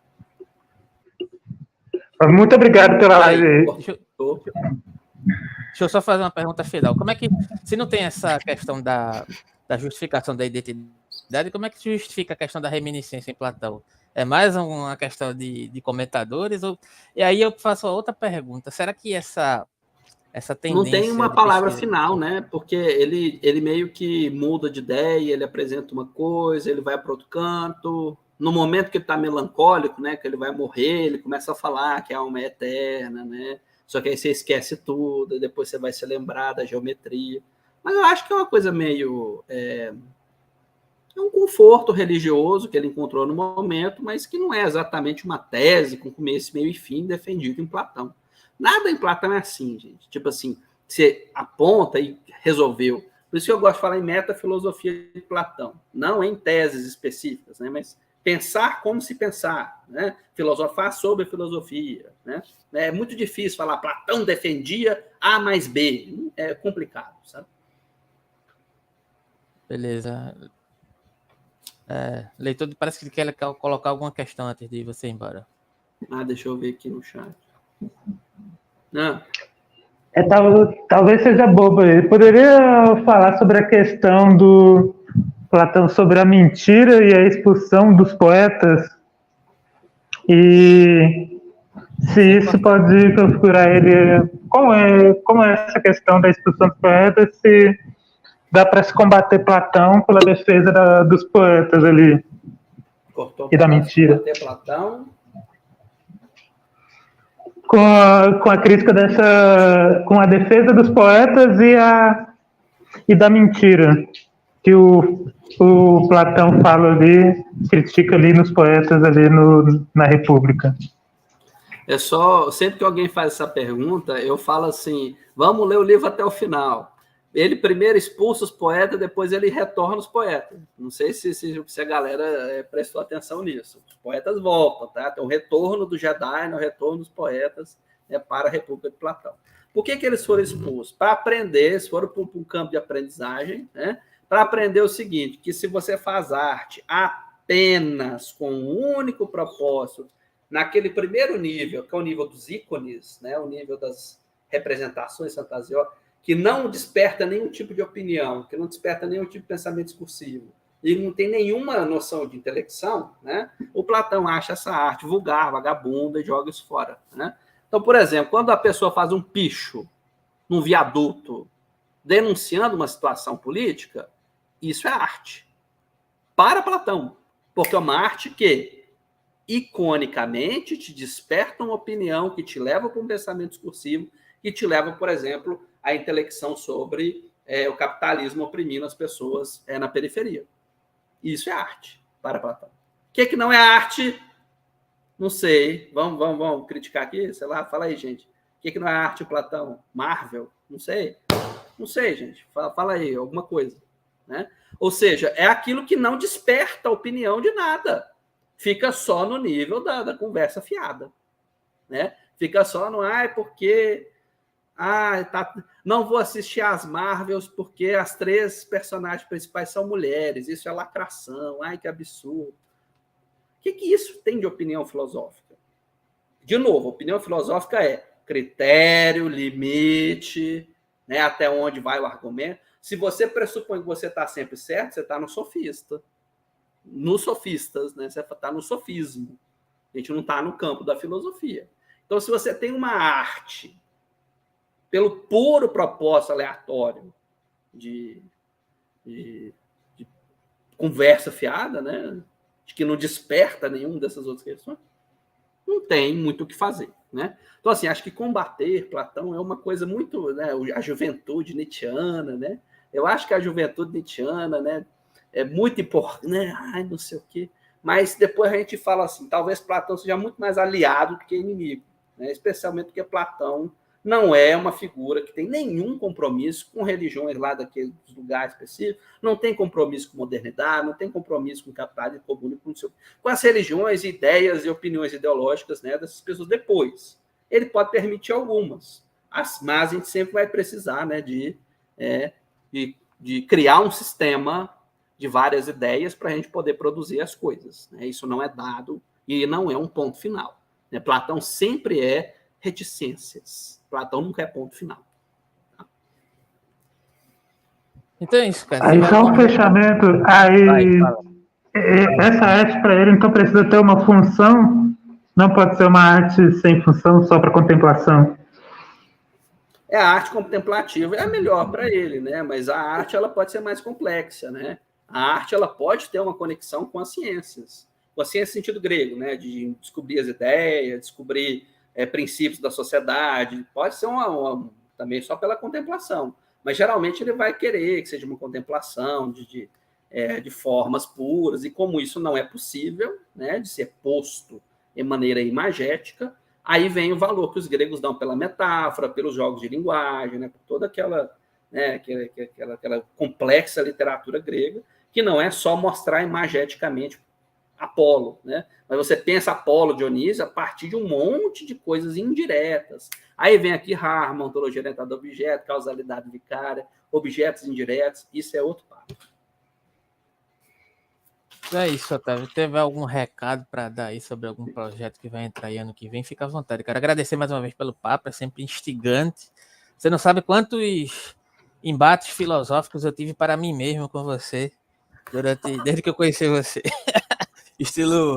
Muito obrigado pela live aí. Deixa eu, deixa eu só fazer uma pergunta final. Como é que, se não tem essa questão da, da justificação da identidade, como é que se justifica a questão da reminiscência em Platão? É mais uma questão de, de comentadores? Ou, e aí eu faço outra pergunta. Será que essa, essa tendência... Não tem uma palavra final, né? Porque ele, ele meio que muda de ideia, ele apresenta uma coisa, ele vai para outro canto... No momento que ele está melancólico, né, que ele vai morrer, ele começa a falar que a alma é eterna, né? Só que aí você esquece tudo, e depois você vai se lembrar da geometria. Mas eu acho que é uma coisa meio... É, é um conforto religioso que ele encontrou no momento, mas que não é exatamente uma tese com começo, meio e fim defendido em Platão. Nada em Platão é assim, gente. Tipo assim, você aponta e resolveu. Por isso que eu gosto de falar em metafilosofia de Platão. Não em teses específicas, né, mas... pensar como se pensar, né? Filosofar sobre a filosofia, né? É muito difícil falar Platão defendia A mais B, é complicado, sabe? Beleza. É, leitor, parece que ele quer colocar alguma questão antes de você ir embora. Ah, deixa eu ver aqui no chat. Não. É, tal, talvez seja bobo aí. Poderia falar sobre a questão do Platão sobre a mentira e a expulsão dos poetas, e se isso pode configurar ele... Como é, como é essa questão da expulsão dos poetas, se dá para se combater Platão pela defesa da, dos poetas ali? Cortou e da mentira. Combater Platão. Com a, com a crítica dessa... Com a defesa dos poetas e, a, e da mentira. Que o, o Platão fala ali, critica ali nos poetas ali no, na República. É só, sempre que alguém faz essa pergunta, eu falo assim, vamos ler o livro até o final. Ele primeiro expulsa os poetas, depois ele retorna os poetas. Não sei se, se, se a galera é, prestou atenção nisso. Os poetas voltam, tá? Tem o retorno do Jedi, o retorno dos poetas, né, para a República de Platão. Por que, que eles foram expulsos? Para aprender, eles foram para um campo de aprendizagem, né? Para aprender o seguinte, que se você faz arte apenas com um único propósito, naquele primeiro nível, que é o nível dos ícones, né, o nível das representações fantasiosas, que não desperta nenhum tipo de opinião, que não desperta nenhum tipo de pensamento discursivo, e não tem nenhuma noção de intelecção, né, o Platão acha essa arte vulgar, vagabunda, e joga isso fora. Né? Então, por exemplo, quando a pessoa faz um picho num viaduto, denunciando uma situação política, isso é arte. Para Platão. Porque é uma arte que, iconicamente, te desperta uma opinião que te leva para um pensamento discursivo, que te leva, por exemplo, à intelecção sobre é, o capitalismo oprimindo as pessoas é, na periferia. Isso é arte, para Platão. O que, é que não é arte? Não sei. Vamos, vamos, vamos criticar aqui? Sei lá, fala aí, gente. O que, é que não é arte, Platão? Marvel? Não sei. Não sei, gente. Fala, fala aí, alguma coisa. Né? Ou seja, é aquilo que não desperta a opinião de nada. Fica só no nível da, da conversa fiada. Né? Fica só no, ai, porque... Ah, tá, não vou assistir às Marvels porque as três personagens principais são mulheres. Isso é lacração. Ai, que absurdo. O que, que isso tem de opinião filosófica? De novo, opinião filosófica é critério, limite, né, até onde vai o argumento. Se você pressupõe que você está sempre certo, você está no sofista. Nos sofistas, né? Você está no sofismo. A gente não está no campo da filosofia. Então, se você tem uma arte pelo puro propósito aleatório de, de, de conversa fiada, né? De que não desperta nenhuma dessas outras questões, não tem muito o que fazer. Né? Então, assim, acho que combater Platão é uma coisa muito... Né, a juventude nietzschiana, né? Eu acho que a juventude nietzschiana, né, é muito importante, né? Ai, não sei o quê. Mas depois a gente fala assim, talvez Platão seja muito mais aliado do que inimigo, né? Especialmente porque Platão não é uma figura que tem nenhum compromisso com religiões lá daqueles lugares específicos, não tem compromisso com modernidade, não tem compromisso com capitalismo comunismo, com, seu, com as religiões, ideias e opiniões ideológicas, né, dessas pessoas depois. Ele pode permitir algumas, mas a gente sempre vai precisar, né, de, é, de, de criar um sistema de várias ideias para a gente poder produzir as coisas. Né? Isso não é dado e não é um ponto final. Né? Platão sempre é reticências. Platão nunca é ponto final. Tá? Então é isso, cara. Aí só um fechamento. Aí Vai, essa arte para ele então precisa ter uma função. Não pode ser uma arte sem função só para contemplação. É a arte contemplativa é a melhor para ele, né? Mas a arte ela pode ser mais complexa, né? A arte ela pode ter uma conexão com as ciências, com a ciência no sentido grego, né? De descobrir as ideias, descobrir É, princípios da sociedade, pode ser uma, uma, também só pela contemplação, mas geralmente ele vai querer que seja uma contemplação de, de, é, de formas puras, e como isso não é possível, né, de ser posto de maneira imagética, aí vem o valor que os gregos dão pela metáfora, pelos jogos de linguagem, né, por toda aquela, né, aquela, aquela, aquela complexa literatura grega, que não é só mostrar imageticamente Apolo, né? Mas você pensa Apolo, Dionísio, a partir de um monte de coisas indiretas. Aí vem aqui Harman, ontologia orientada a objeto, causalidade vicária, objetos indiretos, isso é outro papo. É isso, Otávio. Teve algum recado para dar aí sobre algum projeto que vai entrar aí ano que vem? Fica à vontade. Quero agradecer mais uma vez pelo papo, é sempre instigante. Você não sabe quantos embates filosóficos eu tive para mim mesmo com você durante, desde que eu conheci você. Estilo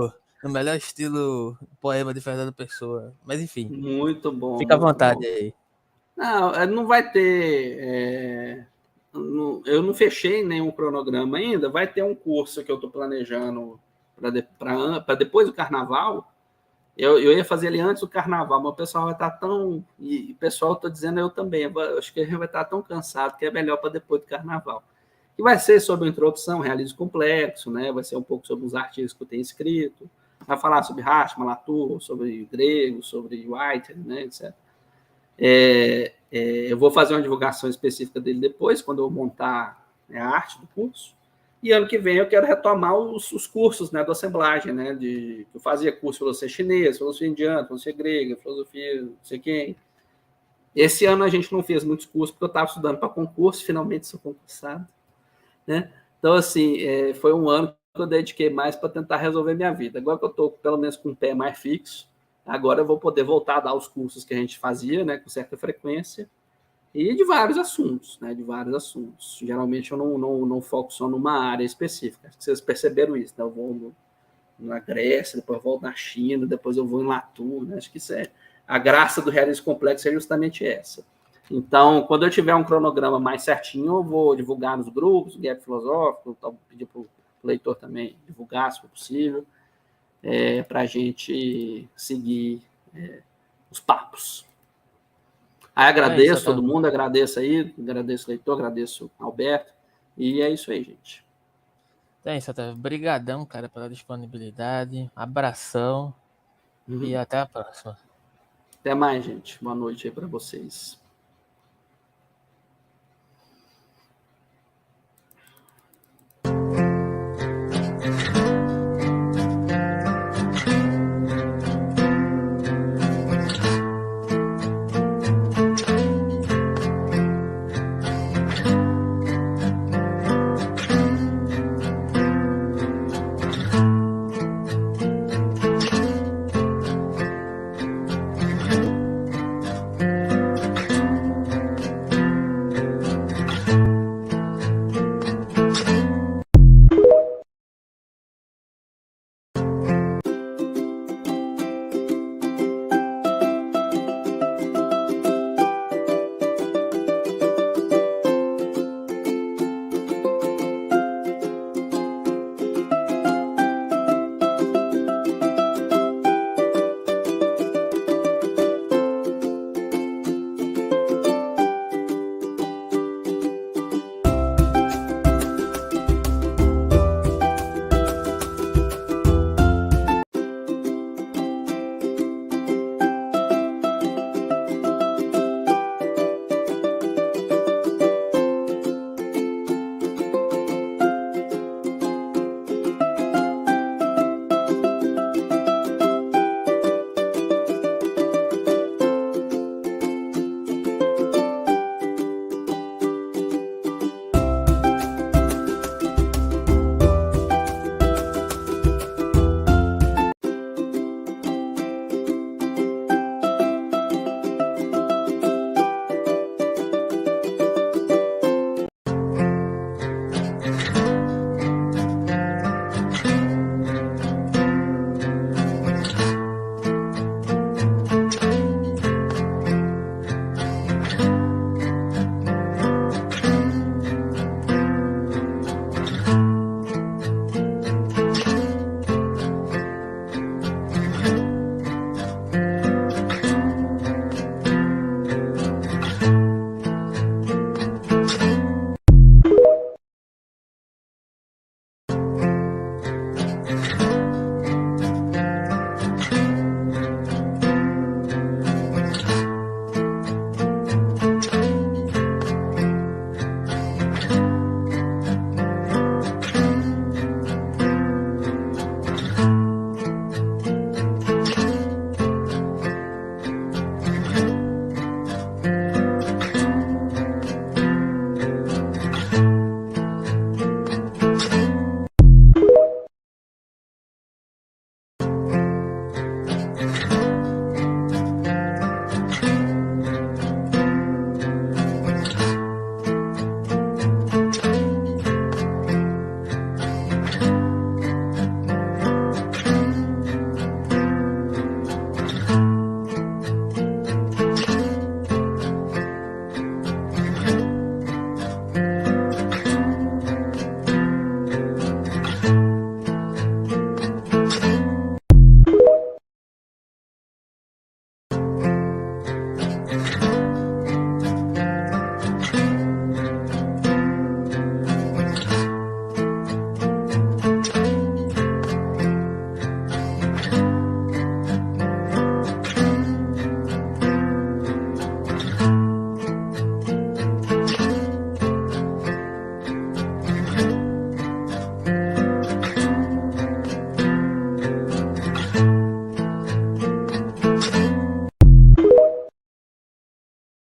no melhor estilo poema de Fernando Pessoa. Mas enfim, Muito bom. fica à muito vontade bom. aí. Não, é, não vai ter. é, não- eu não fechei nenhum cronograma ainda. Vai ter um curso que eu estou planejando para depois do carnaval. Eu, eu ia fazer ele antes do carnaval, mas o pessoal vai estar tão. E o pessoal está dizendo eu também. Eu acho que a gente vai estar tão cansado que é melhor para depois do carnaval. Que vai ser sobre a introdução, realismo complexo, né? Vai ser um pouco sobre os artigos que eu tenho escrito. Vai falar sobre Rashomon, Latour, sobre grego, sobre White, né, etcétera. É, é, eu vou fazer uma divulgação específica dele depois, quando eu montar, né, a arte do curso. E ano que vem eu quero retomar os, os cursos, né, da assemblagem, né, de, eu fazia curso de filosofia chinesa, filosofia indiana, filosofia grega, filosofia não sei quem. Esse ano a gente não fez muitos cursos, porque eu estava estudando para concurso, finalmente sou concursado. Né? Então, assim, é, foi um ano que eu dediquei mais para tentar resolver minha vida. Agora que eu estou, pelo menos, com o pé mais fixo, agora eu vou poder voltar a dar os cursos que a gente fazia, né, com certa frequência, e de vários assuntos, né, de vários assuntos. Geralmente eu não, não, não foco só numa área específica. Acho que vocês perceberam isso, né? Eu vou no, na Grécia, depois eu volto na China, depois eu vou em Latour, né? Acho que isso é a graça do realismo complexo, é justamente essa. Então, quando eu tiver um cronograma mais certinho, eu vou divulgar nos grupos, o Gap Filosófico, vou pedir para o leitor também divulgar, se for possível, é, para a gente seguir é, os papos. Aí É isso, agradeço todo Otávio. mundo, agradeço aí, agradeço o leitor, agradeço o Alberto, e é isso aí, gente. É isso, Otávio. Obrigadão, cara, pela disponibilidade. Abração Uhum. e até a próxima. Até mais, gente. Boa noite aí para vocês.